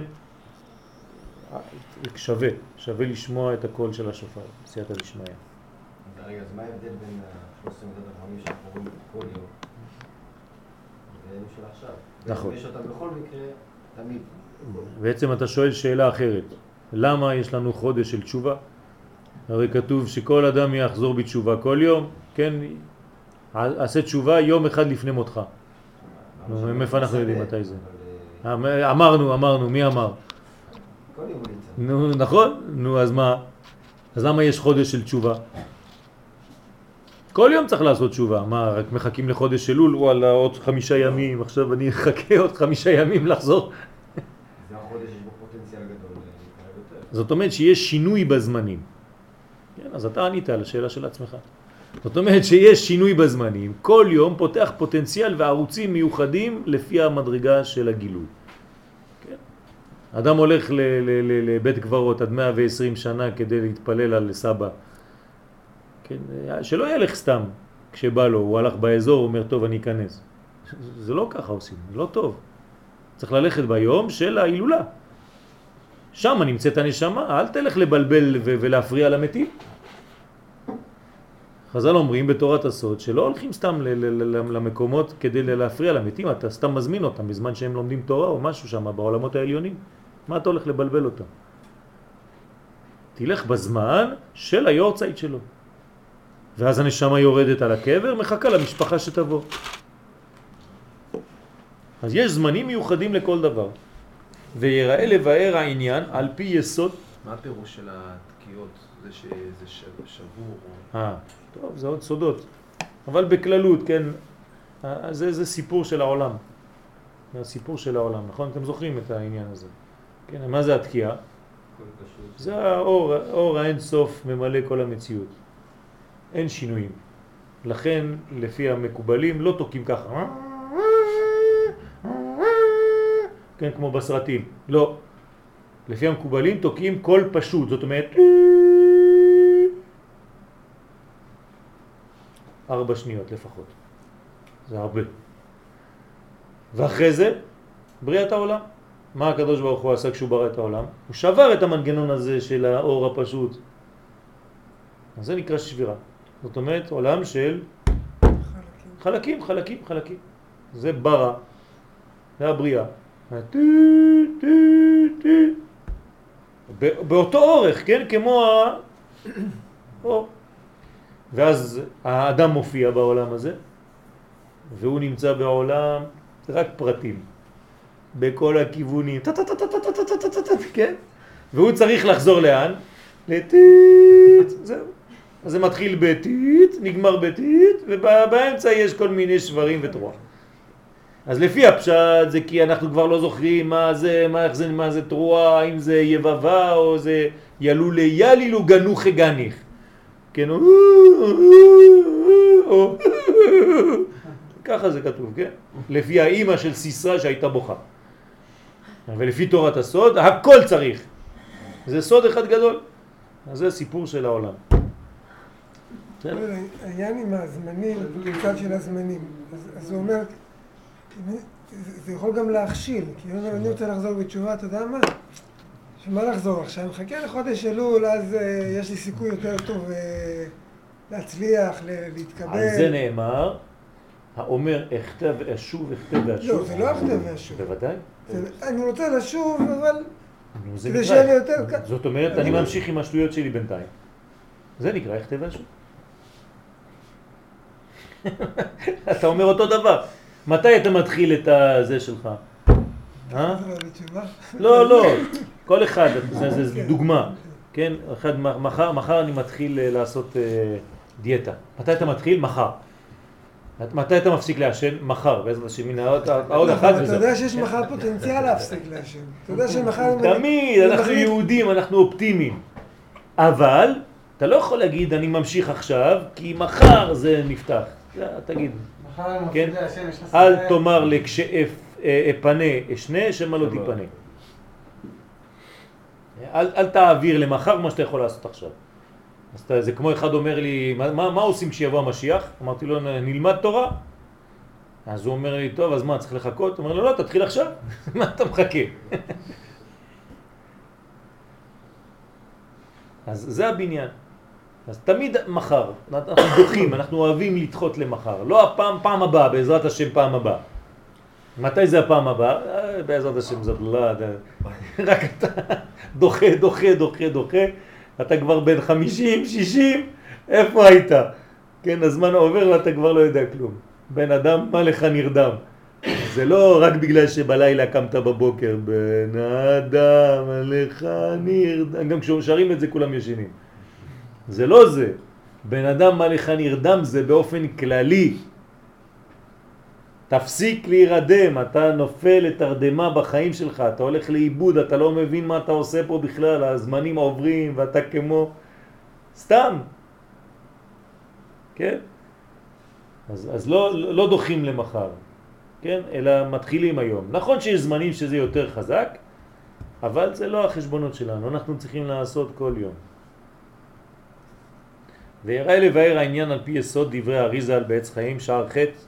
שווה לשמוע את הקול של השופר, סייעתא דשמיא. רגע, אז מה ההבדל בין 13 מידות החכמים שאנחנו רואים כל יום ואלו של עכשיו? נכון. יש אותם בכל מקרה, תמיד. בעצם אתה שואל שאלה אחרת. למה יש לנו חודש של תשובה? הרי כתוב שכל אדם יחזור בתשובה כל יום, כן? עשה תשובה יום אחד לפני מותך. נו, מאיפה אנחנו יודעים מתי זה? אמרנו, מי אמר? כל יום הוא נמצא. נו, נכון? נו, אז מה? אז למה יש חודש של תשובה? כל יום צריך לעשות תשובה. מה, רק מחכים לחודש של אלול? וואלה, עוד 5 ימים, עכשיו אני אחכה עוד 5 ימים לחזור. זה החודש יש בו פוטנציאל גדול להתקרב יותר. זאת אומרת שיש שינוי בזמנים. כן, אז אתה ענית על השאלה של עצמך. זאת אומרת שיש שינוי בזמנים, כל יום פותח פוטנציאל וערוצים מיוחדים לפי המדרגה של הגילוי. כן? אדם הולך לבית קברות עד 120 שנה כדי להתפלל על סבא. כן? שלא ילך סתם כשבא לו, הוא הלך באזור, הוא אומר טוב אני אכנס. זה לא ככה עושים, זה לא טוב. צריך ללכת ביום של ההילולה. שם נמצאת הנשמה, אל תלך לבלבל ולהפריע למתים. חז"ל אומרים בתורת הסוד שלא הולכים סתם למקומות כדי להפריע למתים, אתה סתם מזמין אותם בזמן שהם לומדים תורה או משהו שם בעולמות העליונים. מה אתה הולך לבלבל אותם? תלך בזמן של היורצייט שלו. ואז הנשמה יורדת על הקבר, מחכה למשפחה שתבוא. אז יש זמנים מיוחדים לכל דבר. ויראה לבאר העניין על פי יסוד. מה הפירוש של התקיעות? זה שזה שבור? טוב, זה עוד סודות. אבל בכללות, כן, זה סיפור של העולם. זה הסיפור של העולם, נכון? אתם זוכרים את העניין הזה. כן, מה זה התקיעה? זה האור האין סוף ממלא כל המציאות. אין שינויים. לכן, לפי המקובלים, לא תוקים ככה. כן, כמו בסרטים. לא. לפי המקובלים תוקים קול פשוט, זאת אומרת 4 שניות לפחות. זה הרבה. ואחרי זה, בריאת העולם. מה הקדוש ברוך הוא עשה כשהוא ברא את העולם? הוא שבר את המנגנון הזה של האור הפשוט. אז זה נקרא שבירה. זאת אומרת, עולם של חלקים. זה ברא. זה הבריאה. באותו אורך, כן? כמו האור. ואז האדם מופיע בעולם הזה, והוא נמצא בעולם רק פרטים, בכל הכיוונים, כן? והוא צריך לחזור לאן? לטיט, זהו. אז זה מתחיל בטיט, נגמר בטיט, ובאמצע יש כל מיני שברים ותרוע. אז לפי הפשט זה כי אנחנו כבר לא זוכרים מה זה תרוע, אם זה יבבה או זה ילולי ילילו גנוך גניך. כן, ככה זה כתוב, כן? לפי האימא של סיסרא שהייתה בוכה. ולפי תורת הסוד, הכל צריך. זה סוד אחד גדול. אז זה סיפור של העולם. העניין עם הזמנים, בצד של הזמנים. אז הוא אומר, זה יכול גם להכשיל, כי הוא אומר, אני רוצה לחזור בתשובה, אתה יודע מה? שמה לחזור עכשיו? אני מחכה לחודש אלול, אז יש לי סיכוי יותר טוב להצליח, להתקבל. על זה נאמר, האומר אכתב ואשוב, אכתב ואשוב. לא, זה לא אכתב ואשוב. בוודאי. אני רוצה לשוב, אבל כדי שיהיה לי יותר קל. זאת אומרת, אני ממשיך עם השטויות שלי בינתיים. זה נקרא אכתב ואשוב. אתה אומר אותו דבר. מתי אתה מתחיל את זה שלך? לא, כל אחד, זה דוגמה, כן? מחר אני מתחיל לעשות דיאטה. מתי אתה מתחיל? מחר. מתי אתה מפסיק לעשן? מחר. בעזרת השם, עוד אחד וזה. אתה יודע שיש מחר פוטנציאל להפסיק לעשן. אתה יודע שמחר... תמיד, אנחנו יהודים, אנחנו אופטימיים. אבל, אתה לא יכול להגיד, אני ממשיך עכשיו, כי מחר זה נפתח. תגיד. כן? אל תאמר לכשאפנה אשנה, שמה לא תיפנה. אל תעביר למחר מה שאתה יכול לעשות עכשיו. אז זה כמו אחד אומר לי, מה עושים כשיבוא המשיח? אמרתי לו, נלמד תורה. אז הוא אומר לי, טוב, אז מה, צריך לחכות? הוא אומר לו, לא, תתחיל עכשיו. מה אתה מחכה? אז זה הבניין. אז תמיד מחר, אנחנו דוחים, אנחנו אוהבים לדחות למחר. לא פעם הבאה, בעזרת השם פעם הבאה. מתי זה הפעם הבאה? בעזרת השם זאת לא, רק אתה דוחה, אתה כבר בין 50, 60, איפה היית? כן, הזמן עובר ואתה כבר לא יודע כלום. בן אדם, מה לך נרדם? זה לא רק בגלל שבלילה קמת בבוקר, בן אדם, מה לך נרדם, גם כששרים את זה כולם ישנים. זה לא זה. בן אדם, מה לך נרדם, זה באופן כללי. תפסיק להירדם, אתה נופל לתרדמה בחיים שלך, אתה הולך לאיבוד, אתה לא מבין מה אתה עושה פה בכלל, הזמנים עוברים ואתה כמו סתם. כן? אז לא דוחים למחר, כן? אלא מתחילים היום. נכון שיש זמנים שזה יותר חזק, אבל זה לא החשבונות שלנו, אנחנו צריכים לעשות כל יום. ויראה לבאר העניין על פי יסוד דברי אריזה על בעץ חיים, שער ח'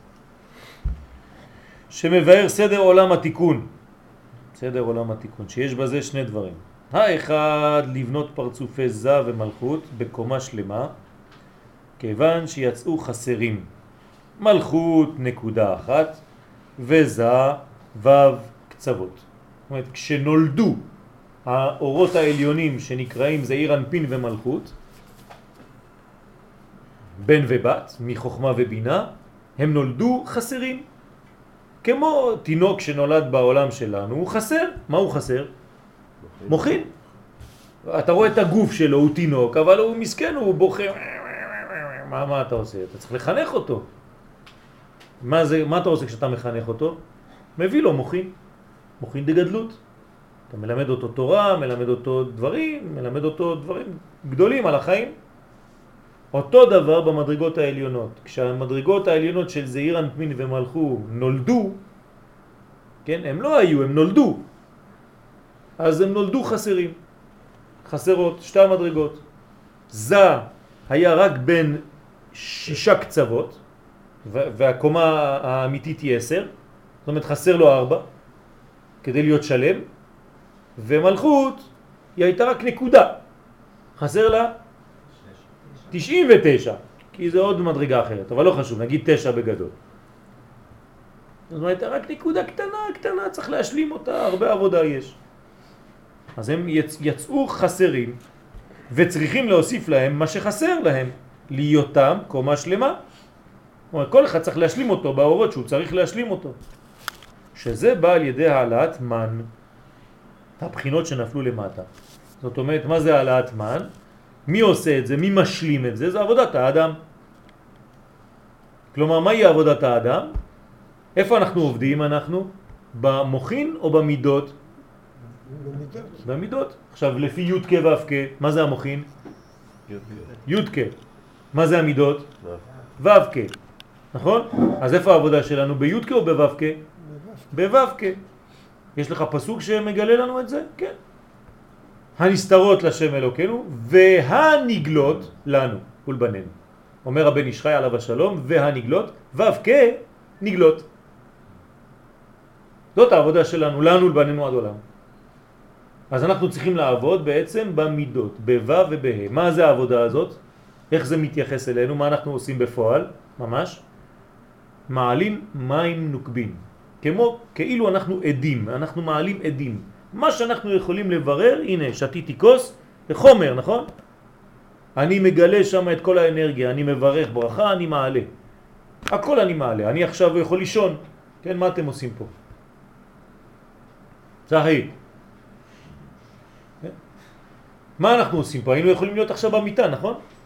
שמבאר סדר עולם התיקון. סדר עולם התיקון, שיש בזה שני דברים. האחד, לבנות פרצופי זה ומלכות בקומה שלמה, כיוון שיצאו חסרים. מלכות נקודה אחת, וזה וו קצוות. זאת אומרת, כשנולדו האורות העליונים שנקראים זעיר אנפין ומלכות, בן ובת, מחוכמה ובינה, הם נולדו חסרים. כמו תינוק שנולד בעולם שלנו, הוא חסר. מה הוא חסר? מוחין. אתה רואה את הגוף שלו, הוא תינוק, אבל הוא מסכן, הוא בוכה. מה אתה עושה? אתה צריך לחנך אותו. מה אתה עושה כשאתה מחנך אותו? מביא לו מוחין. מוחין דגדלות. אתה מלמד אותו תורה, מלמד אותו דברים, מלמד אותו דברים גדולים על החיים. אותו דבר במדרגות העליונות. כשהמדרגות העליונות של זעיר אנפין ומלכות נולדו, כן, הם לא היו, הם נולדו. אז הם נולדו חסרים. חסרות, שתי המדרגות. זה היה רק בין 6 קצוות, והקומה האמיתית היא 10, זאת אומרת חסר לו 4, כדי להיות שלם, ומלכות היא הייתה רק נקודה. חסר לה 99, כי זה עוד מדרגה אחרת, אבל לא חשוב, נגיד 9 בגדול. זאת אומרת, רק נקודה קטנה, צריך להשלים אותה, הרבה עבודה יש. אז הם יצאו חסרים, וצריכים להוסיף להם מה שחסר להם, להיותם קומה שלמה. זאת אומרת, כל אחד צריך להשלים אותו באורות שהוא צריך להשלים אותו. שזה בא על ידי העלאת מן, הבחינות שנפלו למטה. זאת אומרת, מה זה העלאת מן? מי עושה את זה? מי משלים את זה? זה עבודת האדם. כלומר, מהי עבודת האדם? איפה אנחנו עובדים? אנחנו במוחין או במידות? במידות. במידות. עכשיו, לפי י' כ' ו' כ', מה זה המוחין? י' כ'. מה זה המידות? ו' כ'. נכון? אז איפה העבודה שלנו? בי' כ' או בו' כ'? בו' כ'. יש לך פסוק שמגלה לנו את זה? כן. הנסתרות לשם אלוקינו והנגלות לנו ולבנינו. אומר הבן איש חי עליו השלום, והנגלות, ו' כ' נגלות. זאת העבודה שלנו, לנו ולבנינו עד עולם. אז אנחנו צריכים לעבוד בעצם במידות, בו' ובה'. מה זה העבודה הזאת? איך זה מתייחס אלינו? מה אנחנו עושים בפועל? ממש. מעלים מים נוקבים. כאילו אנחנו עדים, אנחנו מעלים עדים. מה שאנחנו יכולים לברר, הנה, שתיתי כוס, זה חומר, נכון? אני מגלה שם את כל האנרגיה, אני מברך ברכה, אני מעלה. הכל אני מעלה, אני עכשיו יכול לישון. כן, מה אתם עושים פה? צחי. מה אנחנו עושים פה? היינו יכולים להיות עכשיו במיטה, נכון?